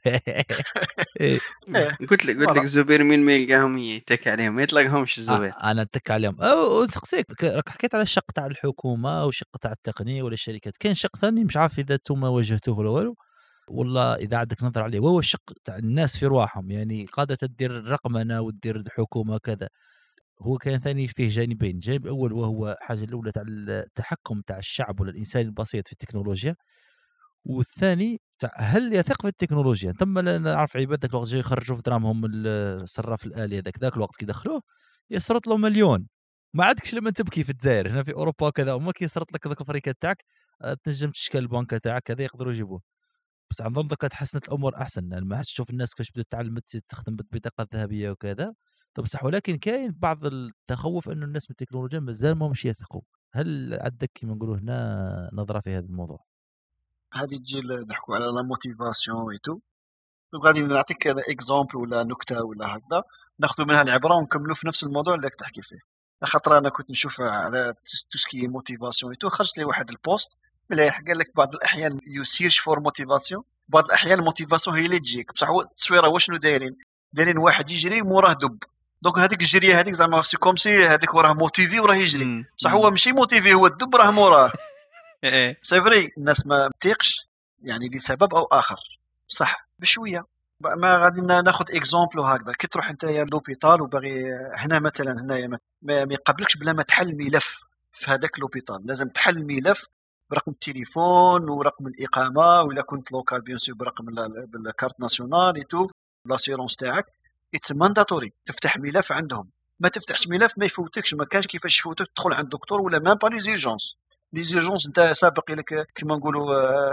قلت لك زبير مين ما يلقاهم يتك عليهم ما يطلقهمش الزبير. انا اتك عليهم او نسقسيك، راك حكيت على الشق تاع الحكومه وشق تاع التقنيه ولا الشركات، كاين شق ثاني مش عارف اذا انتم واجهتوه ولا والو، والله اذا عندك نظر عليه، وهو الشق تاع الناس في رواحهم، يعني قاده تدير الرقمنه وتدير الحكومه كذا. هو كان ثاني فيه جانبين، جانب اول وهو حاجه الاولى تاع التحكم تاع الشعب ولا الانسان البسيط في التكنولوجيا، والثاني تاع هل يثق في التكنولوجيا. ثم نعرف عباد ذاك الوقت يخرجوا في درامهم الصراف الالي ذاك الوقت كي دخلوه يسرط له مليون. ما عندكش لما تبكي في الجزائر، هنا في اوروبا كذا وما كيسرط لك ذاك الفريكه تاعك تنجم تشكل البنكه تاعك كذا يقدروا يجيبوه. بس عن ظن ذاك تحسنت الامور احسن، يعني ما تشوف الناس كيفاش بدات تعلم تستخدم بالبطاقه الذهبيه وكذا. طب صح، ولكن كاين بعض التخوف انه الناس من التكنولوجيا مازال ما مش يثقوا. هل عندك كيما نقولوا هنا نظره في هذا الموضوع؟ هذه تجي نحكوا على لا موتيفاسيون ايتو. غادي نعطيك اكزامبل ولا نكته ولا هكذا ناخذ منها العبره ونكملوا في نفس الموضوع اللي تحكي فيه. خاطر انا كنت نشوف على توسكي موتيفاسيون ايتو، خرجت لي واحد البوست مليح قال لك بعض الاحيان يسيرش فور موتيفاسيون، بعض الاحيان الموتيفاسيون هي اللي تجيك بصح. هو التصويره واشنو دايرين واحد يجري موراه دب، دونك هذيك الجريه هذيك زعما سي كوم سي هذيك وراه موتيفي وراه يجري، بصح هو ماشي موتيفي، هو الدب راه موراه. سي فري الناس ما تيقش يعني لسبب او اخر، صح بشويه. ما غادي ناخذ اكزامبل هكذا. كي تروح انت يا لوبيتال وباغي هنا مثلا هنايا ما يقبلكش بلا ما تحل ملف في هذاك لوبيتال، لازم تحل الملف برقم التليفون ورقم الاقامه، ولا كنت لوكال بيان سور برقم بالكارت ناسيونال ايتو لاسيرونس تاعك. اتس مانداتوري تفتح ملف عندهم. ما تفتحش ملف ما يفوتكش، ما كانش كيفاش يفوتك تدخل عند الدكتور ولا مام با لي زيرجونس انت سابق لك كيما نقولوا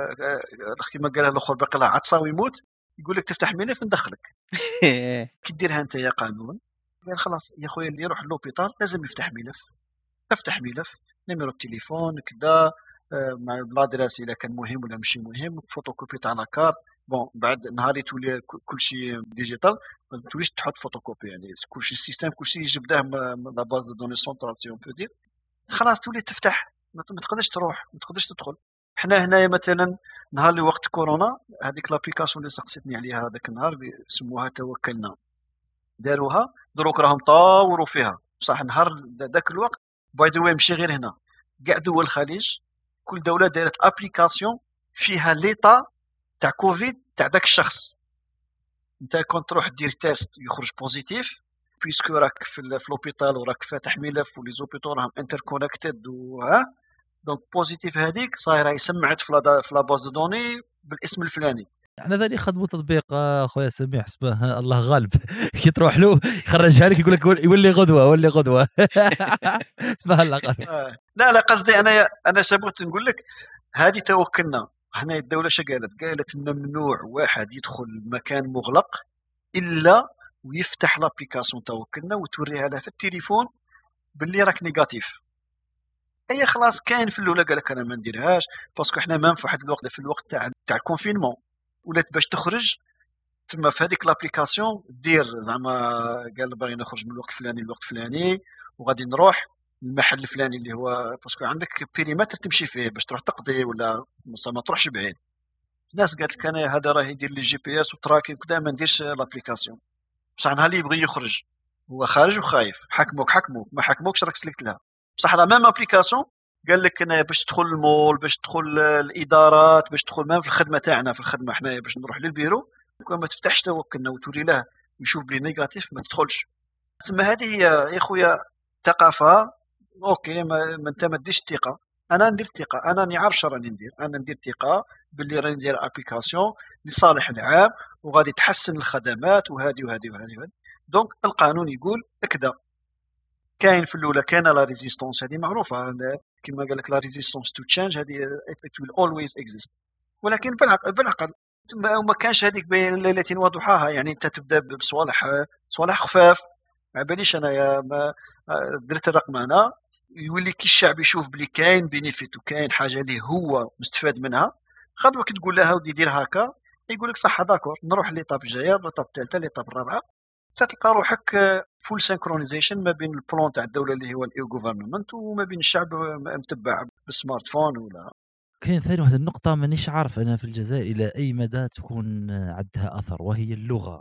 كيما قالها الاخر باقي له عطسه ويموت، يقول لك تفتح ملف ندخلك. كي ديرها انت يا قانون، قال خلاص يا خويا اللي يروح لوبيتال لازم يفتح ملف. افتح ملف، نيميرو التليفون كذا، مع الادريس اذا كان مهم ولا ماشي مهم، فوتوكوبي تاع لاكارت. بون بعد نهار يتولي كلشي ديجيتال ما توليش تحط فوتوكوبي، يعني كلشي السيستم كلشي يجبداه لا باز دو دوني سونترال سي اون بو دير. خلاص تولي تفتح، ما تقدرش تروح، ما تقدرش تدخل. حنا هنايا مثلا نهار اللي وقت كورونا، هذيك لابليكاسيون اللي سقسيتني عليها هذاك النهار اللي سموها توكلنا، داروها دروك راهم طاوروا فيها بصح. نهار ذاك الوقت باي ذا واي ماشي غير هنا، كاع دول الخليج كل دوله دارت ابليكاسيون فيها ليطا تاع كوفيد تاع داك الشخص. انت كنت تروح دير تيست يخرج بوزيتيف، بيسكو راك في لوبيتال وراك فاتح ملف ولي زوبيتو راهم انتركونيكتد وها، دونك بوزيتيف هذيك صايره يسمعت في لا باز دو دوني بالاسم الفلاني. احنا ذا اللي يخدموا تطبيق خويا سميح اسمه الله غالب كي تروح له يخرجها لك يقول لك يولي غدوه اسمها الله غالب. لا قصدي انا سبقت نقول لك هذه توكلنا. هنا الدوله شو قالت ممنوع واحد يدخل مكان مغلق الا ويفتح لابليكاسيون توكلنا وتوريها له في التليفون باللي راك نيجاتيف. اي خلاص كاين في الاولى قال لك انا ما نديرهاش باسكو احنا ما في واحد الوقت في الوقت تاع الكونفينمون ولات باش تخرج تما في هذيك لابليكاسيون دير زعما قال باغي نخرج من الوقت الفلاني للوقت الفلاني وغادي نروح المحل الفلاني اللي هو باسكو عندك بيريمتر تمشي فيه باش تروح تقضي ولا ما تروحش بعيد. الناس قالت لك انا هذا راه يدير لي جي بي اس وتراكين كذا ما نديرش لابليكاسيون. بصح نهار اللي يبغي يخرج هو خارج وخايف، حكموك ما حكموكش راك سلكت لها. بصح لا ميم ابليكاسيون قال لك انا باش تدخل المول باش تدخل الادارات باش تدخل ما في الخدمه تاعنا في الخدمه حنايا باش نروح للبيرو كون ما تفتحش توكلنا وتوري له يشوف بلي نيجاتيف ما تدخلش. تسمى هذه هي يا خويا ثقافه. اوكي ما انت ما ديرش الثقه، انا ندير الثقه، انا راني عارف راني ندير، انا ندير ثقه باللي راني ندير ابليكاسيون لصالح العام وغادي تحسن الخدمات وهذه وهذه وهذه. دونك القانون يقول هكذا. كاين في الاولى كان لا ريزيستونس هذه معروفه كما قال لك لا ريزيستونس تو تشينج هذه it will always exist، ولكن بالعقل ما كانش هذيك بين ليله وضحاها. يعني انت تبدا بصوالح خفاف، ما باليش انايا درت الرقم انا يولي كي الشعب يشوف بلي كاين بينيفيت وكاين حاجه اللي هو مستفاد منها غدوه كي تقول لها ودي دير هكا يقول لك صح داكور نروح ليطاب الجايه ليطاب الثالثه ليطاب الرابعه تلقى روحك فول سينكرونيزيشن ما بين البلان تاع الدوله اللي هو الاي غوفرنمنت وما بين الشعب متبع بالسمارت فون. ولا كاين ثاني واحد النقطه مانيش عارف انا في الجزائر الى اي مدى تكون عندها اثر وهي اللغه.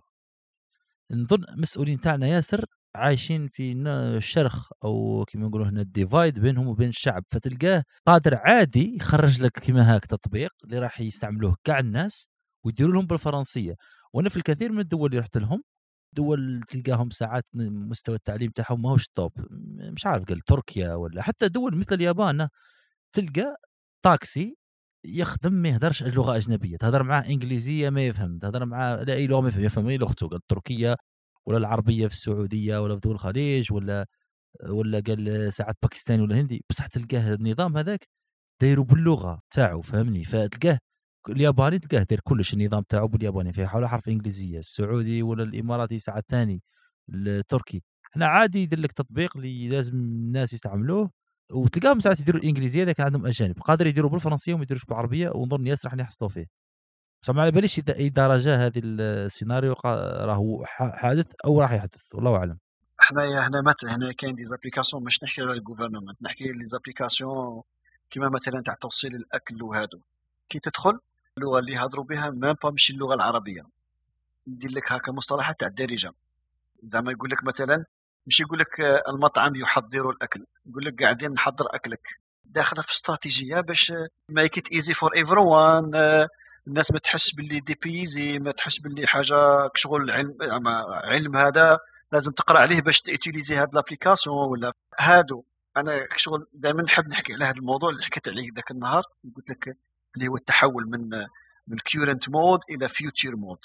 نظن مسؤولين تاعنا ياسر عايشين في الشرخ او كما نقولوا هنا الديفايد بينهم وبين الشعب، فتلقاه قادر عادي يخرج لك كما هاك تطبيق اللي راح يستعملوه كاع الناس ويديروا لهم بالفرنسيه. وانا في الكثير من الدول اللي رحت لهم دول تلقاهم ساعات مستوى التعليم تاعهم ماهوش توب، مش عارف قال تركيا ولا حتى دول مثل اليابان تلقى طاكسي يخدم ما يهدرش لغه اجنبيه، تهضر معاه انجليزيه ما يفهم، تهضر معاه لا اي لغه ما يفهم غير لغته، قال التركيه ولا العربيه في السعوديه ولا في دول الخليج ولا قال ساعات باكستاني ولا هندي، بصح تلقاه النظام هذاك دايروا باللغه تاعو فهمني. فتلقاه الياباني تلقاه داير كلش النظام تاعو بالياباني فيه حول حرف انجليزيه، السعودي ولا الاماراتي ساعات ثاني، التركي احنا عادي يدير لك تطبيق اللي لازم الناس يستعملوه وتلقاهم ساعات يديروا الانجليزيه اذا كان عندهم اجانب، قادر يديروا بالفرنسيه وما يديروش بالعربيه ونظن ياسر راح يحصلوا فيه. بس ما على باليش اذا اي درجه هذه السيناريو راهو حادث او راح يحدث والله اعلم. هنا مثلا هنا كاين دي زابليكاسيون مش نحكي على الجوفرنمنت، نحكي لي زابليكاسيون كيما مثلا تاع توصيل الاكل وهادو كي تدخل اللغه اللي يهضروا بها مام با ماشي اللغه العربيه يدير لك هكا مصطلحات تاع الدارجه. زعما يقول لك مثلا مش يقول لك المطعم يحضر الاكل، يقول لك قاعدين نحضر اكلك، داخله في استراتيجيه باش مايك ات ايزي فور ايفريوان. الناس ما تحس باللي ديبيزي، ما تحس باللي حاجه شغل علم هذا لازم تقرا عليه باش تيتيليزي هاد لابليكاسيون ولا هادو. انا شغل دائما نحب نحكي على هذا الموضوع اللي حكيت عليه ذاك النهار، قلت لك اللي هو التحول من current مود الى future مود.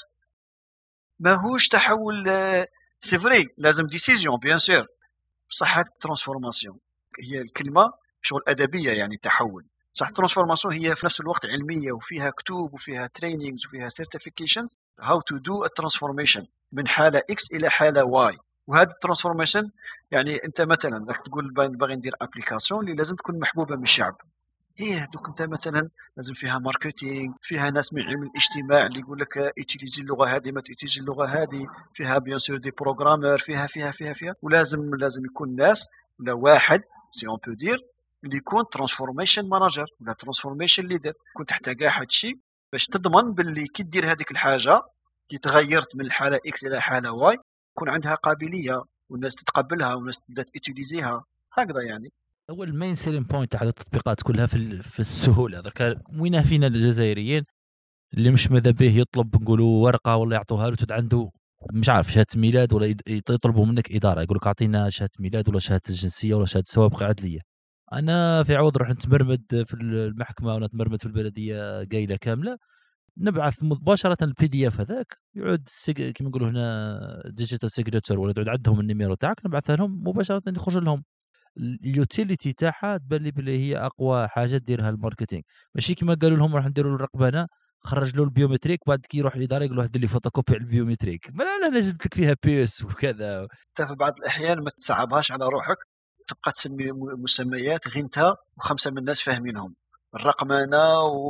ماهوش تحول سي فري، لازم ديسيزيون بيان سور، بصح هاد ترانسفورماسيون هي الكلمه شغل ادبيه، يعني تحول. صح ترانسفورماسيون هي في نفس الوقت علميه وفيها كتب وفيها ترينينغز وفيها سيرتيفيكيشنز هاو تو دو الترانسفورميشن من حاله اكس الى حاله واي. وهذا الترانسفورميشن يعني انت مثلا راك تقول باغي ندير ابليكاسيون اللي لازم تكون محبوبه من الشعب. دوك انت مثلا لازم فيها ماركتينغ، فيها ناس من علم الاجتماع اللي يقول لك اتيليزي اللغه هذه ما تيتيزي اللغه هذه، فيها بيان سور دي بروغرامر، فيها ولازم يكون ناس ولا واحد سي اون بو دير اللي يكون ترانسفورميشن مانجر ولا ترانسفورميشن ليدر، يكون تحت كاع هذا الشيء باش تضمن باللي كي دير هذيك الحاجه كي تغيرت من الحاله اكس الى حاله واي يكون عندها قابليه والناس تتقبلها والناس تبدا تيتيليزيها هكذا. يعني هو المين سيلين بوينت تاع التطبيقات كلها في السهوله. درك وين فينا الجزائريين اللي مش ماذا به يطلب نقولوا ورقه ولا يعطوها له تد عنده مش عارف شهاده ميلاد ولا يطلبوا منك اداره يقول لك اعطينا شهاده ميلاد ولا شهاده الجنسيه ولا شهاده سوابق عدليه. انا في عوض نروح نتمرمد في المحكمه ولا نتمرمد في البلديه قايله كامله، نبعث مباشره البي دي اف هذاك يعود كما نقولوا هنا ديجيتال سيجنتشر ولا تعود عندهم النيميرو تاعك نبعثها لهم مباشره يخرج لهم. اليوتيليتي تاعها تبان لي بلي هي اقوى حاجه ديرها الماركتينغ، ماشي كما قالوا لهم راح نديروا له الرقبانه خرج له البيومتريك بعد كي يروح الاداره يقول له دير لي فوتوكوبي على البيومتريك. لا جبت لك فيها بيس وكذا. انت في بعض الاحيان ما تصعبهاش على روحك، تبقى تسمي مسميات غير انت وخمسه من الناس فاهمينهم، الرقمنه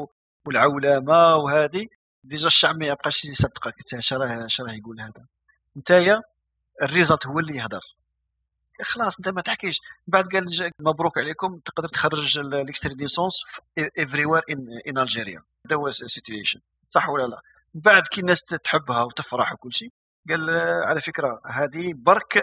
والعولمه وهذه ديجا الشعب ما يبقاش يصدقك. شراه يقول هذا نتايا الريزلت هو اللي يهدر. خلاص انت ما تحكيش بعد قال مبروك عليكم تقدر تخرج الاكستريديسونس افري وير ان الجيريا. هذا هو السيتويشن صح ولا لا؟ بعد كي الناس تحبها وتفرح وكل شيء قال على فكره هذه برك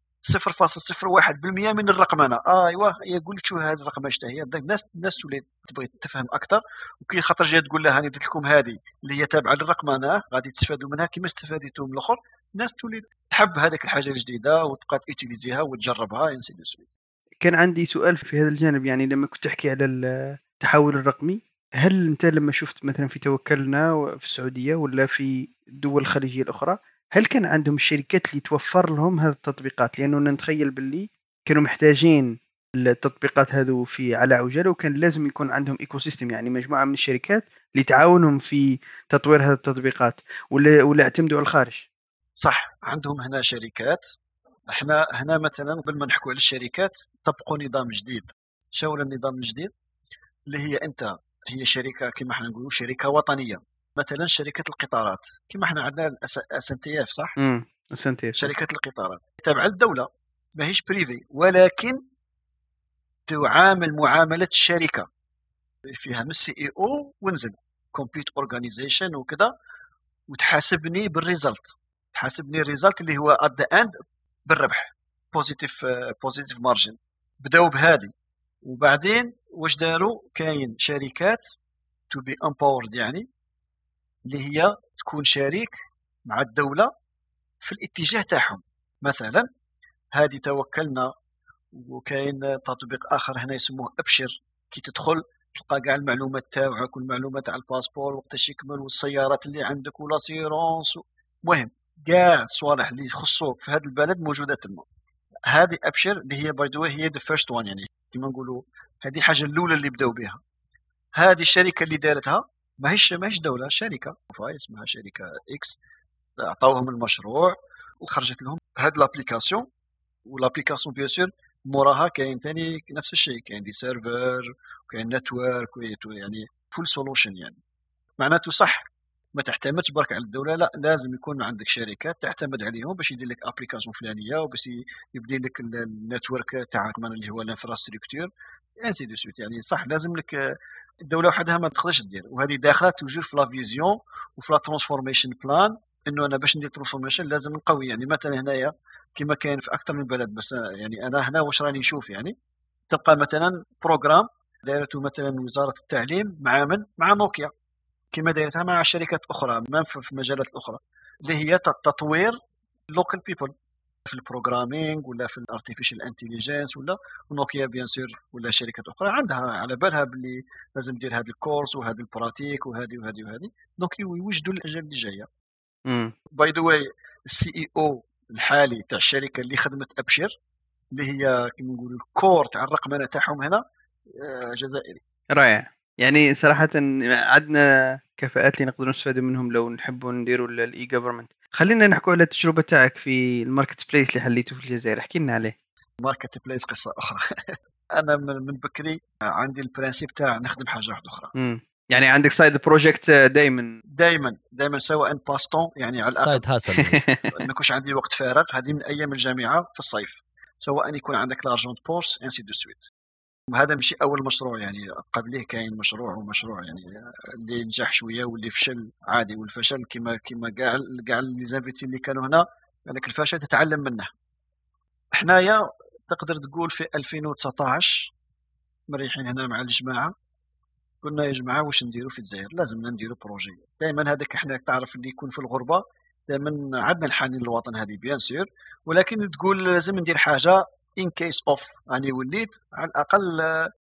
0.01% من الرقمنه. ايوا يقول لك شو هذه الرقمنه هي الناس تولي تبغي تفهم اكثر، وكي خاطر جاي تقول لها انا درت لكم هذه اللي هي تابعه للرقمنه غادي تستفادوا منها كما استفاديتوا من الاخر، الناس تولي تحب هذيك الحاجه الجديده وتبقى تيتيليزيها وتجربها انسي دو سويت. كان عندي سؤال في هذا الجانب، يعني لما كنت تحكي على التحول الرقمي، هل انت لما شفت مثلا في توكلنا في السعوديه ولا في الدول الخليجيه الاخرى هل كان عندهم الشركات اللي توفر لهم هذه التطبيقات؟ لانه نتخيل باللي كانوا محتاجين التطبيقات هذو في على عجاله، وكان لازم يكون عندهم ايكو سيستم، يعني مجموعه من الشركات اللي تعاونهم في تطوير هذه التطبيقات، ولا اعتمدوا على الخارج. صح عندهم هنا شركات. احنا هنا مثلا قبل ما نحكوا على الشركات طبقوا نظام جديد. شو النظام الجديد اللي هي انت هي شركه كما احنا نقولوا شركه وطنيه، مثلا شركه القطارات كما احنا عندنا SNTF صح؟ SNTF شركه القطارات تابعه للدوله ماهيش بريفي، ولكن تعامل معامله الشركه فيها من CEO ونزل كومبليت اورغانيزيشن وكذا، وتحاسبني بالريزلت، تحاسبني الريزلت اللي هو ات ذا اند بالربح بوزيتيف مارجن. بداو بهذه وبعدين واش داروا كاين شركات تو بي امباورد يعني اللي هي تكون شريك مع الدولة في الاتجاه تاعهم. مثلا هذه توكلنا، وكاين تطبيق اخر هنا يسموه ابشر، كي تدخل تلقى كاع المعلومات تاعك والمعلومات تاع الباسبور وقتاش يكمل والسيارات اللي عندك والاسيرونس، المهم كاع الصوالح اللي يخصوك في هذا البلد موجوده تما. هذه ابشر اللي هي باي ذا هي ذا فيرست وان، يعني كيما نقولوا هذه حاجه الاولى اللي بداو بها. هذه الشركه اللي دارتها ماهيش دوله، شركه اسمها شركه اكس، عطاوهم المشروع وخرجت لهم هاد لابليكاسيون. والابليكاسيون بيان سور موراها كاين ثاني نفس الشيء، كاين دي سيرفر وكاين نتورك يعني فول سولوشن. يعني معناته صح ما تعتمدش برك على الدوله، لا لازم يكون عندك شركات تعتمد عليهم باش يدير لك ابليكاسيون فلانيه وباش يبدي لك النتورك تاعك من اللي هو الانفراستركتور انسي دو سويت. يعني صح لازم لك الدوله وحدها ما تقدرش دير، وهذه داخله توجور في لا فيزيون وفي لا ترانسفورميشن بلان، انه انا باش ندير ترانسفورميشن لازم نقوي. يعني مثلا هنايا كما كاين في اكثر من بلد، بس يعني انا هنا واش راني نشوف يعني تبقى مثلا بروغرام دايرته مثلا وزاره التعليم مع نوكيا، كما دايرتها مع شركات اخرى في مجالات اخرى اللي هي تطوير لوكال بيبل في البروغرامينغ ولا في الارتيفيشال انتليجنس ولا نوكيا بيان سور ولا شركات اخرى عندها على بالها باللي لازم دير هذا الكورس وهذا البراتيك وهذه دونك يوجدوا الاجال اللي جايه. باي ذا واي السي اي او الحالي تاع الشركه اللي خدمت ابشر اللي هي كما نقولوا الكور تاع الرقمنه تاعهم هنا جزائري. رائع. يعني صراحة عندنا كفاءات اللي نقدر نستفاد منهم لو نحبوا نديروا الاي جوفرمنت. خلينا نحكوا على التجربة تاعك في الماركت بليس اللي حليته في الجزائر، احكي لنا عليه. ماركت بليس قصة أخرى. أنا من بكري عندي البرانسيب تاع نخدم حاجة واحدة أخرى. يعني عندك سايد بروجكت دايما سواء باستون يعني على سايد هاسل ما يكونش عندي وقت فارغ. هذه من أيام الجامعة في الصيف، سواء يكون عندك لارجون بورس انسي دو سويت. وهذا ماشي أول مشروع، يعني قبله كاين مشروع ومشروع يعني اللي نجح شوية واللي فشل عادي. والفشل كما كاع لي زانفيتي اللي كانوا هنا، لكن الفشل تتعلم منه. حنايا تقدر تقول في 2019 مريحين هنا مع الجماعة، قلنا يا جماعة واش نديروا في الجزائر؟ لازمنا نديروا بروجي. دائما هذاك احنا تعرف اللي يكون في الغربة دائما عندنا الحنين للوطن هذه بيان سور، ولكن تقول لازم ندير حاجة in case of يعني وليت على الأقل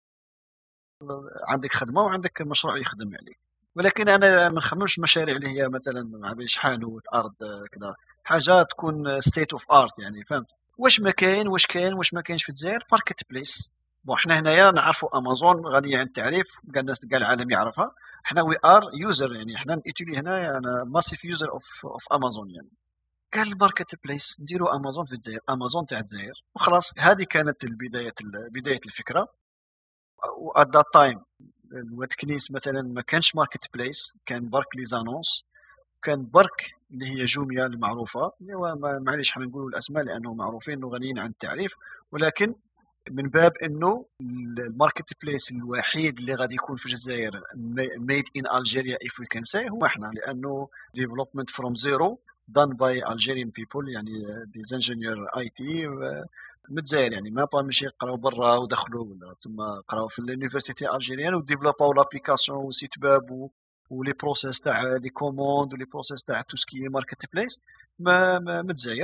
عندك خدمة وعندك مشروع يخدم عليك. ولكن أنا ما نخممش مشاريع اللي هي مثلا مع شحانوت أرض كذا، حاجة تكون state of art يعني فهمت. واش ما كاين واش ما كاينش في الجزائر ماركت بليس. بون احنا هنايا نعرفوا امازون غنيه عن التعريف، كاع الناس كاع العالم يعرفها. احنا وي ار يوزر يعني احنا نيتولي هنا انا ماسيف يوزر اوف امازون. يعني قال الماركت بليس نديروا امازون في الجزائر، امازون تاع الجزائر وخلاص. هذه كانت بدايه الفكره. وات ذات تايم الواد كنيس مثلا ما كانش ماركت بليس، كان برك لي زانونس، كان برك اللي هي جوميا المعروفه. معليش حنا نقولوا الاسماء لانه معروفين وغنيين عن التعريف، ولكن من باب انه الماركت بليس الوحيد اللي غادي يكون في الجزائر ميد ان الجيريا اف وي كان سي هو احنا، لانه ديفلوبمنت فروم زيرو done by Algerian people يعني دي انجينيور اي تي من الجزائر. يعني ما با ماشي قراو برا ودخلوا ولا تما قراو في اليونيفرسيتي الجيريان وديفلوباو لابليكاسيون وسيت ويب ولي بروسيس تاع لي كوموند ولي بروسيس تاع تو سكي ماركت بليس من الجزائر.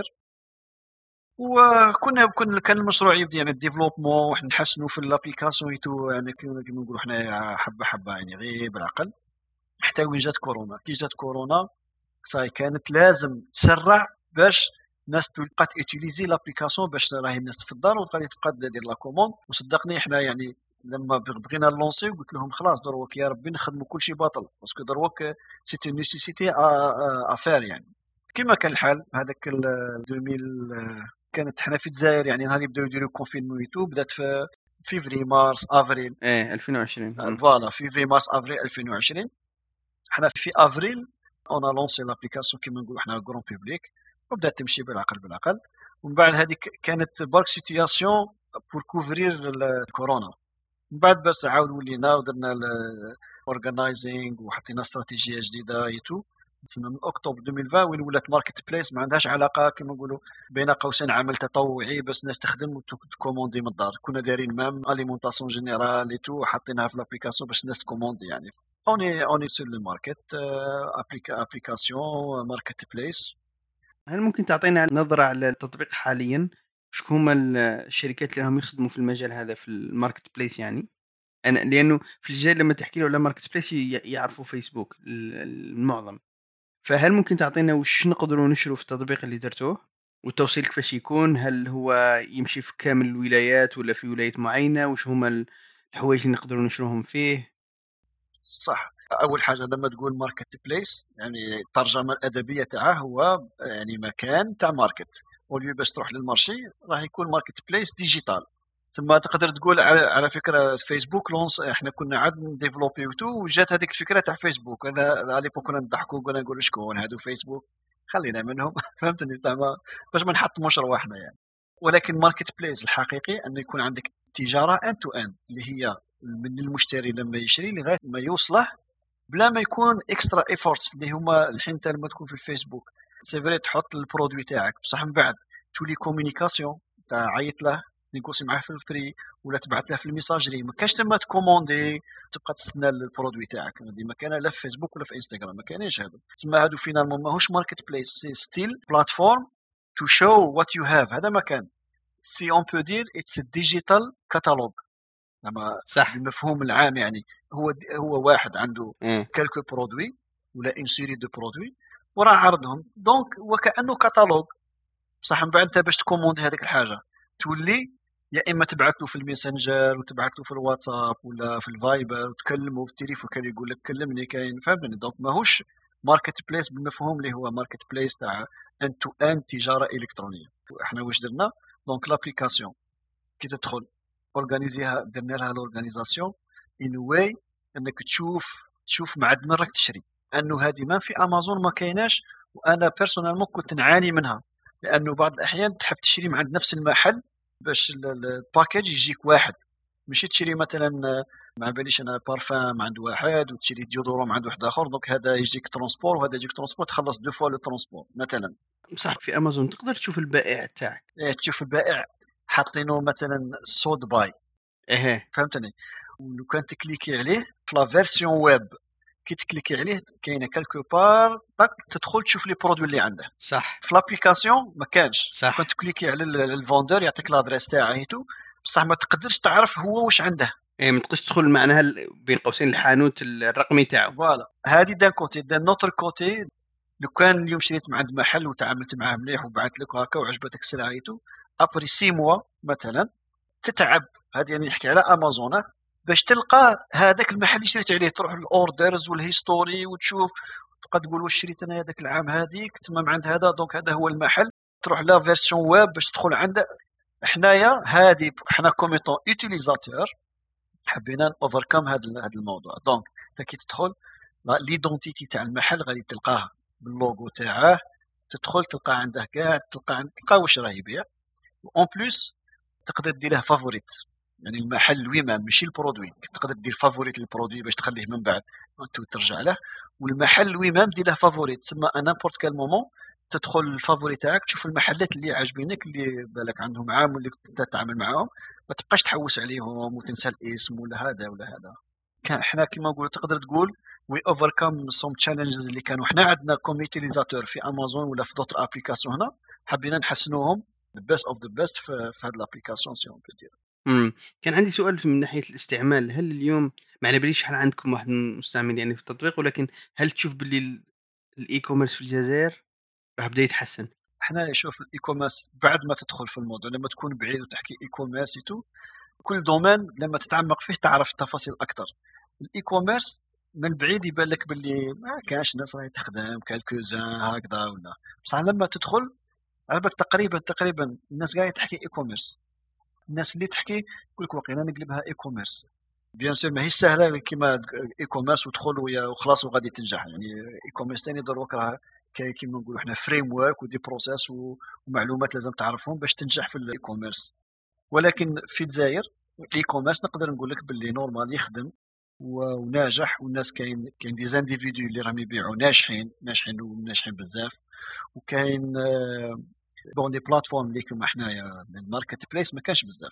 وكنا كان المشروع يبدا يعني الديفلوبمون وحنا نحسنوا في الابليكاسيون يتو يعني كما نقولوا حنا حبه حبه يعني غير بالعقل، حتى وين جات كورونا. كي جات كورونا صاي كانت لازم تسرع باش الناس تبقى تيتيليزي لابليكاسيون، باش راهي الناس في الدار وغادي تبقى دير لا كوموند. وصدقني احنا يعني لما بغينا نلونسي قلت لهم خلاص دروك يا ربي نخدموا كل شيء باطل، باسكو دروك سي اون نيسيسيتي افير. يعني كما كان الحال هذاك 2000 كانت حنا في الجزائر يعني نهار يبداو يديروا كونفينمون يوتيوب بدات في فيفري مارس افريل 2020 فوالا فيفري مارس افريل 2020. حنا في افريل اون لونسي لابليكاسيون كيما نقولوا حنا غران بوبليك وبدات تمشي بالعقل. ومن بعد هذيك كانت برك سيتياسيون بور كوفرير الكورونا. من بعد بس عاود ولينا ودرنا الاورغنايزينغ وحطينا استراتيجيه جديده يتو تسمى من اكتوبر 2020 وين ولات ماركت بليس. ما عندهاش علاقه كما نقولوا بين قوسين عمل تطوعي بس الناس تخدم وتكوموندي من الدار. كنا دايرين مام اليمونطاسيون جينيرال اي تو حاطينها في لابليكاسيون باش الناس تكوموندي. يعني اوني سور لو ماركت ابليكاسيون ماركت بليس. هل ممكن تعطينا نظره على التطبيق حاليا؟ شكون هما الشركات اللي راهم يخدموا في المجال هذا في الماركت بليس؟ يعني انا لانه في الجزائر لما تحكي له على ماركت بليس يعرفوا فيسبوك المعظم. فهل ممكن تعطينا وش نقدروا نشروا في التطبيق اللي درتوه والتوصيل كيفاش يكون؟ هل هو يمشي في كامل الولايات ولا في ولاية معينة؟ وش هما الحوايج اللي نقدروا نشروهم فيه؟ صح. اول حاجه لما تقول ماركت بليس يعني الترجمه الادبيه تاعه هو يعني مكان تاع ماركت، ولي باش تروح للمارشي راح يكون ماركت بليس ديجيتال. ثم تقدر تقول على فكره فيسبوك لونس احنا كنا عاد نديفلوبي وجات هذيك الفكره تاع فيسبوك. هذا على كنا نضحكوا كنا نقولوا شكون هادو فيسبوك خلينا منهم فهمتني تاع باش ما نحطموش رواحنا يعني. ولكن ماركت بليس الحقيقي انه يكون عندك تجاره ان تو ان اللي هي من المشتري لما يشري لغايه ما يوصله بلا ما يكون اكسترا ايفورتس اللي هما الحين انت لما تكون في الفيسبوك سي فري تحط البرودوي تاعك بصح من بعد تولي كومونيكاسيون تاع عيط له نيغوسي معاه في الفري ولا تبعث له في الميساجري. ما كاش تما تكوموندي تبقى تستنى البرودوي تاعك. ما كان لا في فيسبوك ولا في انستغرام ما كاينش هذا. تسمى هادو فينالمون ماهوش ماركت بليس، سي ستيل بلاتفورم to show what you have. هذا ما كان. Si on peut dire it's a digital catalogue. لما صح. بالمفهوم العام يعني هو واحد عنده إيه. كالكو برودوي ولا اون سيري دو برودوي وراه عرضهم، دونك وكانه كاتالوج. بصح من بعد انت باش تكوموندي هذيك الحاجه تولي يا اما تبعث له في الميسنجر وتبعث له في الواتساب ولا في الفايبر وتكلمه في التليفون كان يقول لك كلمني كاين، فهمتني؟ دونك ماهوش ماركت بليس بالمفهوم اللي هو ماركت بليس تاع ان تو ان تجاره الكترونيه. احنا واش درنا؟ دونك لابليكاسيون كي تدخل اورغانيزيها، درنا لها لورغانيزاسيون ان واي انك تشوف معد من راك تشري، انه هذه ما في امازون ما كايناش. وانا بيرسونالمون كنت نعاني منها، لانه بعض الاحيان تحب تشري من عند نفس المحل باش الباكيج يجيك واحد، ماشي تشري مثلا ما باليش انا بارفان عند واحد وتشري ديودورون عند واحد اخر، دونك هذا يجيك ترونسبور وهذا يجيك ترونسبور، تخلص دو فوا لو ترونسبور مثلا. صح. في امازون تقدر تشوف البائع تاعك. تشوف البائع حاطينه مثلا سود باي، ايه فهمتني؟ ولو كان تكليكي عليه في لا فيرسيون ويب، كي تكليكي عليه كاينه كالكو بار طاك تدخل تشوف لي برودوي اللي عنده. صح. في لابليكاسيون ما كانش. صح. كنت تكليكي على الفوندور يعطيك لادريس تاعه بصح ما تقدرش تعرف هو واش عنده. ايه ما تقدرش تدخل معناها بين قوسين الحانوت الرقمي تاعو. فوالا هذه دان كوتي. دان نوتر كوتي لو كان اليوم شريت من عند محل وتعاملت معاه مليح وبعث لك هكا وعجبتك سلعته، ابري 6 موا مثلا تتعب، هذه يعني نحكي على امازون، باش تلقى هذاك المحل اللي شريت عليه، تروح للاوردرز والهيستوري وتشوف، تبقى تقول واش شريت انا هذاك العام هذيك تمام عند هذا، دونك هذا هو المحل. تروح لا فيرسيون ويب باش تدخل عنده. حنايا هذه حنا كوميتون يوتيليزاتور حبينا اوفركم هذا الموضوع. دونك انت كي تدخل ليدونتيتي تاع المحل غادي تلقاها باللوغو تاعه، تدخل تلقى عنده كاع، تلقى واش راه يبيع. اون بليس تقدر دير له فافوريت، يعني المحل ويما ماشي البرودوي، تقدر دير فافوريت للبرودوي باش تخليه من بعد انت ترجع له، والمحل ويما دير له فافوريت، تسمى ان نيمبورت كال مومون تدخل الفافوريت تاعك تشوف المحلات اللي عاجبينك اللي بالك عندهم عام واللي تتعامل معاهم، ما تبقاش تحوس عليهم وتنسى الاسم ولا هذا ولا هذا. كان احنا كما نقول تقدر تقول وي اوفركم سوم تشالنجز اللي كانوا احنا عندنا كوميتيليزاتور في امازون ولا في دوتر ابليكاسيون هنا، حبينا نحسنوهم the best of the best في هذه الابليكاسيون سي اون بو دير. كان عندي سؤال من ناحيه الاستعمال. هل اليوم ما على باليش هل عندكم واحد مستعمل يعني في التطبيق، ولكن هل تشوف باللي الاي كوميرس في الجزائر راه بدا يتحسن؟ احنا نشوف الاي كوميرس بعد ما تدخل في الموضوع، لما تكون بعيد وتحكي اي كوميرس كل دومين لما تتعمق فيه تعرف التفاصيل اكثر. الاي كوميرس من بعيد يبان لك باللي ما كانش الناس راهي تخدم كالكوزان هكذا ولا، بصح لما تدخل على بالك تقريبا الناس قاعده تحكي اي كوميرس. الناس اللي تحكي يقول لك واقيلا نقلبها اي كوميرس. بيان سور ماهيش سهله كيما اي كوميرس وتدخل وخلاص وغادي تنجح، يعني اي كوميرس ثاني دروك راه كيما نقولوا احنا فريم ورك ودي بروسيس ومعلومات لازم تعرفهم باش تنجح في الاي كوميرس. ولكن في الجزائر الاي كوميرس نقدر نقول لك باللي نورمال يخدم وناجح، والناس كاين دي زانديفيدو اللي راهم يبيعوا ناجحين بزاف، وكاين بون لي بلاتفورم اللي كما حنايا الماركت بليس ما كانش بزاف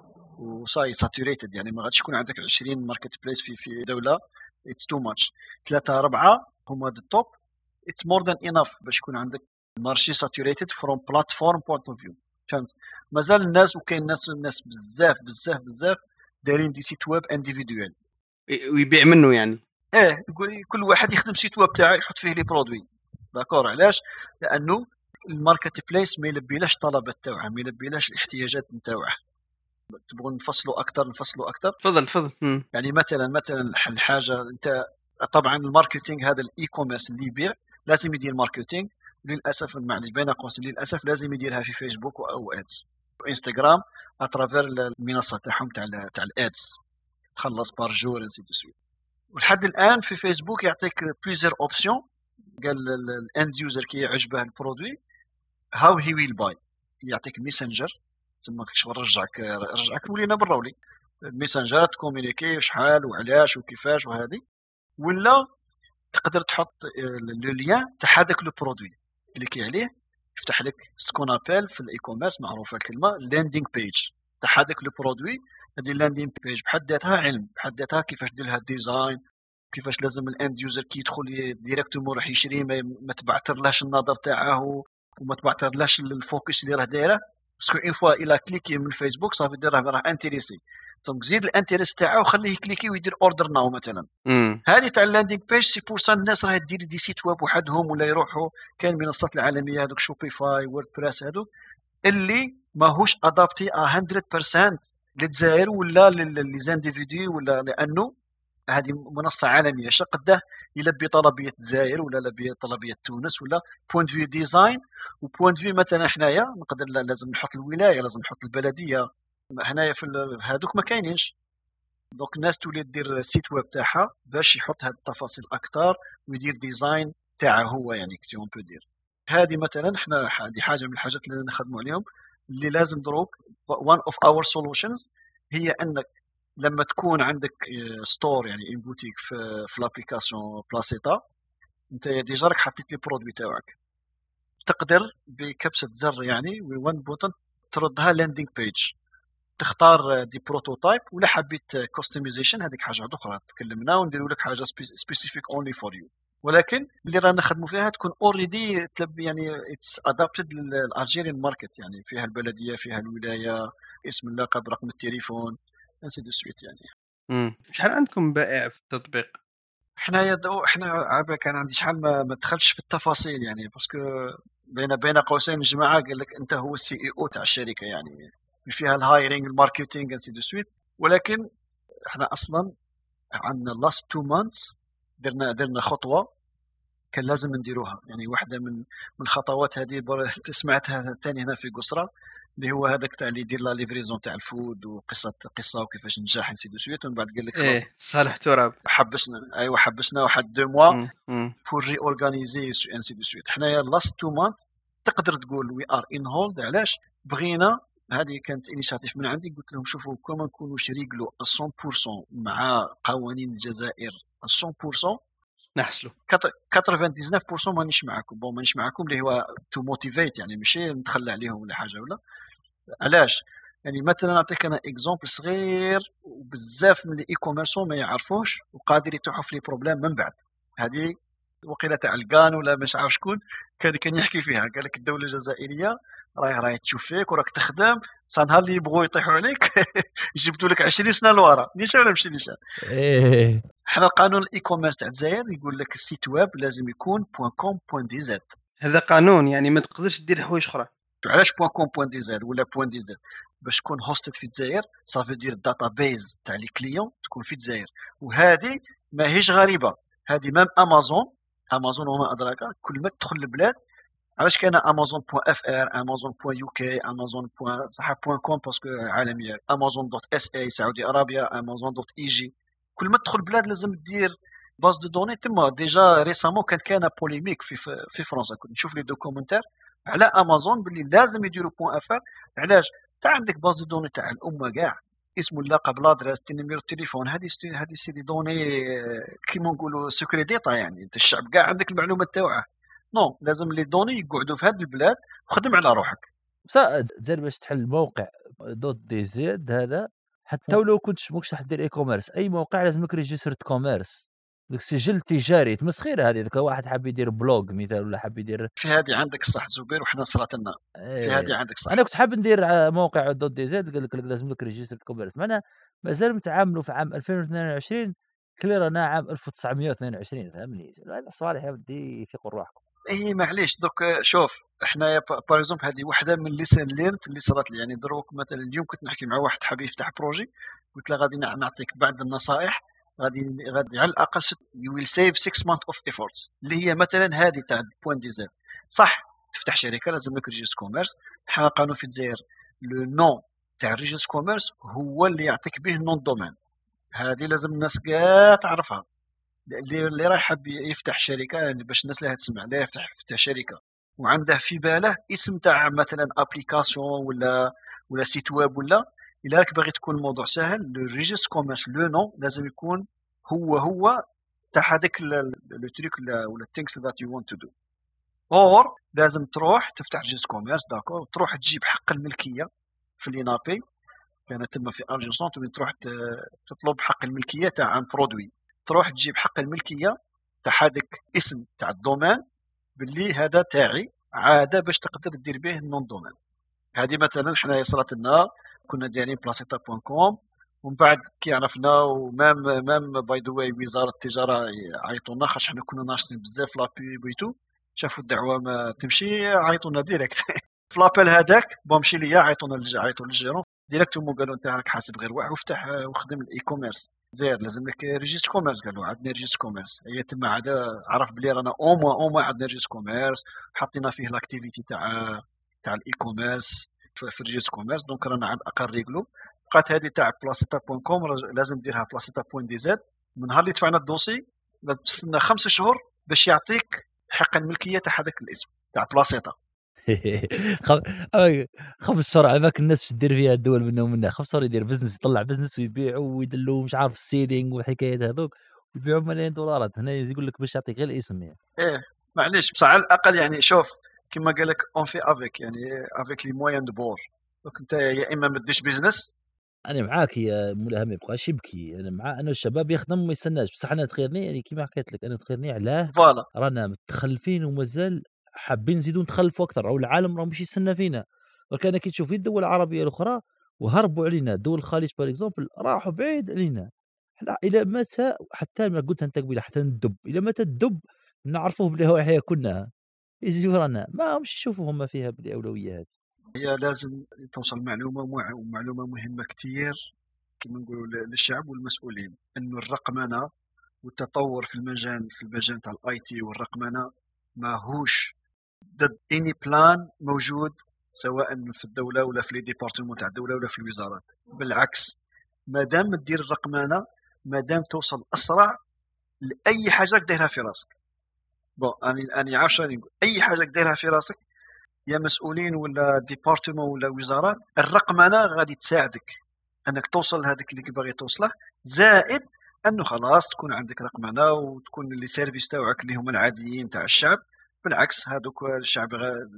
وصاي ساتوريتد، يعني ما غاديش يكون عندك 20 ماركت بليس في دوله، اتس تو ماتش. 3 4 هما د توب، اتس مور ذان انف باش يكون عندك مارشي ساتوريتد فروم بلاتفورم بوينت اوف فيو. فهمت؟ مازال الناس وكاين ناس بزاف دايرين دي سيت ويب انديفيدوال ويبيع منه، يعني يقول كل واحد يخدم سيت ويب تاعه يحط فيه لي برودوي. داكور؟ علاش؟ لانه الماركت بليس ما يلبيلاش الطلبات تاعها، ما يلبيلاش الاحتياجات نتاعها. تبغون نفصلوا اكثر؟ تفضل. يعني مثلا الحاجه انت طبعا الماركتينغ هذا الاي كوميرس اللي يبيع لازم يدير ماركتينغ، للاسف معليش بين قوسين للاسف لازم يديرها في فيسبوك او ادز وانستغرام اترافير المنصه تاعهم تاع الادز، تخلص بار جور انسي دو سويت. ولحد الان في فيسبوك يعطيك بليزير اوبسيون، قال الاند يوزر كي يعجبه البرودوي هاو هي ويل باي، يعطيك ميسنجر تسمى شغل رجعك ولينا براولي ميسنجر تكومونيكي شحال وعلاش وكيفاش وهذه، ولا تقدر تحط لو ليان تاع هذاك لو برودوي كليكي عليه يفتح لك سكون ابل في الاي كوميرس معروفه الكلمه لاندينغ بيج تاع هذاك لو برودوي. هذه اللاندينغ بيج بحد ذاتها علم، بحد ذاتها كيفاش دير لها الديزاين، كيفاش لازم الاند يوزر كي يدخل ديريكتومون راح يشري ما تبعثرلاش النظر تاعه وما تبعترلاش الفوكس اللي راه دايره، باسكو اون فوا الى كليكي من الفيسبوك صافي دير راه انتريسي، دونك زيد الانتريس تاعو وخليه يكليكي ويدير اوردر ناو مثلا. هذه تاع اللاندينغ بيج سي بور سان الناس راه دير دي سيت ويب وحدهم ولا يروحوا كاين المنصات العالميه هذوك شوبيفاي ووردبريس هذوك اللي ماهوش ادابتي 100% للجزائر ولا لي زانديفيدي، ولا لانه هذه منصه عالميه اش قداه يلبي طلبيه الجزائر ولا يلبي طلبيه تونس ولا بوينت فيو ديزاين وبوينت فيو مثلا حنايا نقدر لازم نحط الولايه لازم نحط البلديه هنايا في هذوك ما كاينينش. دونك الناس تولي دير سيت ويب تاعها باش يحط هاد التفاصيل اكثر ويدير ديزاين تاعه هو يعني كسي اون بو دير. هذه مثلا حنا هذه حاجه من الحاجات اللي نخدموا عليهم اللي لازم دروك one of our solutions هي انك لما تكون عندك ستور يعني ان بوتيك في لابليكاسيون بلاسيتا انت ديجا راك حطيت لي برودوي تاعك تقدر بكبسه زر يعني وان بوتن تردها لاندينغ بيج تختار دي بروتوتايب ولا حبيت كوستمايزيشن هذيك حاجه اخرى تكلمنا ونديروا لك حاجه سبيسيفيك اونلي فور يو، ولكن اللي رانا نخدموا فيها تكون اوريدي يعني اتس ادابتد للالجيريان ماركت يعني فيها البلديه فيها الولايه اسم اللقب رقم التليفون انسي دو سويت يعني. شحال عندكم بائع في التطبيق؟ حنا عابا كان عندي شحال ما دخلتش في التفاصيل يعني باسكو بين قوسين الجماعه قال لك انت هو السي اي او تاع الشركه يعني فيها الهايرينغ الماركتينغ انسي دو سويت، ولكن احنا اصلا عندنا لاست 2 مانثs درنا خطوه كان لازم نديروها يعني واحده من الخطوات هذه سمعتها ثاني هنا في قصره اللي هو هذاك تاع اللي يدير لا ليفريزون تاع الفود قصه وكيفاش نجاح نسي دو سويت ومن بعد قال لك خلاص صالح تراب حبسنا واحد 2 موا فور ري اورغانيزي انسي دو سويت. حنايا لاست 2 مانث تقدر تقول وي ار ان هولد علاش بغينا هذه كانت انيشاتيف من عندي قلت لهم شوفوا كما نكونوا شريكلو 100% مع قوانين الجزائر 100% نحسلو 99% مانيش معاكم مانيش معاكم اللي هو تو موتيفيت يعني ماشي نتخلى عليهم ولا حاجه ولا علاش يعني مثلا نعطيك انا اكزومبل صغير وبزاف من الاي كوميرسون ما يعرفوش وقادر يتوحوا في لي بروبليم من بعد. هذه وقيله تاع الكان ولا مش عارف شكون كان يحكي فيها قال لك الدوله الجزائريه راهي تشوف فيك وراك تخدم صار نهار اللي يبغوا يطيحوا عليك يجبدوا لك 20 سنه لورا نيشان ولا ماشي نيشان. حنا القانون الاي كوميرس تاع الجزائر يقول لك السيت ويب لازم يكون .com.dz. هذا قانون يعني ما تقدرش دير حوايج اخرى. علاش .com.dz ولا .dz باش تكون هوستد في الجزائر صافي دير الداتا بيز تاع لي كليون تكون في الجزائر وهذه ماهيش غريبه هذه مام امازون وما ادراك كل ما تدخل البلاد علاش كاين amazon.fr amazon.uk amazon.com باسكو عالميه amazon.sa سعودي عربيه amazon.eg كل ما تدخل البلاد لازم دير باز دو دوني تما. ديجا ريسامون كانت بوليميك في فرنسا كنت نشوف لي دوكومنتير على امازون باللي لازم يديروا .fr علاش تاع عندك باز دو دوني تاع الامه كاع اسم اللقب لادريس نيميرو التليفون هذه سي دي دوني كيما نقولوا سكري ديتا يعني انت الشعب كاع عندك المعلومات تاعه نو لازم لي دوني يقعدوا في هذه البلاد وخدم على روحك. زير باش تحل موقع .dz هذا حتى ولو كنتش موكش راح دير اي كوميرس اي موقع لازم لك ريجستر كوميرس ديك سجل تجاري تمسخيره هذه ذاك واحد حاب يدير بلوج مثال ولا حاب يدير في هذه عندك الصح زبير وحنا صرات لنا في هذه عندك صح. انا كنت حاب ندير موقع .dz قال لك لازم لك ريجستر كوميرس معنا مازال متعاملوا في عام 2022 كلي رانا عام 1922 فهمني هذا صالح يا ودي في روحكم. اي معليش دوك شوف احنا باغ اكزومبل هذه واحده من ليسن ليرنت اللي صارت لي يعني دروك مثلا اليوم كنت نحكي مع واحد حاب يفتح بروجي قلت له غادي نعطيك بعض النصائح غادي على الاقل يو ويل سيف 6 months اوف ايفورتس اللي هي مثلا هذه تاع .dz صح تفتح شركه لازم لك ريجستر كوميرس. حنا قانون في الجزائر لو نون تاع ريجستر كوميرس هو اللي يعطيك به نون دومين هذه لازم الناس كاع تعرفها اللي راح يحب يفتح شركه يعني باش الناس اللي تسمع لا يفتح شركه وعنده في باله اسم تاع مثلا ابليكاسيون ولا سيت ويب ولا الا راك باغي تكون الموضوع سهل لو ريجستر كوميرس لو نون لازم يكون هو تاع هذاك لو تريك ولا الثينكس ذات يو وانت تو دو اور لازم تروح تفتح ريجستر كوميرس داكور تروح تجيب حق الملكيه في لينابي كانت تما في ارجنسونت وين تروح تطلب حق الملكيه تاع ان برودوي تروح تجيب حق الملكيه تاع هذاك اسم تاع الدومين باللي هذا تاعي عاده باش تقدر دير به النون دومين. هذه مثلا حنا صرات لنا كنا دايرين بلاسيتا.com ومن بعد كي عرفنا ومام باي ذا واي وزاره التجاره عيطونا خاطر حنا كنا ناشطين بزاف لا بيب ويتو، شافوا الدعوه ما تمشي عيطونا ديريكت في لابيل هذاك مشي ليا عيطوا للجيرون ديريكتومون قالوا انت راك حاسب غير واحد وافتح وخدم الاي كوميرس زير لازم لك ريجيست كوميرس. قالوا عندنا ريجيست كوميرس، هي تما عاد عرف بلي رانا او عندنا ريجيست كوميرس، حطينا فيه لاكتيفيتي تاع الاي كوميرس في الريجيست كوميرس، دونك رانا على الاقل ريغلو. بقات هذه تاع بلاسيتا.com لازم ديرها بلاسيتا.dz. من نهار اللي دفعنا الدوسي لازم تستنى 5 شهور باش يعطيك حق الملكيه تاع هذاك الاسم تاع بلاسيتا. 5 شهور على بالك الناس باش دير فيها الدول منهم منها 5 شهور يدير بزنس يطلع بزنس ويبيعوا ويدلوا مش عارف السيدينغ والحكايات هذوك ويبيعوا ملايين دولارات. هنا يقول لك باش يعطيك غير الاسم يعني. معليش بصح على الاقل يعني شوف كما قال لك اون في افيك يعني افيك لي موين دو بور. دونك انت يا اما ما ديش بيزنس. انا معاك يا مولاها ما يبقاش يبكي، انا مع انه الشباب يخدم وما يستناش، بصح انا تخيرني يعني كيما حكيت لك انا تخيرني علاه فوالا رانا متخلفين ومازال حابين نزيدوا نتخلفوا اكثر، او العالم راه مش يستنى فينا. وكان كي تشوف الدول العربيه الاخرى وهربوا علينا، دول الخليج بار اكزومبل راحوا بعيد علينا. احنا الى متى حتى ما قلت انت قبيله حتى ندب الى متى الدب نعرفوه بلي هو حياه كنا يجيو رانا ما همش يشوفوا هم فيها بالاولويه هذه. هي لازم توصل معلومه مهمه كتير كما نقولوا للشعب والمسؤولين، انه الرقمنه والتطور في المجال تاع الاي تي والرقمنه ماهوش ضد اني بلان موجود سواء في الدوله ولا في لي ديبارتمون تاع الدوله ولا في الوزارات. بالعكس مادام تدير الرقمنه مادام توصل اسرع لاي حاجه دايرها في راسك. بون اني عارف شنو نقول، اي حاجه دايرها في راسك يا مسؤولين ولا ديبارتمون ولا وزارات، الرقمنه غادي تساعدك انك توصل لهذاك اللي باغي توصله. زائد انه خلاص تكون عندك رقمنه وتكون لي سيرفيس تاعك اللي هما العاديين تاع الشعب. بالعكس هذوك الشعب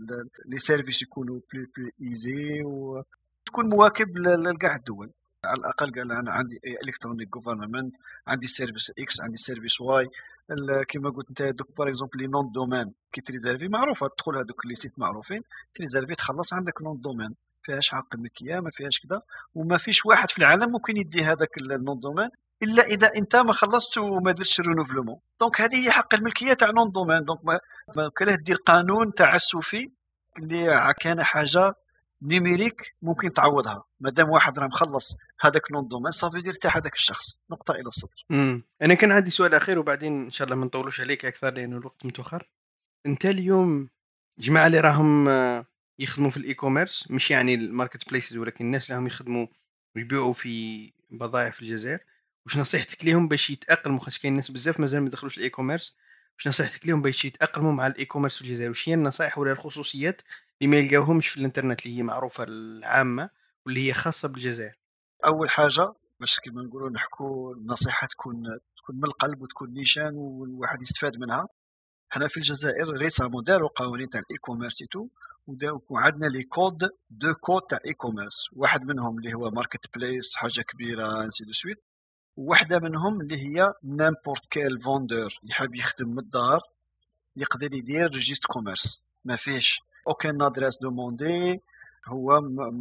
لي سيرفيس يكونوا بلو ايزي وتكون مواكب لكاع الدول. على الاقل قال انا عندي الكترونيك جوفرنمنت، عندي سيرفيس اكس، عندي سيرفيس واي. كما قلت انت دوك باغ اكزومبل لي نون دومين كي تريزيرفي معروفه، تدخل هذوك لي سيت معروفين تريزيرفي تخلص عندك نون دومين فيهاش حق الملكيه ما فيهاش كذا، وما فيش واحد في العالم ممكن يدي هذاك النون دومين الا اذا انت ما خلصت وما درتش الرينوفلومون. دونك هذه هي حق الملكيه تاع نون دومين. دونك ما كلاه دير قانون تعسفي اللي كان حاجه نيميريك ممكن تعوضها. مادام واحد راه مخلص هذاك نون دومين صافي دير تاع هذاك الشخص نقطه الى السطر. انا كان عندي سؤال اخير وبعدين ان شاء الله ما نطولوش عليك اكثر لانه الوقت متاخر. انت اليوم جماعه اللي راهم يخدموا في الاي كوميرس، مش يعني الماركت بليسز ولكن الناس اللي هم يخدموا ويبيعوا في بضائع في الجزائر، وش نصيحتك لهم باش يتاقلموا؟ خاص كاين ناس بزاف مازال ما دخلوش الاي كوميرس، وش نصيحتك لهم باش يتاقلموا مع الاي كوميرس في الجزائر؟ وش هي النصائح ولا الخصوصيات اللي ما يلقاوهمش في الانترنت اللي هي معروفه العامه واللي هي خاصه بالجزائر؟ اول حاجه باش كيما نقولوا نحكوا النصيحه تكون من القلب وتكون نيشان والواحد يستفاد منها. حنا في الجزائر ريسامون داروا قوانين تاع الاي كوميرس تو وعندنا لي كود دو كود تاع اي كوميرس، واحد منهم اللي هو ماركت بليس حاجه كبيره انسي دو سويت، وواحده منهم اللي هي نيمبورت كيل فوندور يحب يخدم من الدار يقدر يدير ريجيست كوميرس ما فيش اوكين ادريس دوموندي. هو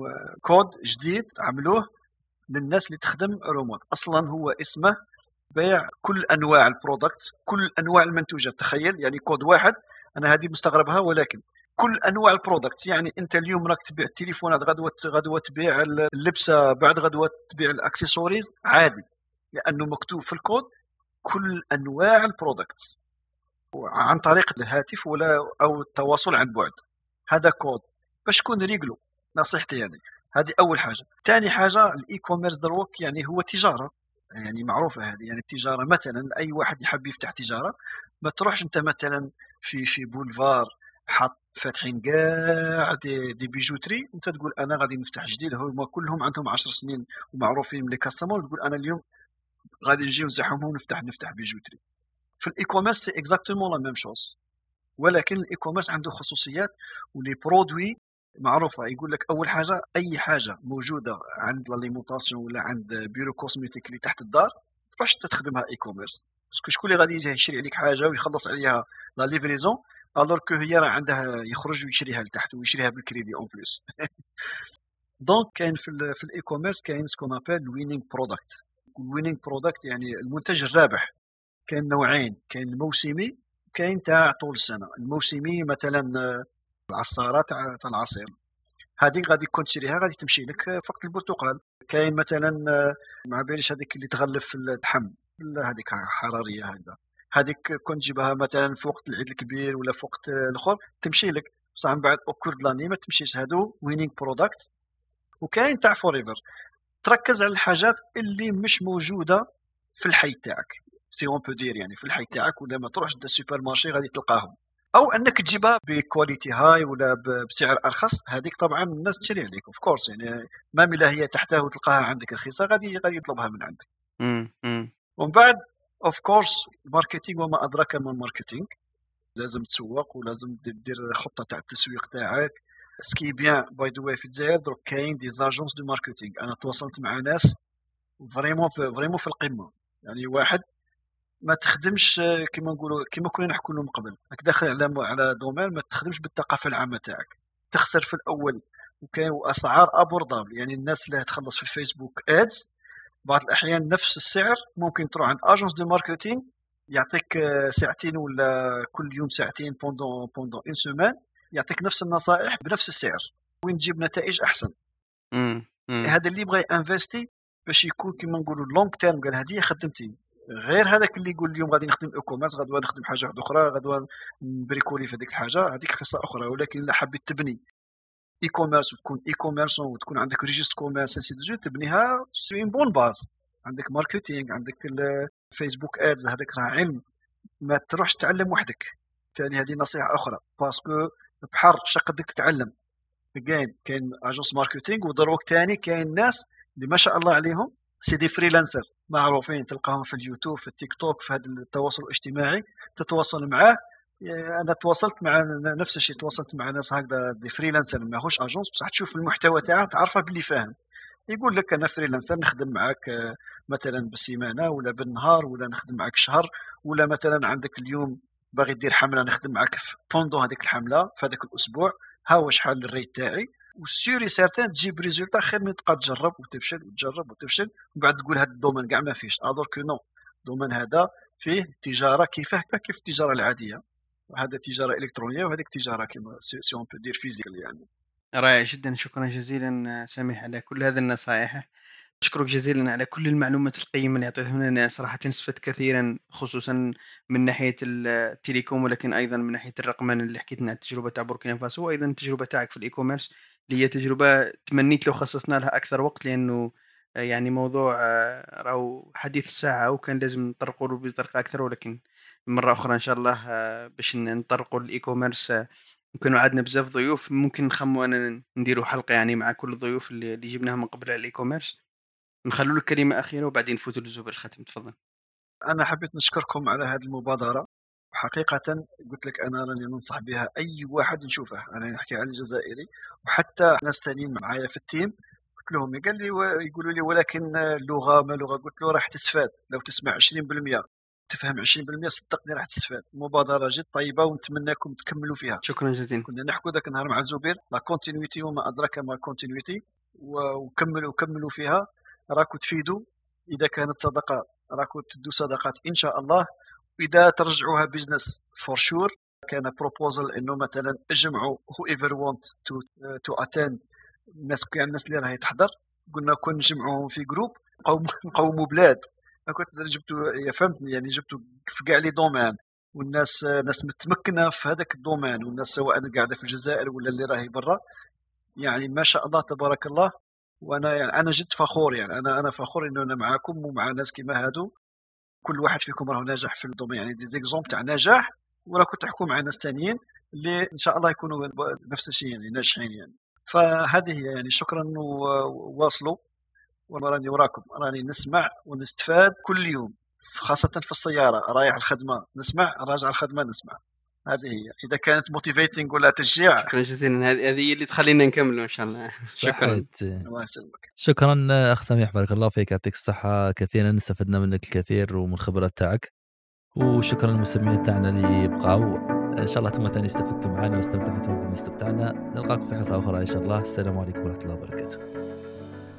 كود جديد عملوه للناس اللي تخدم روموت. اصلا هو اسمه بيع كل انواع البرودكت كل انواع المنتوجات. تخيل يعني كود واحد، انا هذه مستغربها ولكن كل انواع البرودكت. يعني انت اليوم راك تبيع التليفونات، غدوه تبيع اللبسه، بعد غدوه تبيع الاكسسوارز عادي، لانه مكتوب في الكود كل انواع البرودكت عن طريق الهاتف ولا او التواصل عن بعد. هذا كود باش تكون ريغلو. نصيحتي يعني هذه اول حاجه. ثاني حاجه الاي كوميرس دروك يعني هو تجاره، يعني معروفه هذه. يعني التجاره مثلا اي واحد يحب يفتح تجاره ما تروحش انت مثلا في بولفار حط فاتحين كاع دي بيجوتري انت تقول انا غادي نفتح جديد. هما كلهم عندهم 10 سنين ومعروفين من لي كاستمر، تقول انا اليوم غادي نجي نزحمهم نفتح بيجوتري. في الاي كوميرس سي اكزاكتومون لا ميم شوز، ولكن الاي كوميرس عنده خصوصيات ولي برودوي معروفه. يقول لك اول حاجه اي حاجه موجوده عند لاليمونطاسيون ولا عند بيرو كوزميتيك اللي تحت الدار تروحش تخدمها اي كوميرس، باسكو شكون اللي غادي يجي يشري عليك حاجه ويخلص عليها لا ليفريزون؟ الور كو هي راه عندها يخرج ويشريها لتحت ويشريها بالكريدي اون بليس. دونك كاين في الاي كوميرس كاين سكون ابل وينينغ برودكت. الوينينغ برودكت يعني المنتج الرابح. كاين نوعين، كاين الموسمي كاين تاع طول السنه. الموسمي مثلا العصاره تاع العصير، هذيك غادي كون تشريها غادي تمشي لك في وقت البرتقال. كاين مثلا ما باليش هذيك اللي تغلف في اللحم هذيك حراريه هكذا، هذيك كون تجيبها مثلا في وقت العيد الكبير ولا في وقت الاخر تمشي لك، بصح من بعد اوكور دلاني ما تمشيش. هادو وينينغ برودكت. وكاين تاع فوريفر، تركز على الحاجات اللي مش موجوده في الحي تاعك، سي اون بو دير يعني في الحي تاعك، ولا ما تروحش للسوبر مارشي غادي تلقاهم، او انك تجيبها بكواليتي هاي ولا بسعر ارخص. هذيك طبعا الناس تشري عليك اوف كورس، يعني ما ملا هي تحتاه وتلقاها عندك رخيصه غادي يطلبها من عندك. ومن بعد اوف كورس الماركتينغ وما ادراك ما الماركتينغ، لازم تسوق ولازم دير خطه تاع التسويق تاعك. سكي بيان باي دو واي في الجزائر دروك كاين دي زاجونس دو ماركتينغ، انا تواصلت مع ناس فريمون في القمه. يعني واحد ما تخدمش كما نقولوا كما كنا نحكوا لهم قبل، راك داخل على دومين ما تخدمش بالثقافه العامه تاعك، تخسر في الاول. وكاين اسعار ابوردابل، يعني الناس اللي تخلص في الفيسبوك ادز بعض الاحيان نفس السعر ممكن تروح عند اجونس دو ماركتينغ يعطيك ساعتين ولا كل يوم ساعتين بوندون اون سيمين، يعطيك نفس النصائح بنفس السعر وين تجيب نتائج احسن. هذا اللي يبغى انفستي باش يكون كما نقولوا لونغ تيرم، قال هذه خدمتي. غير هذاك اللي يقول اليوم غادي نخدم اي كوميرس، غدوه نخدم حاجه واحده اخرى، غدوه نبريكولي في هذيك الحاجه، هذيك قصه اخرى. ولكن الا حبيت تبني اي كوميرس وتكون اي كوميرسون وتكون عندك ريجيست كوميرس سي تبنيها سي بون باز، عندك ماركتينغ، عندك الفيسبوك ادز، هذاك راه علم ما تروحش تعلم وحدك. ثاني هذه نصيحه اخرى، باسكو بحر شقدك تتعلم. كاين اجونس ماركتينغ ودروك ثاني كاين ناس اللي ما شاء الله عليهم سي دي فريلانسر معروفين، تلقاهم في اليوتيوب في التيك توك في هذا التواصل الاجتماعي تتواصل معاه. انا تواصلت مع نفس الشيء، تواصلت مع ناس هكذا دي فريلانسر ماهوش اجونس، بصح تشوف المحتوى تاعه تعرفه باللي فاهم. يقول لك انا فريلانسر نخدم معك مثلا بالسيمانه ولا بالنهار ولا نخدم معك شهر، ولا مثلا عندك اليوم باغي دير حمله نخدم معك بوندو هذيك الحمله في هذاك الاسبوع، ها هو شحال الريت تاعي. والسيوري سيرتان تجيب ريزولتا خير من تبقى تجرب وتفشل وتجرب وتفشل ومن بعد تقول هذا الدومين كاع ما فيش. الور كو نو، الدومين هذا فيه تجاره كيف التجاره العاديه، هذا تجاره الكترونيه وهذيك تجاره كيما سي اون بو دير فيزيكال. يعني رائع جدا، شكرا جزيلا سامح على كل هذه النصائح. أشكرك جزيلا على كل المعلومات القيمة اللي أعطيتها لنا، صراحة استفدت كثيرا خصوصا من ناحية التليكوم، ولكن أيضا من ناحية الرقمنة اللي حكيت لنا عن التجربة تاع بوركينا فاسو، وأيضا التجربة تاعك في الإي كوميرس اللي هي تجربة تمنيت لو خصصنا لها أكثر وقت، لأنه يعني موضوع راهو حديث الساعة وكان لازم نطرقوا له بطريقة أكثر. ولكن مرة أخرى إن شاء الله باش نطرقوا الإي كوميرس يمكن عندنا بزاف ضيوف، ممكن نخمو أنا نديروا حلقة يعني مع كل الضيوف اللي جبناها من قبل على الإي كوميرس. نخلوا لك كلمة أخيرة وبعدين نفوتوا للزوب الختم. تفضل. انا حبيت نشكركم على هذه المبادره، وحقيقه قلت لك انا راني ننصح بها اي واحد نشوفه. انا نحكي على الجزائري وحتى ناس ثانيين معايا في التيم، قلت لهم قال لي يقولوا لي ولكن اللغه ما لغه، قلت له راح تستفاد لو تسمع 20% تفهم 20% صدقني راح تستفاد. مبادره جد طيبه ونتمنىكم تكملوا فيها. شكرا جزيلا. كنا نحكوا ذاك النهار مع زبير لا كونتينيتي وما ادراك ما كونتينيتي، وكملوا فيها راكم تفيدوا. اذا كانت صدقه راكم تدوا صدقات ان شاء الله، واذا ترجعوها بيزنس فور شور. كان بروبوزل انه مثلا اجمعوا هو ايفر وونت تو اتند، الناس كاع الناس اللي راهي تحضر، قلنا كون نجمعوهم في جروب نقوموا بلاد. كنت جبتوا فهمتني يعني جبتوا في كاع لي دومين، والناس ناس متمكنه في هذاك الدومين، والناس سواء قاعده في الجزائر ولا اللي راهي برا. يعني ما شاء الله تبارك الله. وانا يعني انا جد فخور، يعني انا فخور انه انا معاكم ومع ناس كيما هادو. كل واحد فيكم راه ناجح في الدومين، يعني دي زيكزومبل تاع نجاح، وراكم تحكوا مع ناس ثانيين اللي ان شاء الله يكونوا نفس الشيء يعني ناجحين يعني. فهذه هي يعني. شكرا وواصلوا، وراني وراكم راني نسمع ونستفاد كل يوم، خاصة في السيارة رايح الخدمة نسمع، راجع الخدمة نسمع. هذه هي إذا كانت موتيفيتنج ولا تشجيع. شكرا جزيلا، هذه اللي تخلينا نكمل إن شاء الله. شكرا. الله يسلمك. شكرا أخ سميح، بارك الله فيك، يعطيك الصحة. كثيرا استفدنا منك الكثير ومن الخبرات تاعك. وشكرا للمستمعين تاعنا اللي بقاو. ان شاء الله انتم ثاني استفدتوا معنا واستمتعتوا بالاستمتاعنا. نلقاكم في حلقه اخرى ان شاء الله. السلام عليكم ورحمه الله وبركاته.